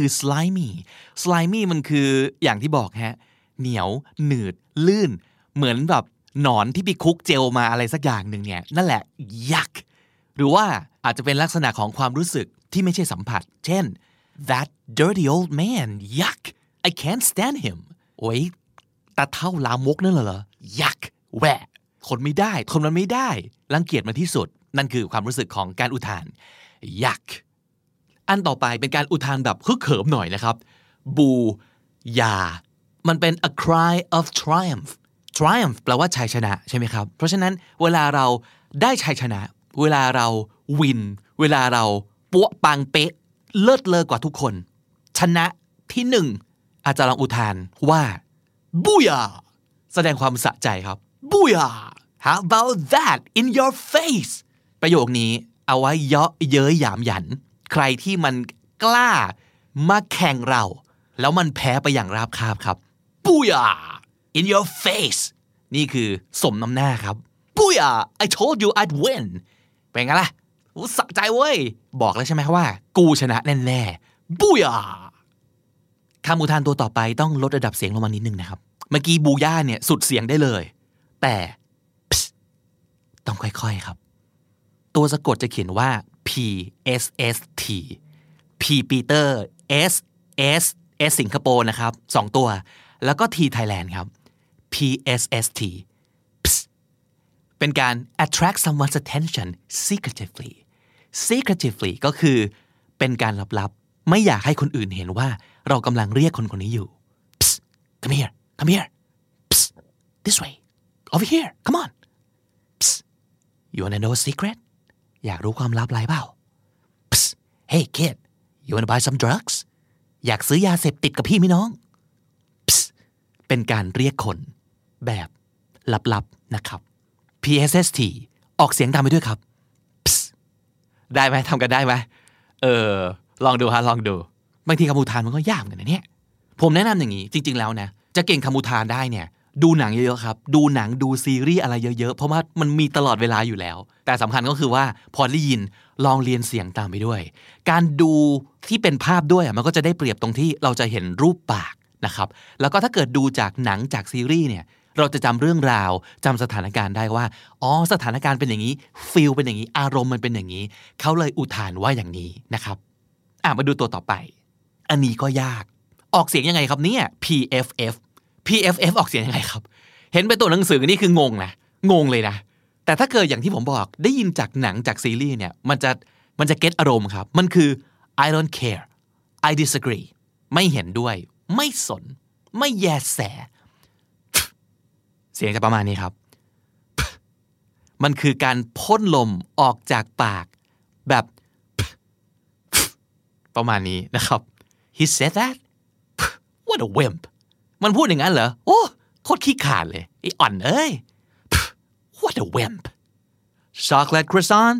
slimy มันคืออย่างที่บอกเหนียวหนืดลื่นเหมือนแบบหนอนที่ไปคุกเจลมาอะไรสักอย่างหนึ่งเนี่ยนั่นแหละยักษ์หรือว่าอาจจะเป็นลักษณะของความรู้สึกที่ไม่ใช่สัมผัสเช่น that dirty old man yuck I can't stand him โอ๊ยตาเท่าลามกนั่นเหรอยักษ์แหวะทนไม่ได้ทนมันไม่ได้รังเกียจมันที่สุดนั่นคือความรู้สึกของการอุทานยักษ์อันต่อไปเป็นการอุทานแบบฮึกเหิมหน่อยนะครับบูยามันเป็น a cry of triumph แปลว่าชัยชนะใช่ไหมครับเพราะฉะนั้นเวลาเราได้ชัยชนะเวลาเราวินเวลาเราปั๊วปังเป๊ะเลิศเลอกว่าทุกคนชนะที่1อาจจะลองอุทานว่าบูยาแสดงความสะใจครับบูยา How about that in your face ประโยคนี้เอาไว้เยาะเย้ยหยามหยันใครที่มันกล้ามาแข่งเราแล้วมันแพ้ไปอย่างราบคาบครับบูยา in your face นี่คือสมน้ำหน้าครับ Booyah I told you I'd win เป็นไงล่ะสะใจเว้ยบอกแล้วใช่ไหมว่ากูชนะแน่ๆ Booyah คำอุทานตัวต่อไปต้องลดระดับเสียงลงมานิดนึงนะครับเมื่อกี้บูย่าเนี่ยสุดเสียงได้เลยแต่ต้องค่อยๆครับตัวสะกดจะเขียนว่า P S S T P Peter S S S สิงคโปร์นะครับ2ตัวแล้วก็ T Thailand ครับ P S S T เป็นการ attract someone's attention secretively ก็คือเป็นการลับๆไม่อยากให้คนอื่นเห็นว่าเรากำลังเรียกคนคนนี้อยู่ come here this way over here come on you wanna know a secret อยากรู้ความลับอะไรเปล่า hey kid you wanna buy some drugs อยากซื้อยาเสพติดกับพี่ไหมน้องเป็นการเรียกคนแบบลับๆนะครับ PSST ออกเสียงตามไปด้วยครับได้ไหมทำกันได้ไหมลองดูฮะลองดูบางทีคำอุทานมันก็ยากเหมือนกันนะเนี่ยผมแนะนำอย่างนี้จริงๆแล้วนะจะเก่งคำอุทานได้เนี่ยดูหนังเยอะๆครับดูหนังดูซีรีส์อะไรเยอะๆเพราะว่ามันมีตลอดเวลาอยู่แล้วแต่สำคัญก็คือว่าพอได้ยินลองเรียนเสียงตามไปด้วยการดูที่เป็นภาพด้วยมันก็จะได้เปรียบตรงที่เราจะเห็นรูปปากนะครับแล้วก็ถ้าเกิดดูจากหนังจากซีรีส์เนี่ยเราจะจำเรื่องราวจำสถานการณ์ได้ว่าอ๋อสถานการณ์เป็นอย่างนี้ฟีลเป็นอย่างนี้อารมณ์มันเป็นอย่างนี้เขาเลยอุทานว่าอย่างนี้นะครับมาดูตัวต่อไปอันนี้ก็ยากออกเสียงยังไงครับเนี่ย PFF ออกเสียงยังไงครับเห็นเป็นตัวหนังสือนี่คืองงเลยนะแต่ถ้าเกิดอย่างที่ผมบอกได้ยินจากหนังจากซีรีส์เนี่ยมันจะเก็ตอารมณ์ครับมันคือ I don't care I disagree ไม่เห็นด้วยไม่สนไม่แยแสเสียงจะประมาณนี้ครับมันคือการพ่นลมออกจากปากแบบประมาณนี้นะครับ He said that What a wimp มันพูดอย่างนั้นเหรอโอ้โคตรขี้ขลาดเลยไอ้อ่อนเอ้ย What a wimp Chocolate croissant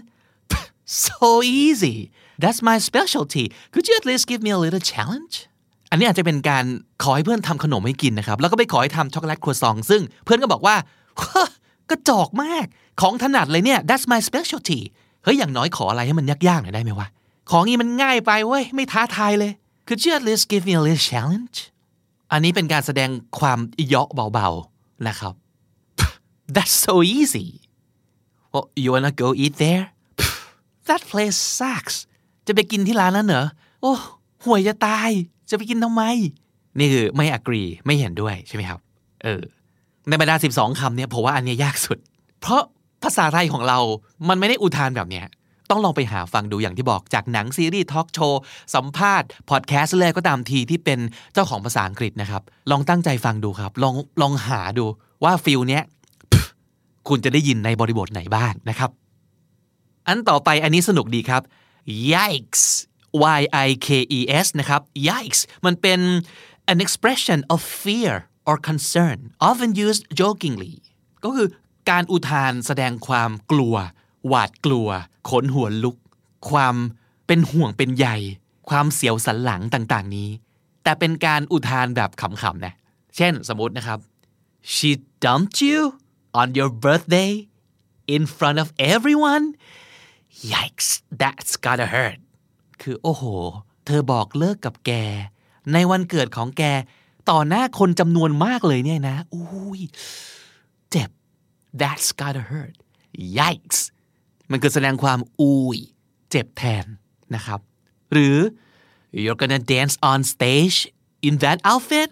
So easy That's my specialty Could you at least give me a little challenge อันนี้อาจจะเป็นการขอให้เพื่อนทำขนมให้กินนะครับแล้วก็ไปขอให้ทำช็อกโกแลตครัวซองซึ่งเพื่อนก็บอกว่ากระจอกมากของถนัดเลยเนี่ย That's my specialty เฮ้ยอย่างน้อยขออะไรให้มันยากๆหน่อยได้ไหมวะของนี้มันง่ายไปเว้ยไม่ท้าทายเลย Could you at least give me a little challenge อันนี้เป็นการแสดงความเยาะเบาๆนะครับ That's so easy Well you wanna go eat there That place sucks จะไปกินที่ร้านนั้นเหรอโอ้ห่วยจะตายจะไปกินทำไมนี่คือไม่ agree ไม่เห็นด้วยใช่ไหมครับในบรรดา12คำเนี่ยผมว่าอันนี้ยากสุดเพราะภาษาไทยของเรามันไม่ได้อุทานแบบเนี้ยต้องลองไปหาฟังดูอย่างที่บอกจากหนังซีรีส์ทอล์กโชว์สัมภาษณ์พอดแคสต์เลยก็ตามทีที่เป็นเจ้าของภาษาอังกฤษนะครับลองตั้งใจฟังดูครับลองหาดูว่าฟีลเนี้ยคุณจะได้ยินในบริบทไหนบ้างนะครับอันต่อไปอันนี้สนุกดีครับ Yikes Y-I-K-E-S นะครับ Yikes มันเป็น an expression of fear or concern often used jokingly ก็คือการอุทานแสดงความกลัวหวาดกลัวขนหัวลุกความเป็นห่วงเป็นใยความเสียวสันหลังต่างๆนี้แต่เป็นการอุทานแบบขำๆนะเช่นสมมุตินะครับ She dumped you on your birthday in front of everyone Yikes that's gotta hurt คือโอ้โหเธอบอกเลิกกับแกในวันเกิดของแกต่อหน้าคนจำนวนมากเลยเนี่ยนะอุ้ยเจ็บ that's gotta hurt Yikes มันคือแสดงความอุ้ยเจ็บแทนนะครับหรือ You're gonna dance on stage in that outfit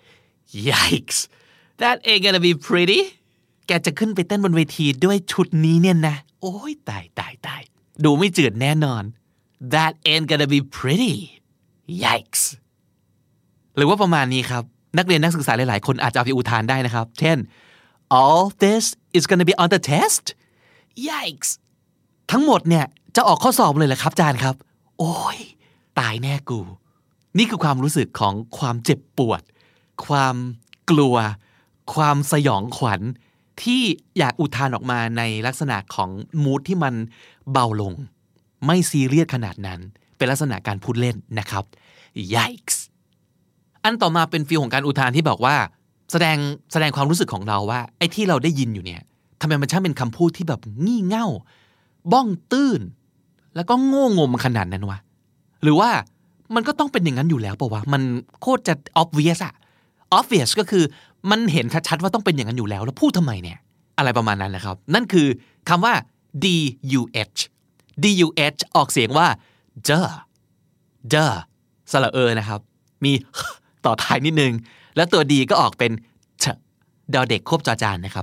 Yikes that ain't gonna be pretty แกจะขึ้นไปเต้นบนเวทีด้วยชุดนี้เนี่ยนะโอ้ยตายดูไม่จืดแน่นอน That ain't gonna be pretty Yikes หรือว่าประมาณนี้ครับนักเรียนนักศึกษาหลายๆคนอาจจะเอาไปอุทานได้นะครับเช่น All this is gonna be on the test Yikes ทั้งหมดเนี่ยจะออกข้อสอบเลยเหรอครับอาจารย์ครับโอ้ยตายแน่กูนี่คือความรู้สึกของความเจ็บปวดความกลัวความสยองขวัญที่อยากอุทานออกมาในลักษณะของมูดที่มันเบาลงไม่ซีเรียสขนาดนั้นเป็นลักษณะการพูดเล่นนะครับ Yikes อันต่อมาเป็นฟีลของการอุทานที่บอกว่าแสดงความรู้สึกของเราว่าไอ้ที่เราได้ยินอยู่เนี่ยทำไมมันช่างเป็นคำพูดที่แบบงี่เง่าบ้องตื้นแล้วก็โง่งมขนาดนั้นวะหรือว่ามันก็ต้องเป็นอย่างนั้นอยู่แล้วป่าววะมันโคตรจะ obvious อะ obvious ก็คือมันเห็นชัดๆว่าต้องเป็นอย่างนั้นอยู่แล้วพูดทำไมเนี่ยอะไรประมาณนั้นนะครับนั่นคือคำว่า duh ออกเสียงว่า duh สระนะครับมีต่อท้ายนิดนึงแล้วตัว d ก็ออกเป็นเดอเด็กควบจอจานนะครับ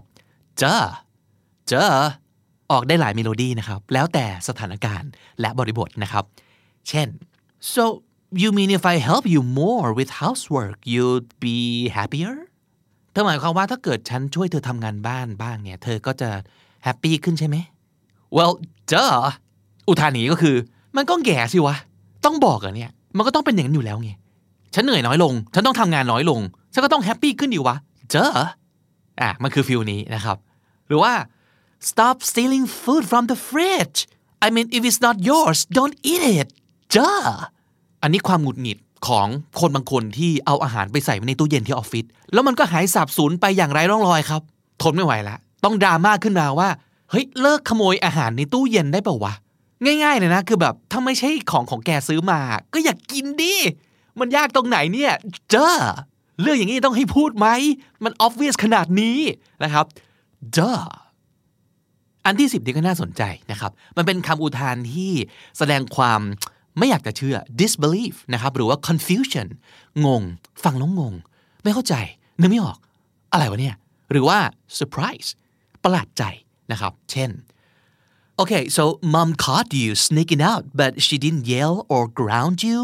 duh ออกได้หลายเมโลดี้นะครับแล้วแต่สถานการณ์และบริบทนะครับเช่น so you mean if I help you more with housework you'd be happier เธอหมายความว่าถ้าเกิดฉันช่วยเธอทำงานบ้านบ้างเนี่ยเธอก็จะแฮปปี้ขึ้นใช่ไหม well duh อุทานนี้ก็คือมันก็แก่สิวะต้องบอกอ่ะเนี่ยมันก็ต้องเป็นอย่างนั้นอยู่แล้วไงฉันเหนื่อยน้อยลงฉันต้องทำงานน้อยลงฉันก็ต้องแฮปปี้ขึ้นดิวะ duh มันคือฟีลนี้นะครับหรือว่า stop stealing food from the fridge I mean if it's not yours don't eat it duh อันนี้ความหงุดหงิดของคนบางคนที่เอาอาหารไปใส่ไว้ในตู้เย็นที่ออฟฟิศแล้วมันก็หายสาบสูญไปอย่างไร้ร่องรอยครับทนไม่ไหวละต้องดราม่าขึ้นมาว่าเฮ้ยเลิกขโมยอาหารในตู้เย็นได้เปล่าวะง่ายๆเลยนะคือแบบถ้าไม่ใช่ของแกซื้อมาก็อยากกินดิมันยากตรงไหนเนี่ยduh เรื่องอย่างนี้ต้องให้พูดไหมมัน obvious ขนาดนี้นะครับ duh อันที่10นี่ก็น่าสนใจนะครับมันเป็นคำอุทานที่แสดงความไม่อยากจะเชื่อ disbelief นะครับหรือว่า confusion งงฟังแล้วงงไม่เข้าใจนึกไม่ออกอะไรวะเนี่ยหรือว่า surprise ประหลาดใจนะครับเช่น okay so mom caught you sneaking out but she didn't yell or ground you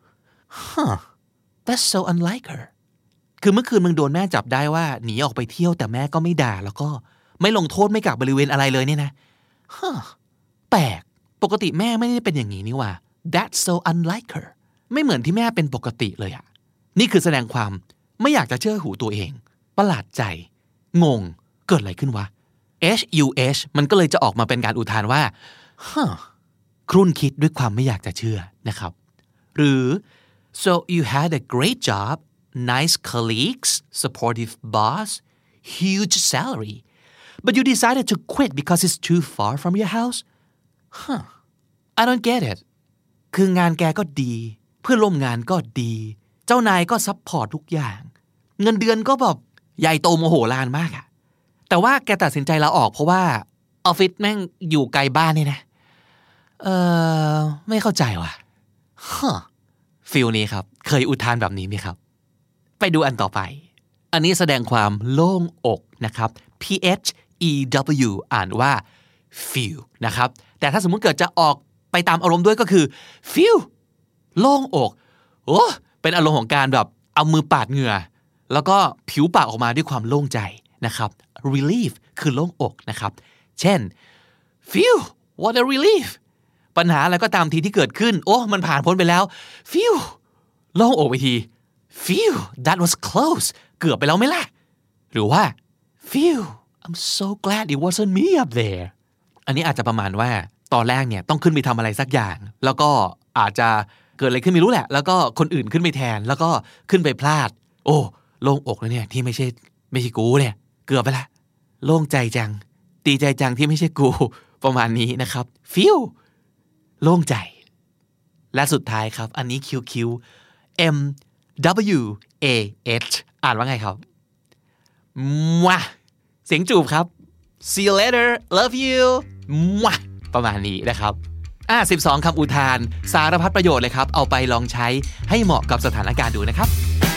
huh that's so unlike her คือเมื่อคืนมึงโดนแม่จับได้ว่าหนีออกไปเที่ยวแต่แม่ก็ไม่ด่าแล้วก็ไม่ลงโทษไม่กักบริเวณอะไรเลยเนี่ยนะแปลกปกติแม่ไม่ได้เป็นอย่างนี้นี่ว่า that's so unlike her ไม่เหมือนที่แม่เป็นปกติเลยอ่ะนี่คือแสดงความไม่อยากจะเชื่อหูตัวเองประหลาดใจงงเกิดอะไรขึ้นวะ hush มันก็เลยจะออกมาเป็นการอุทานว่าครุ่นคิดด้วยความไม่อยากจะเชื่อนะครับหรือ so you had a great job nice colleagues supportive boss huge salary but you decided to quit because it's too far from your house I don't get it คืองานแกก็ดีเพื่อนร่วมงานก็ดีเจ้านายก็ซัพพอร์ตทุกอย่างเงินเดือนก็แบบใหญ่โตโมโหลานมากอะแต่ว่าแกตัดสินใจลาออกเพราะว่าออฟฟิศแม่งอยู่ไกลบ้านนี่นะไม่เข้าใจว่ะฟีลนี้ครับเคยอุทานแบบนี้ไหมครับไปดูอันต่อไปอันนี้แสดงความโล่งอกนะครับ PHEW อ่านว่า feel นะครับแต่ถ้าสมมุติเกิดจะออกไปตามอารมณ์ด้วยก็คือ feel โล่งอกโอ้เป็นอารมณ์ของการแบบเอามือปาดเหงื่อแล้วก็ผิวปากออกมาด้วยความโล่งใจนะครับ relief คือโล่งอกนะครับเช่น feel what a relief ปัญหาอะไรก็ตามทีที่เกิดขึ้นโอ้มันผ่านพ้นไปแล้ว feel โล่งอกไปที feel that was close เกือบไปแล้วไหมล่ะหรือว่า feel I'm so glad it wasn't me up there อันนี้อาจจะประมาณว่าตอนแรกเนี่ยต้องขึ้นไปทำอะไรสักอย่างแล้วก็อาจจะเกิดอะไรขึ้นไม่รู้แหละแล้วก็คนอื่นขึ้นไปแทนแล้วก็ขึ้นไปพลาดโอ้โล่งอกแล้วเนี่ยที่ไม่ใช่กูเนี่ยเกือบไปละโล่งใจจังดีใจจังที่ไม่ใช่กูประมาณนี้นะครับ feel โล่งใจและสุดท้ายครับอันนี้ QQ MWAH อ่านว่าไงครับมั่วเสียงจูบครับ see you later love you มั่วประมาณนี้นะครับ12คำอุทานสารพัดประโยชน์เลยครับเอาไปลองใช้ให้เหมาะกับสถานการณ์ดูนะครับ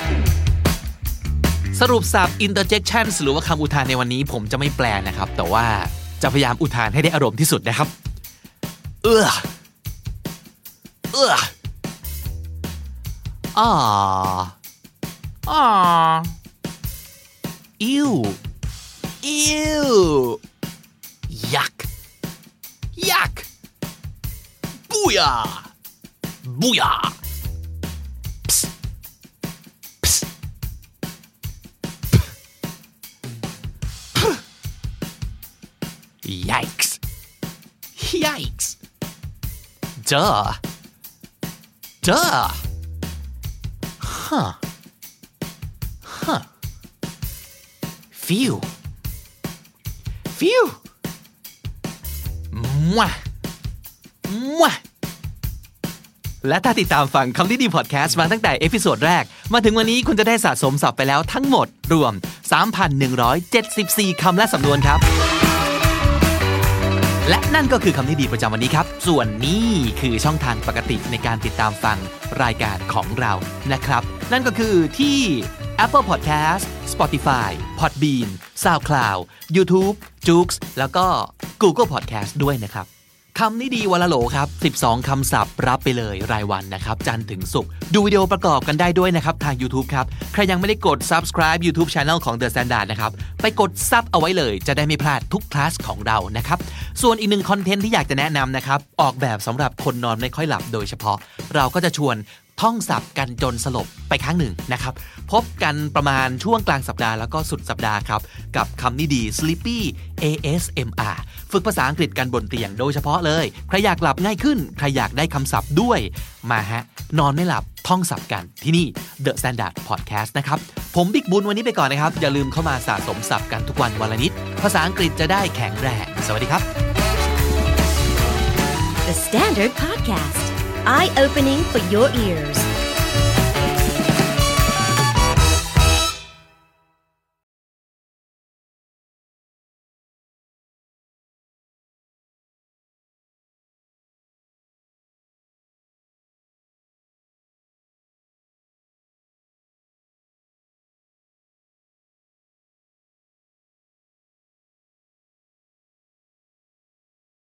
สรุปศัพท์ interjections หรือว่าคำอุทานในวันนี้ผมจะไม่แปลนะครับแต่ว่าจะพยายามอุทานให้ได้อารมณ์ที่สุดนะครับew yuck booyah psst yikes duh huh feel ฟิวมั่วมั่วและถ้าติดตามฟังคำนี้ดีพอดแคสต์มาตั้งแต่เอพิโซดแรกมาถึงวันนี้คุณจะได้สะสมศัพท์ไปแล้วทั้งหมดรวม 3,174 คำและสำนวนครับและนั่นก็คือคำนี้ดีประจำวันนี้ครับส่วนนี้คือช่องทางปกติในการติดตามฟังรายการของเรานะครับนั่นก็คือที่ Apple Podcast Spotify Podbean SoundCloud YouTube Joox แล้วก็ Google Podcast ด้วยนะครับคำนี้ดีวันละโหลครับ12คำศัพท์รับไปเลยรายวันนะครับจันทร์ถึงศุกร์ดูวิดีโอประกอบกันได้ด้วยนะครับทาง YouTube ครับใครยังไม่ได้กด Subscribe YouTube Channel ของ The Standard นะครับไปกดซับเอาไว้เลยจะได้ไม่พลาดทุกคลาสของเรานะครับส่วนอีกหนึ่งคอนเทนต์ที่อยากจะแนะนำนะครับออกแบบสำหรับคนนอนไม่ค่อยหลับโดยเฉพาะเราก็จะชวนท่องศัพท์กันจนสลบไปครั้งหนึ่งนะครับพบกันประมาณช่วงกลางสัปดาห์แล้วก็สุดสัปดาห์ครับกับคำนี้ดี Sleepy ASMR ฝึกภาษาอังกฤษกันบนเตียงโดยเฉพาะเลยใครอยากหลับง่ายขึ้นใครอยากได้คำศัพท์ด้วยมาฮะนอนไม่หลับท่องศัพท์กันที่นี่ The Standard Podcast นะครับผมบิ๊กบุญวันนี้ไปก่อนนะครับอย่าลืมเข้ามาสะสมศัพท์กันทุกวันวันละนิดภาษาอังกฤษจะได้แข็งแรงสวัสดีครับ The Standard Podcast Eye-opening for your ears